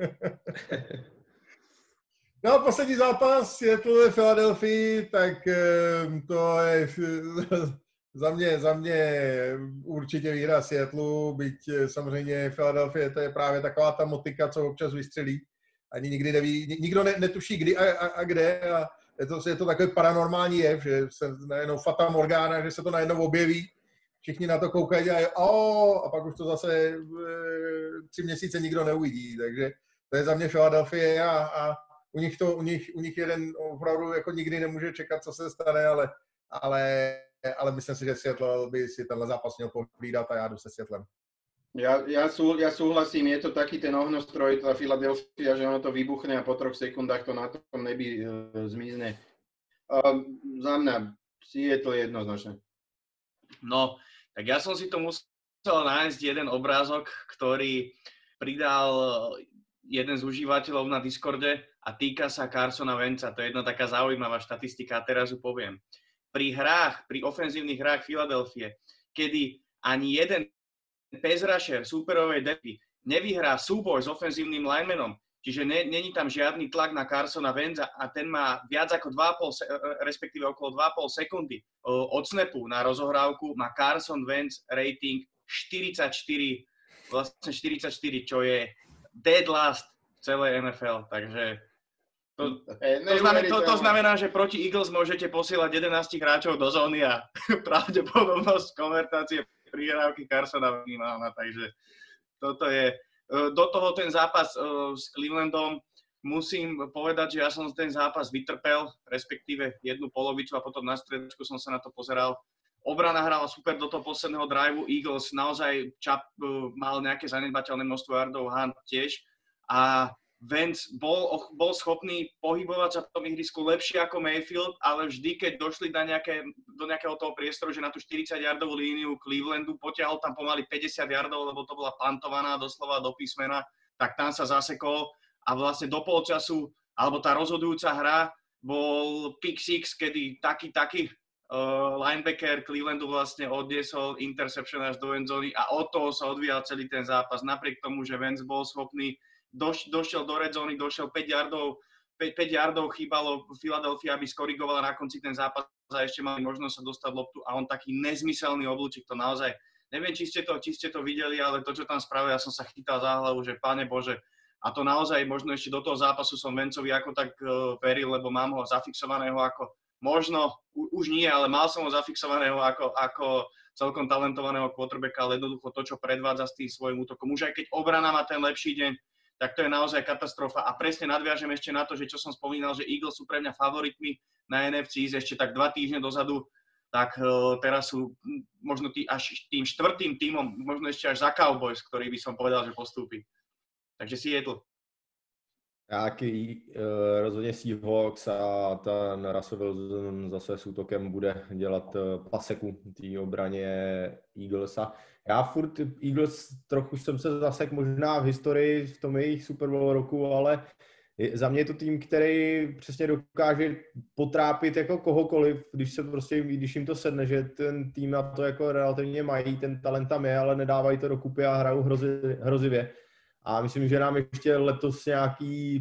No, poslední zápas Seattle ve Philadelphii, tak to je za mě určitě výhra Seattleu, byť samozřejmě Philadelphia, to je právě taková ta motika, co občas vystřelí. Ani nikdy neví, nikdo netuší kdy a kde a je to takový paranormální jev, že se najednou Fata Morgana, že se to najednou objeví, všichni na to koukají a pak už to zase 3 měsíce nikdo neuvidí, takže to je za mě Philadelphia a u nich jeden opravdu jako nikdy nemůže čekat, co se stane, ale myslím si, že Seattle by si tenhle zápas měl pohlídat a já jdu se Seattlem. Ja súhlasím, je to taký ten ohňostroj, tá Philadelphia, že ono to vybuchne a po 3 sekundách to na tom nebi zmizne. Za mňa Seattle jednoznačne. No, tak ja som si to musel nájsť jeden obrázok, ktorý pridal jeden z užívateľov na Discorde a týka sa Carsona Wentza. To je jedna taká zaujímavá štatistika a teraz ju poviem. Pri ofenzívnych hrách Philadelphie, kedy ani jeden pass rusher súperovej depy nevyhrá súboj s ofenzívnym linemanom, čiže není tam žiadny tlak na Carsona Wentza a ten má viac ako 2,5, respektíve okolo 2,5 sekundy od snapu na rozohrávku, má Carson Wentz rating 44, čo je dead last v celej NFL, takže to znamená, že proti Eagles môžete posielať 11 hráčov do zóny a pravdepodobnosť konvertácie prihrávky Carsona minimálna, takže toto je. Do toho ten zápas s Clevelandom musím povedať, že ja som ten zápas vytrpel, respektíve jednu polovicu a potom na stredačku som sa na to pozeral. Obrana hrala super do toho posledného driveu, Eagles naozaj mal nejaké zanedbateľné množstvo yardov, Hunt tiež a Wentz bol schopný pohybovať sa v tom ihrisku lepšie ako Mayfield, ale vždy, keď došli do nejakého toho priestoru, že na tú 40-yardovú líniu Clevelandu potiahol tam pomaly 50 yardov, lebo to bola pantovaná doslova do písmena, tak tam sa zasekol a vlastne do polčasu, alebo tá rozhodujúca hra bol pick six, kedy taký linebacker Clevelandu vlastne odniesol interception až do endzóny a od toho sa odvíjal celý ten zápas. Napriek tomu, že Wentz bol schopný došiel do red zóny, došiel 5 yardov chýbalo Philadelphia, aby skorigovala na konci ten zápas a ešte mali možnosť sa dostať loptu a on taký nezmyselný oblúčik, to naozaj, neviem, či ste to videli, ale to, čo tam spravil, ja som sa chytal za hlavu, že Pane Bože, a to naozaj možno ešte do toho zápasu som Wentzovi ako tak veril, lebo mám ho zafixovaného ako, možno, už nie, ale mal som ho zafixovaného ako celkom talentovaného quarterbacka, ale jednoducho to, čo predvádza s tým svojím útokom, už aj keď obrana má ten lepší deň, tak to je naozaj katastrofa. A presne nadviažem ešte na to, že čo som spomínal, že Eagles sú pre mňa favoritmi na NFC ešte tak 2 týždne dozadu, tak teraz sú možno až tým 4. tímom, možno ešte až za Cowboys, ktorý by som povedal, že postúpi. Takže Seattle. Nějaký rozhodně Seahawks a ten Russell Wilson zase s útokem bude dělat paseku té obraně Eaglesa. Já furt Eagles trochu jsem se zasek možná v historii v tom jejich Super Bowl roku, ale za mě je to tým, který přesně dokáže potrápit jako kohokoliv, když jim to sedne, že ten tým na to jako relativně mají, ten talent tam je, ale nedávají to dokupy a hrajou hrozivě. A myslím, že nám ještě letos nějaký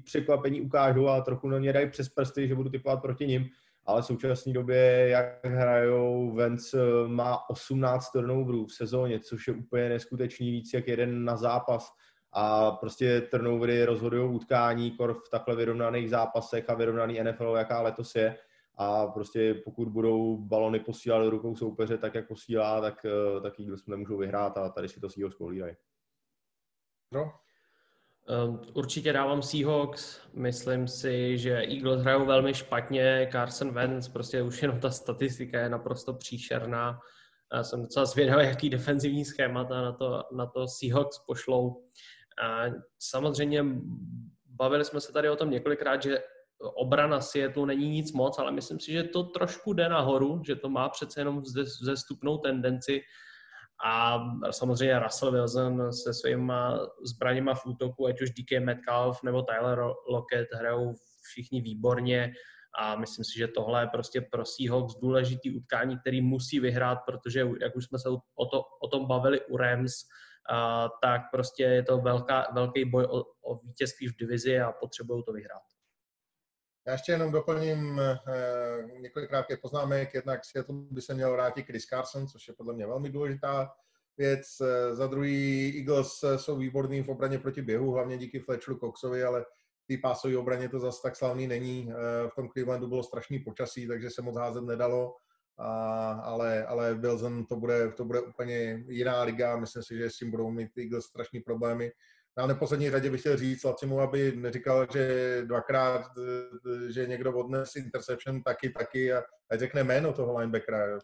překvapení ukážou a trochu na ně dají přes prsty, že budu typovat proti nim, ale v současné době, jak hrajou, Vance má 18 turnoverů v sezóně, což je úplně neskutečný, víc jak jeden na zápas. A prostě turnovery rozhodují utkání v takhle vyrovnaných zápasech a vyrovnaný NFL, jaká letos je. A prostě pokud budou balony posílat do rukou soupeře tak, jak posílá, tak Eagles nemůžou vyhrát a tady si to Seahawks pohlídají. No. Určitě dávám Seahawks. Myslím si, že Eagles hrajou velmi špatně. Carson Wentz, prostě už jenom ta statistika je naprosto příšerná. Já jsem docela zvědavý, jaký defenzivní schémata na to Seahawks pošlou. A samozřejmě bavili jsme se tady o tom několikrát, že obrana Seattle není nic moc, ale myslím si, že to trošku jde nahoru, že to má přece jenom vzestupnou tendenci. A samozřejmě Russell Wilson se svýma zbraněma v útoku, ať už DK Metcalf nebo Tyler Lockett, hrajou všichni výborně a myslím si, že tohle je prostě pro Seahawks důležitý utkání, který musí vyhrát, protože jak už jsme se o tom bavili u Rams, tak prostě je to velký boj o vítězství v divizi a potřebují to vyhrát. Já ještě jenom doplním několik krátkých poznámek. Jednak Seattle by se měl vrátit Chris Carson, což je podle mě velmi důležitá věc. Za druhý Eagles jsou výborní v obraně proti běhu, hlavně díky Fletcheru Coxovi, ale v té pásové obraně to zase tak slavný není. V tom Clevelandu bylo strašný počasí, takže se moc házet nedalo. Ale Wilson to bude úplně jiná liga. Myslím si, že s tím budou mít Eagles strašný problémy. Na neposlední řadě bych chtěl říct Lacimu, aby neříkal, že dvakrát, že někdo odnes interception taky a ať řekne jméno toho linebackera.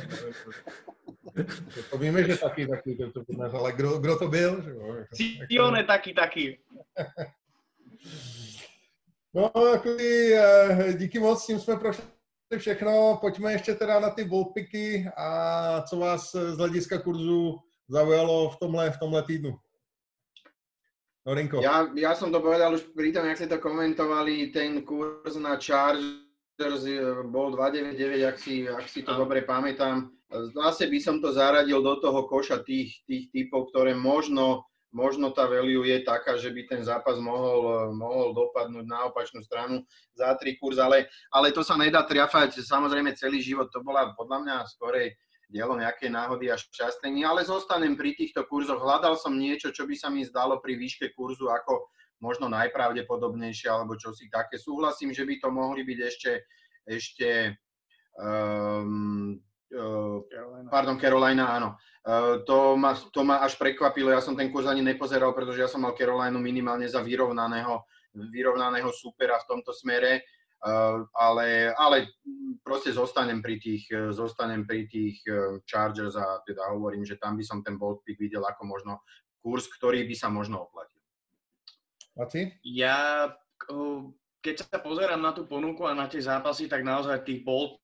To víme, že taky, ale kdo to byl? Sione taky. No, díky moc, tím jsme prošli všechno. Pojďme ještě teda na ty ballpicky a co vás z hlediska kurzu zaujalo v tomhle týdnu. Norinko. Ja som to povedal už pri tom, jak ste to komentovali, ten kurz na Chargers bol 2,99, ak si to dobre pamätám. Zase by som to zaradil do toho koša tých typov, ktoré možno tá value je taká, že by ten zápas mohol dopadnúť na opačnú stranu za 3 kurz, ale to sa nedá triafať samozrejme celý život. To bola podľa mňa skorej dielo nejakej náhody a šťastení, ale zostanem pri týchto kurzoch. Hľadal som niečo, čo by sa mi zdalo pri výške kurzu ako možno najpravdepodobnejšie, alebo čosi také. Súhlasím, že by to mohli byť ešte Carolina, áno. To ma až prekvapilo, ja som ten kurz ani nepozeral, pretože ja som mal Carolinu minimálne za vyrovnaného supera v tomto smere. Ale proste zostanem pri tých Chargers a teda hovorím, že tam by som ten bold pick videl ako možno kurz, ktorý by sa možno oplatil. A ty? Ja, keď sa pozerám na tú ponuku a na tie zápasy, tak naozaj tých bold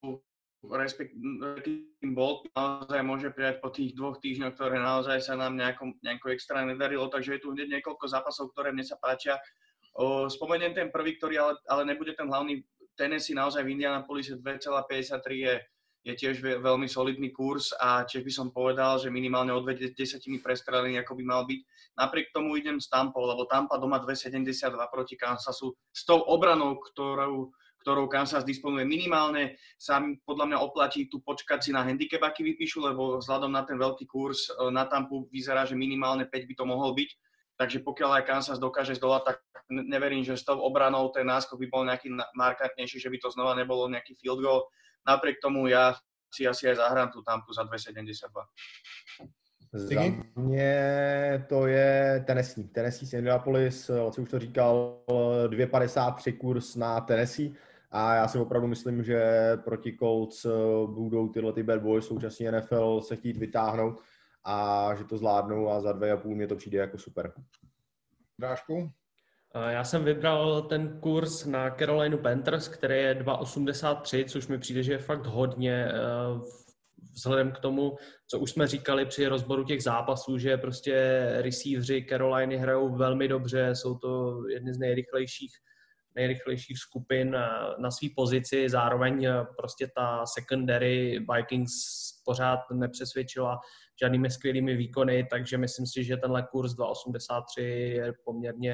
naozaj môže prijať po tých 2 týždňoch, ktoré naozaj sa nám nejako extra nedarilo, takže je tu hneď niekoľko zápasov, ktoré mne sa páčia. Spomeniem ten prvý, ktorý ale nebude ten hlavný. Tennessee naozaj v Indianapolise 2,53 je tiež veľmi solidný kurz a tiež by som povedal, že minimálne o 2 desatiny prestrelený, ako by mal byť. Napriek tomu idem s Tampou, lebo Tampa doma 2,72 proti Kansasu s tou obranou, ktorou Kansas disponuje minimálne, sa podľa mňa oplatí tu počkať si na handicap, aký vypíšu, lebo vzhľadom na ten veľký kurz na Tampu vyzerá, že minimálne 5 by to mohol byť. Takže pokiaľ aj Kansas dokáže zdolať, tak neverím, že s tou obranou ten náskok by bol nejaký markantnejší, že by to znova nebolo nejaký field goal. Napriek tomu ja si asi aj zahrám tú Tampu za 2,72. Za mě to je Tennessee z Indianapolis, co už to říkal, 2,53 kurz na Tennessee. A já si opravdu myslím, že proti Colts budou tyhle bad boys současně NFL se chtít vytáhnout a že to zvládnou a za 2,5 mě to přijde jako super. Drážku? Já jsem vybral ten kurz na Carolina Panthers, který je 2,83, což mi přijde, že je fakt hodně vzhledem k tomu, co už jsme říkali při rozboru těch zápasů, že prostě receiveři Caroliny hrajou velmi dobře, jsou to jedny z nejrychlejších skupin na své pozici, zároveň prostě ta secondary Vikings pořád nepřesvědčila žádnými skvělými výkony, takže myslím si, že tenhle kurz 2,83 je poměrně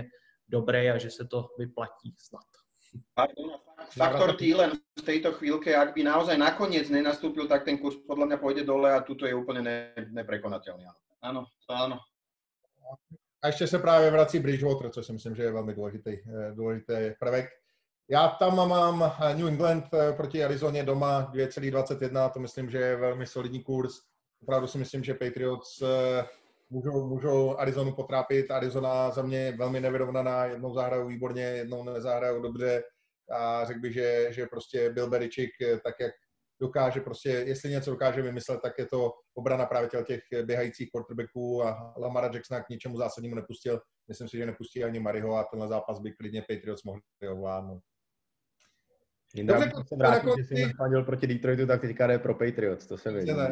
dobrý a že se to vyplatí snad. Faktor Thielen v tejto chvíľke, ak by naozaj nakoniec nenastúpil, tak ten kurz podľa mňa pôjde dole a tuto je úplne neprekonateľný. Áno, to áno. A ještě se právě vrací Bridgewater, což si myslím, že je velmi důležitý prvek. Já tam mám New England proti Arizoně doma 2,21, to myslím, že je velmi solidní kurz. Opravdu si myslím, že Patriots můžou Arizonu potrápit. Arizona za mě je velmi nevyrovnaná, jednou zahrajou výborně, jednou nezahrajou dobře a řekl bych, že prostě Bill Belichick, tak jak dokáže prostě, jestli něco dokáže vymyslet, tak je to obrana právě těch běhajících quarterbacků a Lamara Jacksona k ničemu zásadnímu nepustil. Myslím si, že nepustí ani Mariho a tenhle zápas by klidně Patriots mohli ovládnout. Dobře, když se vrátí, že jsi fandil proti Detroitu, tak teďka jde pro Patriots, to se vidí.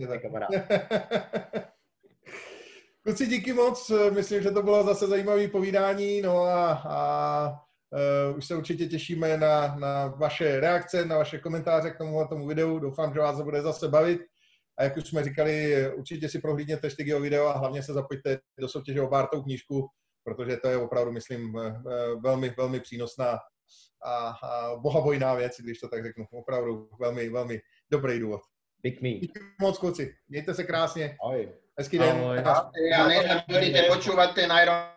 Kluci, díky moc, myslím, že to bylo zase zajímavé povídání, no a už se určitě těšíme na vaše reakce, na vaše komentáře k tomu videu, doufám, že vás to bude zase bavit a jak už jsme říkali, určitě si prohlídněte Štygyho video a hlavně se zapojte do soutěže o Bartovou knížku, protože to je opravdu, myslím, velmi, velmi přínosná a bohabojná věc, když to tak řeknu. Opravdu velmi, velmi dobrý důvod. Díky moc, kluci. Mějte se krásně. Ahoj. Hezký den. Ja než budete počúvať ten Iron